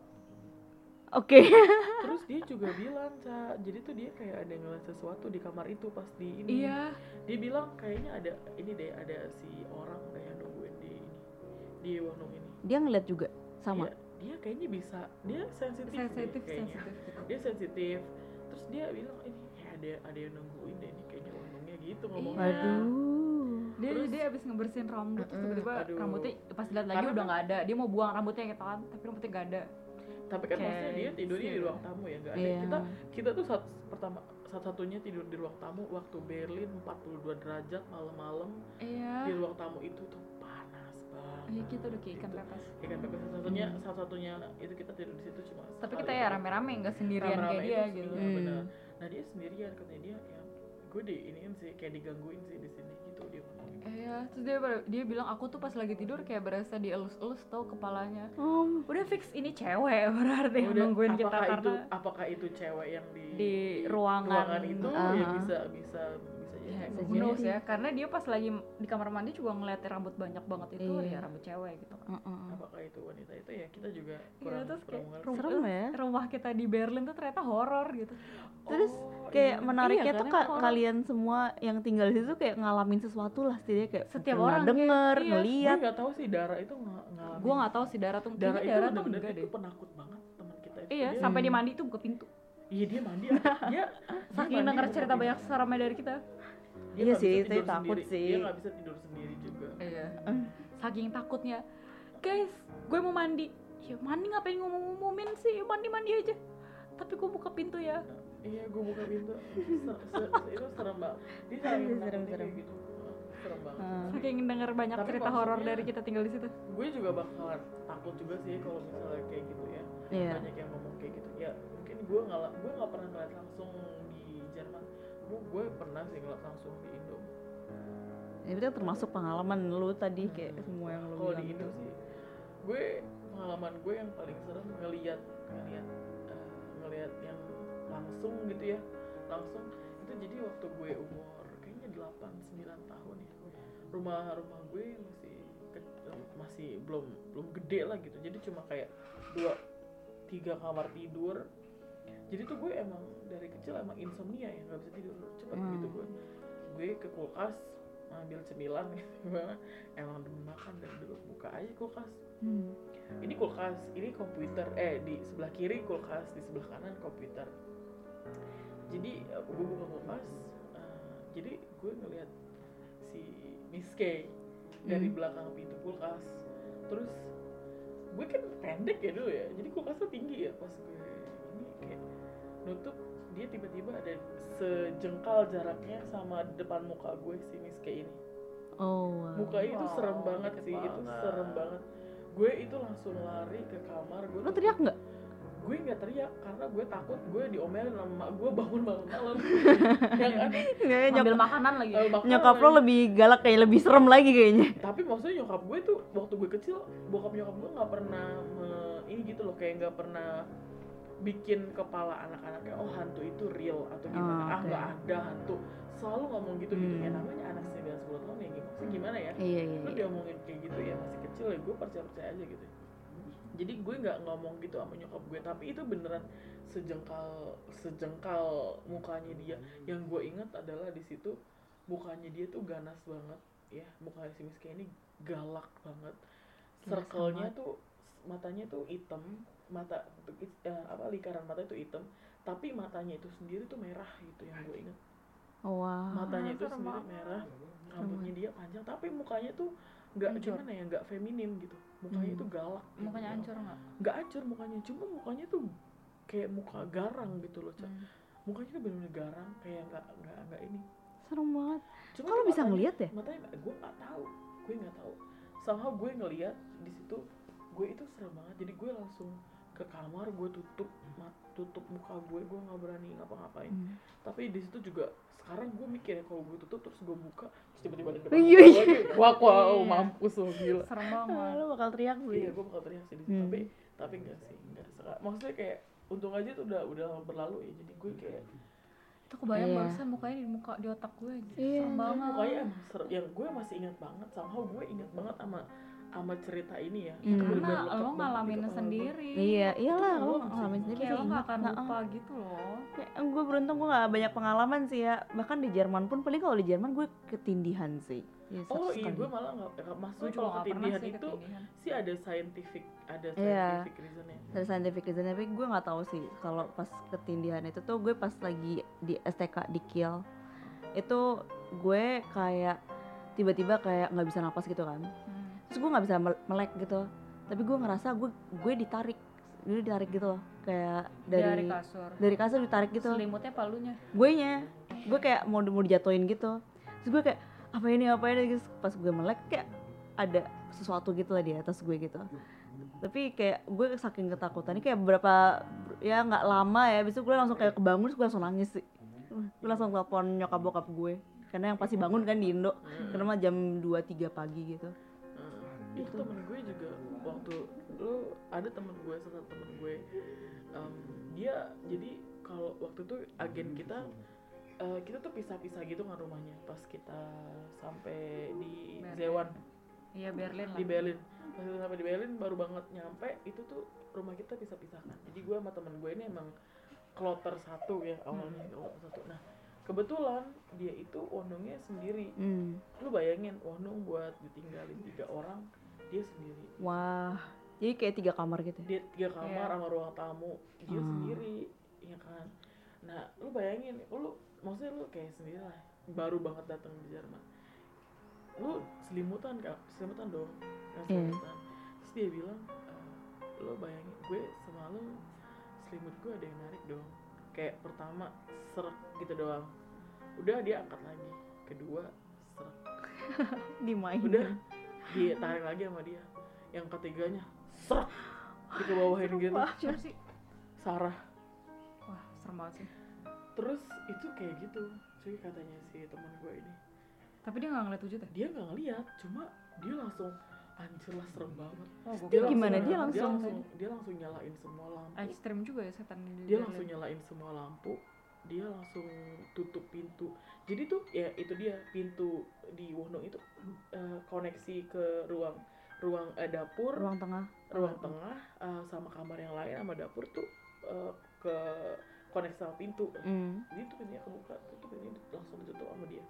Oke. Terus dia juga bilang, Ca, jadi tuh dia kayak ada ngeliat sesuatu di kamar itu pas di ini. Iya. Dia bilang kayaknya ada ini deh, ada si orang deh yang nungguin di ini. Di Wonong ini. Dia ngeliat juga sama. Dia, dia kayaknya bisa, dia sensitif, deh Sensitif, kayaknya. sensitif. Dia sensitif. Terus dia bilang ini kayak ada ada yang nungguin deh ini kayaknya Wonongnya gitu ngomongnya. Waduh. Dia Terus- dia abis ngebersihin rambut terus Mm-mm, tiba-tiba aduh. rambutnya pas dilihat lagi Karena udah kan- nggak ada. Dia mau buang rambutnya gitu kan, tapi rambutnya nggak ada. Tapi kan Kayak maksudnya dia tidurnya di gitu. ruang tamu ya, nggak ada. Iya. Kita kita tuh saat pertama satu-satunya tidur di ruang tamu waktu Berlin empat puluh dua derajat malam-malam Iya. di ruang tamu itu tuh panas banget. Iya kita udah kayak ikan Gitu. pepes. Ikan pepes satu-satunya satu-satunya itu kita tidur di situ cuma. Tapi sekali kita ya doang. rame-rame nggak sendirian Rame-rame kayak dia itu, gitu. iya, Hmm. benar. Nah dia sendirian katanya dia ya gue di iniin sih kayak digangguin sih di sini gitu dia ngomong. Iya, terus dia dia bilang aku tuh pas lagi tidur kayak berasa dielus-elus tau kepalanya. Oh, Udah fix ini cewek berarti yang Udah, nungguin kita apakah itu karena apakah itu cewek yang di di ruangan. itu Ah. ya bisa bisa bisa jadi. ya, Bisa who knows jadi. ya, karena dia pas lagi di kamar mandi juga ngeliat rambut banyak banget itu Iya. ya rambut cewek gitu kan. uh-uh. Apakah itu wanita itu ya kita juga Iya, kurang terus kurang kayak mengerti. rumah, Serem ya. rumah kita di Berlin tuh ternyata horor gitu. Terus Oh, kayak iya. menariknya Iya, tuh karena ka- orang- kalian semua yang tinggal di situ kayak ngalamin sesuatu lah setidaknya kayak Setiap pernah orang denger, kayak- iya. gue ngeliat. nggak tahu sih Dara itu ng- ngalamin. Gua nggak tahu sih Dara tuh, Dara kayaknya itu Dara tuh bener-bener enggak itu deh. penakut banget teman kita itu. Iya, Dia- sampai dia mandi tuh buka pintu. Iya dia mandi. dia dia Saking mandi denger buka cerita pintu. banyak seramnya dari kita. Dia Iya nggak sih, bisa itu tidur takut sendiri. sih. Dia nggak bisa tidur sendiri juga. Iya. Saking takutnya. Guys, gue mau mandi. Ya mandi ngapain ngomong-ngomongin sih? Mandi-mandi aja. Tapi gue buka pintu ya. Iya, gue buka pintu. Se- se- itu serem banget. Dia saking Serem, menakutnya serem. kayak gitu. Ah, Serem banget. Ah. Saking denger banyak Tapi cerita horor maksudnya- dari kita tinggal di situ. Gue juga bakalan takut juga sih kalau misalnya kayak gitu ya. Iya. Banyak yang ngomong kayak gitu. Ya mungkin gue nggak gue nggak pernah ngeliat langsung di Jerman. Gue gue pernah sih ngeliat langsung di Indo. Ya, itu termasuk pengalaman lu tadi kayak semua yang lu Kalau di bilang Indo tuh. sih, gue pengalaman gue yang paling serem ngeliat ngeliat eh, ngeliat yang langsung gitu ya, langsung itu jadi waktu gue umur kayaknya delapan sembilan tahun ya. Rumah rumah gue masih ke- masih belum belum gede lah gitu. Jadi cuma kayak dua tiga kamar tidur. Jadi tuh gue emang dari kecil emang insomnia ya, nggak bisa tidur cepet Hmm. gitu gue. Gue ke kulkas ambil cemilan gitu. Emang demen makan dan dulu buka aja kulkas. Hmm. Ini kulkas, ini komputer. Eh di sebelah kiri kulkas, di sebelah kanan komputer. Jadi uh, gue buka kulkas. uh, jadi gue ngeliat si Miss K dari Hmm. belakang pintu kulkas. Terus gue kan pendek ya dulu ya, jadi kulkasnya tinggi ya. Pas gue ini kayak nutup, dia tiba-tiba ada sejengkal jaraknya sama depan muka gue sini kayak ini. Oh, wow. Mukanya itu Wow, serem banget deket sih, itu banget. serem banget. Gue itu langsung lari ke kamar. Gue Lo teriak nggak? Gue nggak teriak karena gue takut gue diomelin sama emak gue bangun malam-malam. Yang aneh, Nggak, Ambil nyok- makanan lagi. eh, makanan nyokap lo lagi. lebih galak, kayak lebih serem lagi kayaknya. Tapi maksudnya nyokap gue tuh waktu gue kecil, bokap nyokap gue nggak pernah me- ini gitu loh, kayak nggak pernah bikin kepala anak-anaknya oh hantu itu real atau gimana. Oh, Ah oke. nggak ada hantu, selalu ngomong gitu gitu ya, Hmm. namanya anak sembilan sepuluh tahun ya gimana sih, gimana ya, Iya, iya, lu iya. diomongin kayak gitu ya masih kecil ya, gue percaya percaya aja gitu. Jadi gue nggak ngomong gitu sama nyokap gue, tapi itu beneran sejengkal sejengkal mukanya dia. Yang gue ingat adalah di situ mukanya dia tuh ganas banget ya, mukanya si Miski ini galak banget. Gila, Circle-nya sama. tuh matanya tuh hitam, mata eh, apa lingkaran mata itu hitam, tapi matanya itu sendiri tuh merah gitu yang gue ingat. Oh, wow. Matanya itu serem sendiri banget. merah, rambutnya dia panjang, tapi mukanya tuh nggak Hancur. gimana ya, nggak feminim gitu. Mukanya Hmm. tuh galak. gitu. Mukanya hancur nggak? Nggak hancur mukanya, cuma mukanya tuh kayak muka garang gitu loh, Cak. Hmm. Mukanya tuh bener-bener garang, kayak nggak nggak nggak ini. Serem banget. Cuma Kok lo tuh bisa matanya- ngeliat ya? Matanya gue nggak tahu, gue nggak tahu. Somehow gue ngeliat di situ, gue itu serem banget. Jadi gue langsung ke kamar, gue tutup mat, tutup muka gue, gue nggak berani ngapa-ngapain. Hmm. Tapi di situ juga sekarang gue mikir ya, kalau gue tutup terus gue buka terus tiba-tiba ada depan Iya, gue iya. lagi, wah wow Iya. mampus lo gila. Serem Ah, banget. lo bakal teriak sih. Iya, gue bakal teriak sih di situ. Hmm. Tapi tapi enggak sih, enggak. Seka- Maksudnya kayak untung aja tuh udah udah berlalu ya. Jadi gue kayak Itu kebayang Iya. barusan mukanya di muka di otak gue gitu. Iya. Serem Kan banget. mukanya emang ser- yang gue masih ingat banget, somehow gue ingat banget sama sama cerita ini ya. Hmm. Itu bener-bener Karena lekat lo banget di ngalamin kepala gue. sendiri. Iya, iyalah Itu lo gue ngalamin masih- sendiri Kayak sih lo gak ingat. akan Nah, lupa ah. gitu loh. Kayak gue beruntung gue gak banyak pengalaman sih ya. Bahkan di Jerman pun paling kalau di Jerman gue ketindihan sih. Ya, Oh satu iya, sekali. gue malah nggak, maksudnya Gue juga kalau gak pernah ketindihan sih itu ketindihan. sih ada scientific, ada Iya. scientific reasonnya. Dari scientific reason, tapi gue nggak tahu sih kalau pas ketindihan itu tuh gue pas lagi di S T K di Kiel itu gue kayak tiba-tiba kayak nggak bisa napas gitu kan, Hmm. terus gue nggak bisa mel- melek gitu, tapi gue ngerasa gue gue ditarik, gue ditarik gitu loh, kayak dari Dari kasur. dari kasur ditarik gitu, Selimutnya palunya. gue nya gue kayak mau mau dijatuhin gitu, terus gue kayak apa ini apa ini, terus pas gue melek kayak ada sesuatu gitu lah di atas gue gitu. Tapi kayak gue saking ketakutannya kayak beberapa ya nggak lama ya, besok gue langsung kayak kebangun, terus gue langsung nangis sih. Gue langsung telepon nyokap bokap gue, karena yang pasti bangun kan di Indo, karena mah jam dua tiga pagi gitu. Nah, itu temen gue juga waktu lu ada temen gue, salah temen gue, em, dia jadi kalau waktu itu agen kita eh, kita tuh pisah-pisah gitu kan rumahnya pas kita sampai di Berlin. Zewan Iya Berlin lah. di Berlin. Pas kita sampai di Berlin baru banget nyampe itu tuh rumah kita pisah-pisahkan. Jadi gue sama temen gue ini emang kloter satu ya awalnya, kloter satu. Nah kebetulan dia itu wonongnya sendiri. Hmm. Lu bayangin wonong buat ditinggalin tiga orang, dia sendiri. Wah, jadi kayak tiga kamar gitu. Dia tiga kamar Iya. sama ruang tamu, dia Hmm. sendiri, ya kan. Nah lu bayangin, lu maksudnya lu kayak sendiri lah, baru banget datang di Jerman. Lu selimutan kan, selimutan dong, kan Iya. selimutan. Terus dia bilang, e, lu bayangin gue semalam selimut gue ada yang narik dong. Kayak pertama serak gitu doang, udah dia angkat lagi, kedua serak, Dimainin. udah dia tarik lagi sama dia, yang ketiganya serak dikebawahin gitu. Siapa sih? Sarah. Wah serem banget sih. Terus itu kayak gitu cuy, katanya si teman gue ini, Tapi dia gak ngeliat wujudnya? dia nggak ngeliat, cuma dia langsung anjir lah serem banget. Oh, gue Dia kira gimana? serem Dia banget. dia langsung- langsung dia langsung nyalain semua lampu, Ekstrim juga ya setan di dia Berlin. langsung nyalain semua lampu, dia langsung tutup pintu. Jadi tuh ya itu dia, pintu di Wonong itu eh, koneksi ke ruang ruang eh, dapur, Ruang tengah. ruang tengah eh, sama kamar yang lain sama dapur tuh eh, ke koneksi sama pintu. Hmm. Jadi tuh pintunya kebuka, tutup ini langsung ditutup sama dia.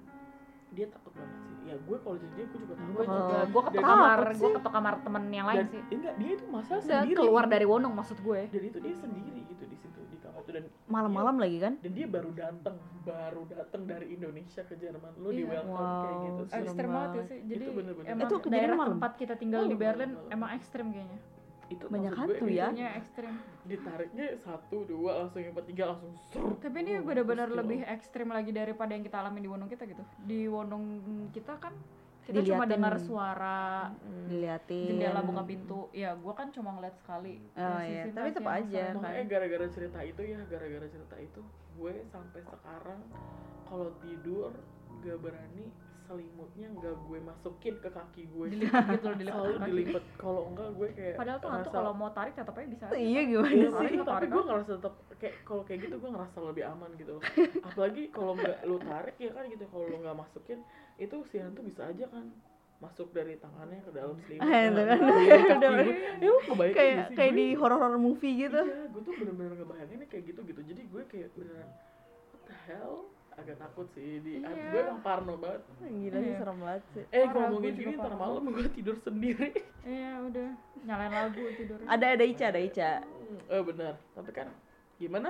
Dia takut banget sih. Ya gue kalau jadi dia gue juga takut. Gue Oh. juga, gue ketok Dan- kamar, takut gue sih. ketok kamar temen yang lain Dan sih. enggak, dia itu masa Udah sendiri. keluar dari Wonong maksud gue. Dan itu dia sendiri gitu di situ di kamar itu. dan malam-malam lagi kan? dan dia baru datang baru datang dari Indonesia ke Jerman, lu di Iya. welcome kayak Wow, gitu sih. serem Ekstrem banget ya banget. sih. Jadi Itu bener-bener. emang Itu kejadian daerah malam? tempat kita tinggal di Malam, Berlin malam, malam. emang ekstrem kayaknya. Itu Banyak maksud gue, hantu ya? Itunya ekstrem. ditariknya satu dua langsung yang ketiga langsung serut. Tapi ini Wah, benar-benar terus lebih kayak, ekstrem lagi daripada yang kita alami di Wonong kita gitu. Di Wonong kita kan kita cuma Diliatin. dengar suara Diliatin. jendela buka pintu. Ya, gua kan cuma ngeliat sekali. Oh, Si iya. Sinta Tapi sih tetep yang aja. sering makanya kan. gara-gara cerita itu ya gara-gara cerita itu gue sampai sekarang kalau tidur gak berani selimutnya nggak gue masukin ke kaki gue, Dilipat gitu loh, dilipat selalu ke kaki. dilipet, kalau enggak gue kayak Padahal tuh hantu ngerasa- kalau mau tarik tetap aja bisa. Iya gimana Iya sih? sih, Tarik, tapi tarik gue kan? ngerasa tetap kayak kalau kayak gitu gue ngerasa lebih aman gitu loh. Apalagi kalau nggak lu tarik ya kan gitu, kalau lu nggak masukin itu si hantu bisa aja kan masuk dari tangannya ke dalam selimut. Ah, itu kan. Dari kaki gue. Ya lu kebayang Kayak nggak sih? kayak Gue- di horor-horor movie gitu. Iya, gue tuh bener-bener ngebayanginnya kayak gitu gitu. Jadi gue kayak beneran what the hell, agak takut sih di Iya. gue emang parno banget. Gila sih, Iya. serem banget sih. Eh Parah, ngomongin gue juga gini ntar parno. malam gue tidur sendiri. Iya, udah. Nyalain lagu tidur. Ada ada Ica, ada Ica. Hmm, eh benar, tapi kan gimana?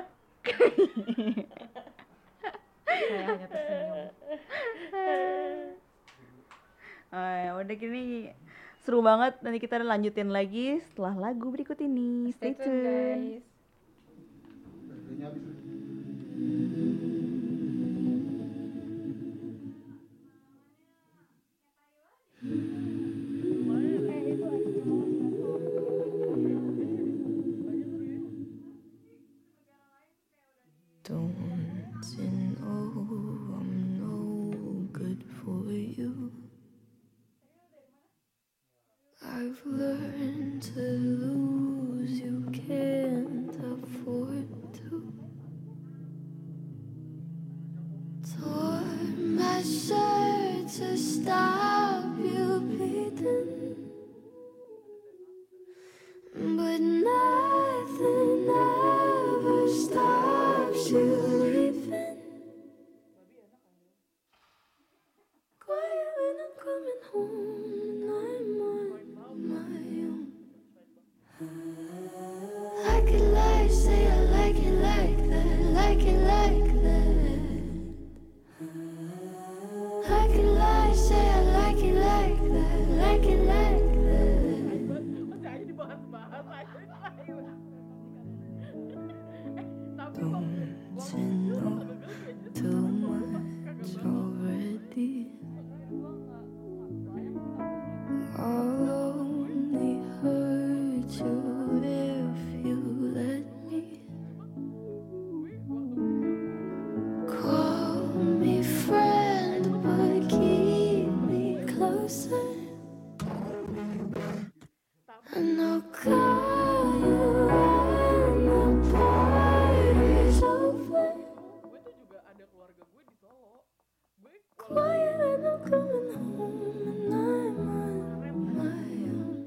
Saya hanya tersenyum. Oh, ya udah gini seru banget. Nanti kita lanjutin lagi setelah lagu berikut ini. Stay, Stay tune, guys. Baterainya habis. Don't you know I'm no good for you? I've learned to lose, you can't afford to. Tore my shirt to stop you bleeding, but nothing ever stops you leaving. Quiet when I'm coming home and I'm on my own. I could lie, say I like it like that, like it like that. I could lie, say I like it like that, like it like that. Masih aja dibahas-bahas aja. Tapi Don't you know too much already? I'll only hurt you if you let me. Call me friend, but keep me closer. And I'll call you when the party's over. gue tuh juga ada keluarga gue di Solo. Gue Quiet when I'm coming home and I'm on my own.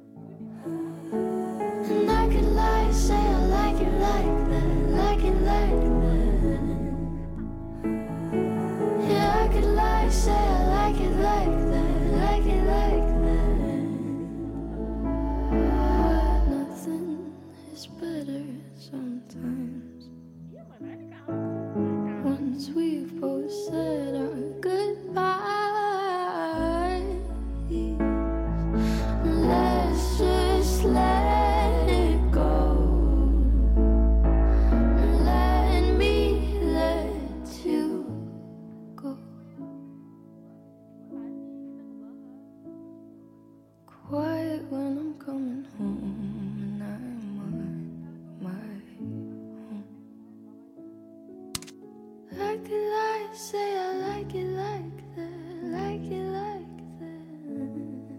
And I could lie, say I like it like that, like it like that. Yeah, I could lie, say I like it like that, like it like that. But nothing is better sometimes. Once we've both said our goodbyes, let's just let it go. Let me let you go. Quiet when I'm coming home and I'm on my own. I could lie, say I like it like that, like it like that.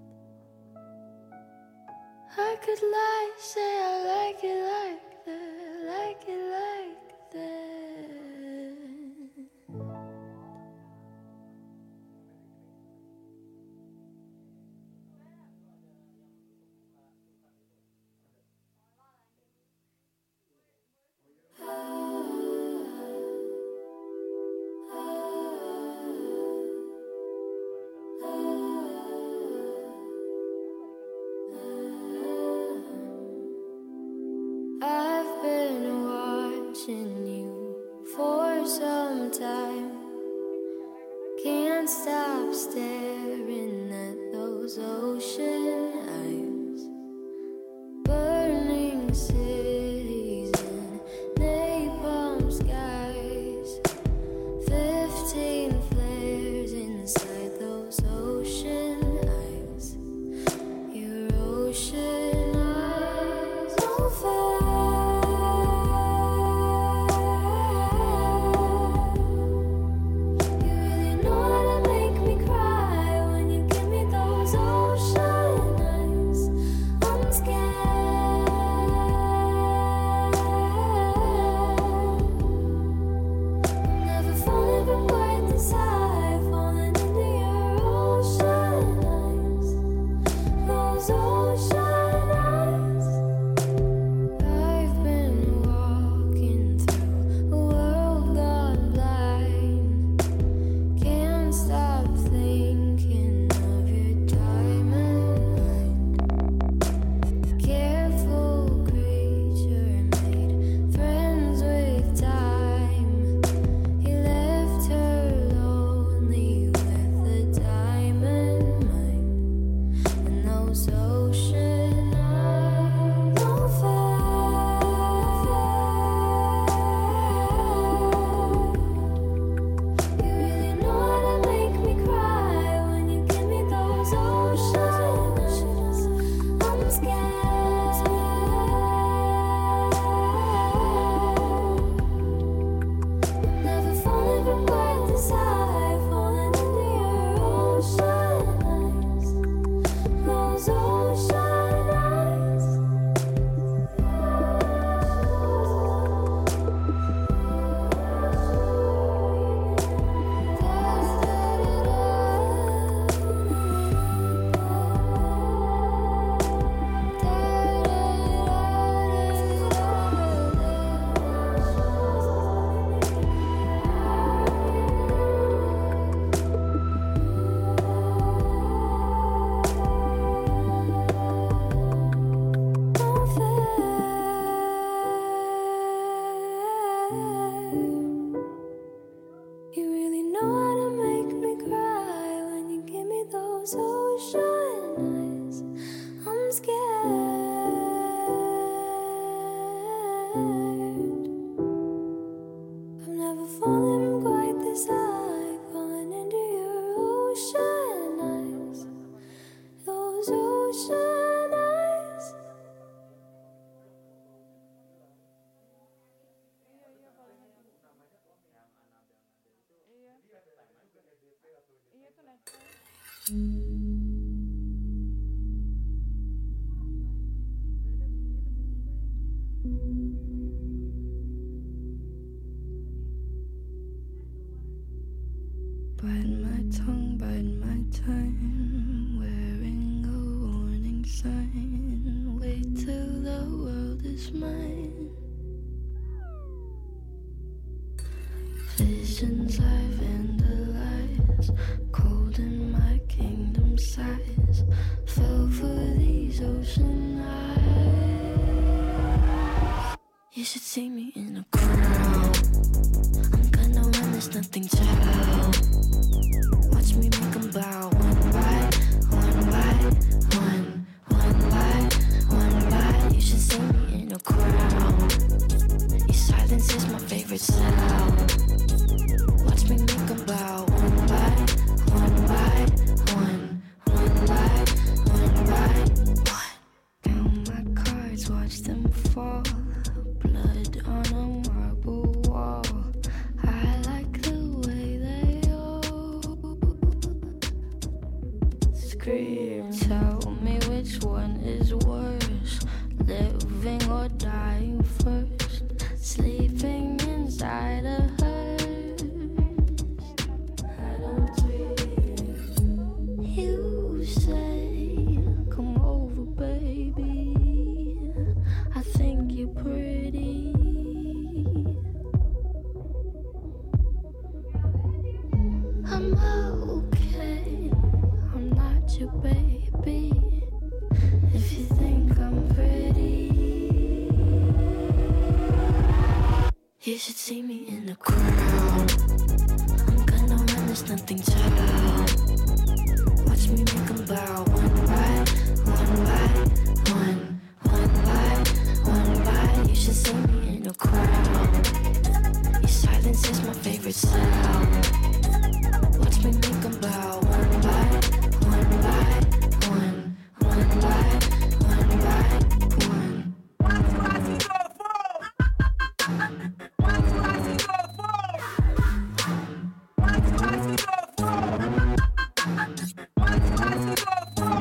I could lie, say I like it like that, like it like that. I've been watching those ocean eyes, burning cities and napalm skies, fifteen flares inside those ocean eyes, your ocean eyes, no fair. Bite my tongue, bite my time, wearing a warning sign. Wait till the world is mine. Visions I've vandalized, cold in my kingdom size. Fell for these ocean eyes. You should see me in a crowd. I'm gonna run, there's nothing to help. Watch me make them bow, one by, one by, one, one by, one by. You should see me in a crowd. Your silence is my favorite sound. Watch me make them bow, one by, one by, one, one by, one by, one. Count my cards, watch them fall. Blood on a marble wall. I like the way they all scream. Tell me which one is worse, living or dying first. Sleeping inside a hearse. I don't dream. You say, come over, baby. I think you're pretty. I'm okay, I'm not your baby. If you think I'm pretty, you should see me in the crowd. I'm gonna run, there's nothing to help. Watch me make them bow one by one by one, one by one by. You should see me in a crowd. Your silence is my favorite sound. Watch me make them bow one by one by one, one by one by one. Watch what I see go fall. Watch what I see go fall. Watch what I see go fall. Watch what I see go fall.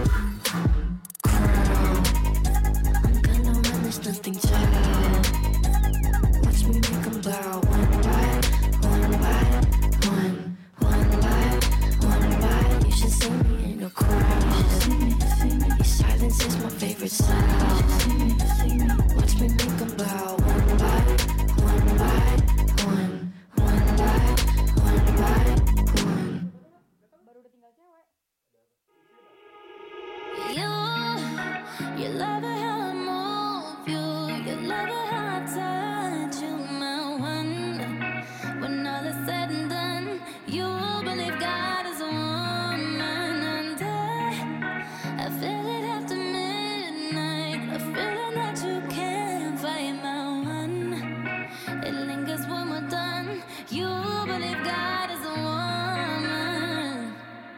Crowd, I'm gonna run, there's nothing to. Watch me make them bow one by one by one, one by one by. You should see me in a crowd. Your silence is my favorite sound. Watch me make them bow one by one by one, one by one by one. You, you love it how I move you. You love it how I touch you, my one. When all is said and done, you believe God is a woman, and I, I feel it after midnight. A feeling that you can't fight, my one. It lingers when we're done. You believe God is a woman.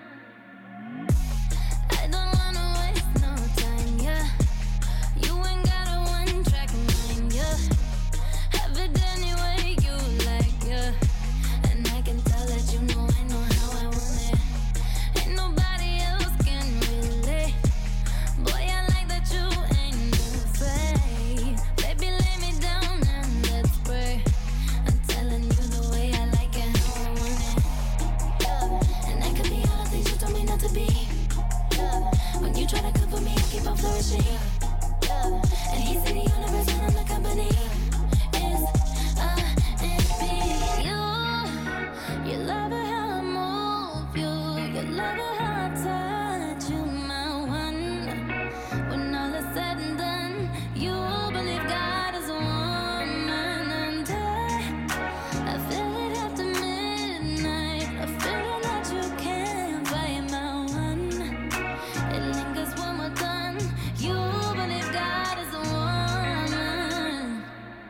I don't wanna waste no time, yeah. You ain't got a one-track mind, yeah. Have it any way you like, yeah. And I can tell that you know I know how I want it. Ain't nobody else can relate. Boy, I like that you ain't afraid. Baby, lay me down and let's pray. I'm telling you the way I like it, how I want it, yeah. And I could be all the things you told me not to be, yeah. When you try to cover me, I keep on flourishing, yeah. And he's in the universe and I'm the company. It's A and B. You, you love it how I move you. You love it how I touch you, my one. When all is said and done, you believe God is a woman, and I, I feel it after midnight. A feeling that you can't fight, my one. It lingers when we're done. You believe God is a woman.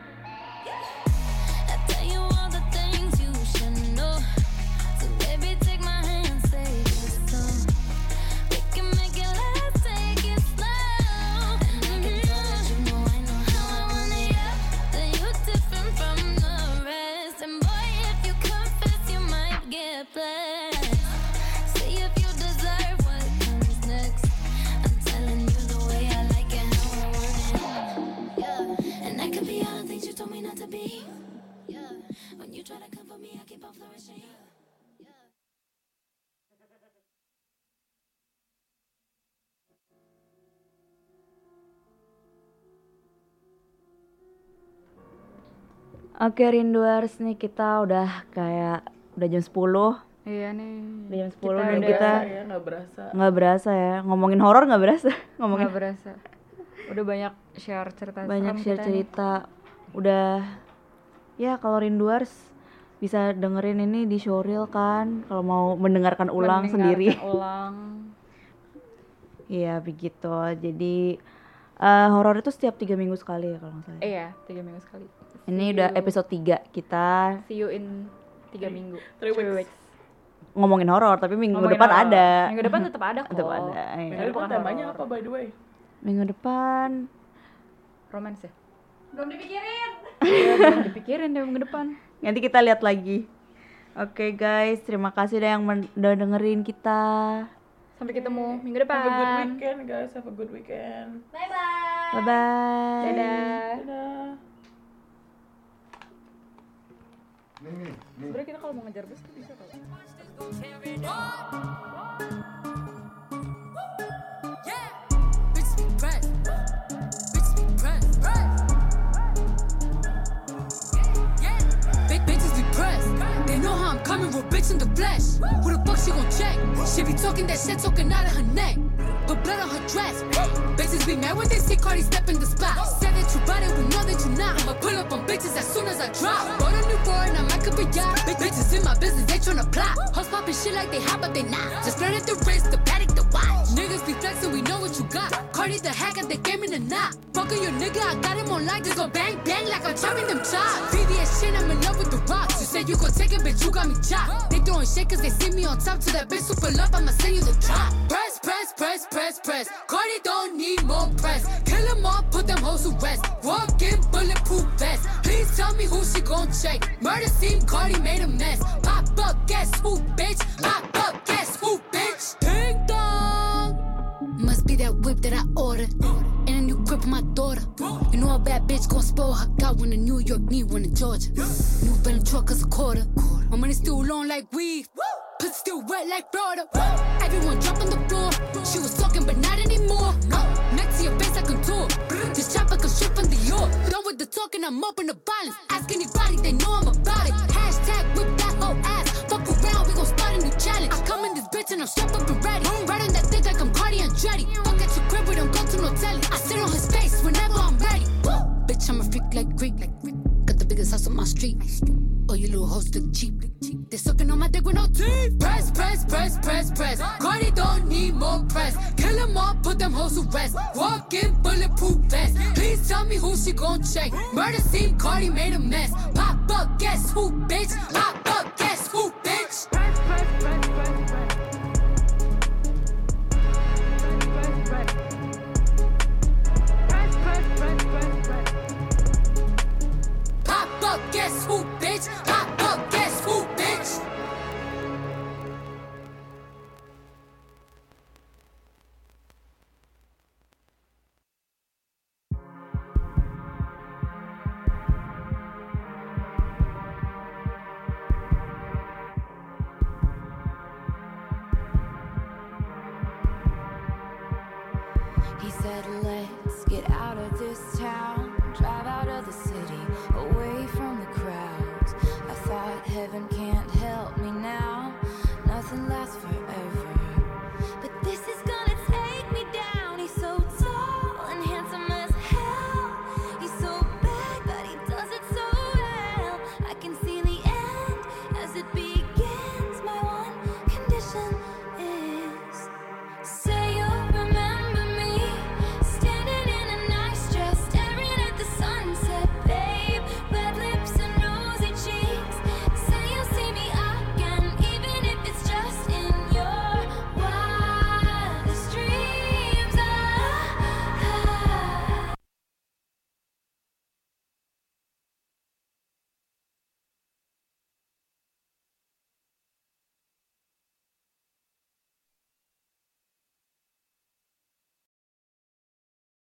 I tell you all the things you should know. So baby, take my hand, say yes, so we can make it last, take it slow. And I can tell that you know I know how I want it, yeah. That you're different from the rest. And boy, if you confess, you might get blessed. See if you deserve what comes next. I'm telling you the way I like it, how I want it, yeah. And I could be all the things you told me not to be, yeah. When you try to come for me, I keep on flourishing, yeah. Oke Rinduers, nih kita udah kayak udah jam sepuluh. Iya nih. Udah jam sepuluh dan udah- kita ya nggak berasa. nggak berasa ya ngomongin horor, nggak berasa ngomongin Nggak berasa. Udah banyak share cerita banyak serem share kita nih. cerita. Udah ya, kalau Rinduers bisa dengerin ini di showreel kan, kalau mau mendengarkan ulang Mendengarkan sendiri. ulang. Iya begitu. Jadi eh, horor itu setiap tiga minggu sekali ya kalau nggak salah. Eh ya, tiga minggu sekali. Ini See udah you- episode tiga kita See you in tiga minggu. Three weeks. ngomongin horor, tapi minggu Ngomongin depan horor. ada. Minggu depan tetap ada kok. Tetap ada. iya. Minggu depan temanya apa by the way? Minggu depan Romance ya? Belum dipikirin. Iya, belum dipikirin deh minggu depan. nanti kita lihat lagi. Oke guys, terima kasih dah yang men- udah dengerin kita. Sampai ketemu minggu Have a good depan. weekend guys, have a good weekend. Bye bye. Dadah. Dadah. Nih, nih, nih. Sebenernya kita kalau mau ngejar bus tuh bisa kalau. Bitches be pressed. Bitches be pressed. Yeah. Big bitches be pressed. They know how I'm coming with bitch in the flesh. Who the fuck she gon' check? She be talking that shit, talking out of her neck. But blood on her dress. Bitches Niggas be mad when they see Cardi step in the spot. Said that you bought it, we know that you not. I'ma pull up on bitches as soon as I drop. Bought a new foreign, I might could be yacht. Big bitches in my business, they tryna plot. Hoes poppin' shit like they hot, but they not. Just learn at the wrist, the paddock, the watch. Niggas be flexin', we know what you got. Cardi the hack at the game in the knot. Fuckin' your nigga, I got him on lock. Just go bang, bang like I'm chopping them chops. V V S shit, I'm in love with the rocks. You said you gon' take it, bitch, you got me chopped. They throwin' shit cause they see me on top. To that bitch super love, I'ma send you the drop. Press, press, press, press, press. Cardi don't need more press. Kill them all, put them hoes to rest. Walk in bulletproof vest. Please tell me who she gon' check. Murder scene, Cardi made a mess. Pop up, guess who, bitch? Pop up, guess who, bitch? Ding dong. Must be that whip that I ordered. And a new grip for my daughter. You know a bad bitch gon' spoil her. Got one in New York, need one in Georgia. New Bentley truck cause a quarter. My money still long like weed. Pussy still wet like Florida. Everyone drop on the floor. She was talking but not anymore. Next to your face I contour. This chopper come straight from the York. Done with the talking, I'm up in the violence. Ask anybody, they know I'm about it. Hashtag whip that whole ass. Fuck around, we gon' start a new challenge. I come in this bitch and I'm strapped up and ready. Right on that dick like I'm Cardi Andretti. Fuck at your crib, we don't go to no telly. I sit on his face whenever I'm ready. Bitch, I'm a freak like Greek. Got the biggest house on my street. Oh, you little hoes look cheap. They sucking on my dick with no teeth. Press, press, press, press, press. Cardi don't need more press. Kill them all, put them hoes to rest. Walk in bulletproof vest. Please tell me who she gon' check. Murder scene, Cardi made a mess. Pop up, guess who, bitch? Pop up, guess who, bitch? Press, press, press, press, press. Press, press, press, press, press. Pop up, guess who, bitch? Pop up, guess who, bitch? He said, let's get out of this town, drive out of the city,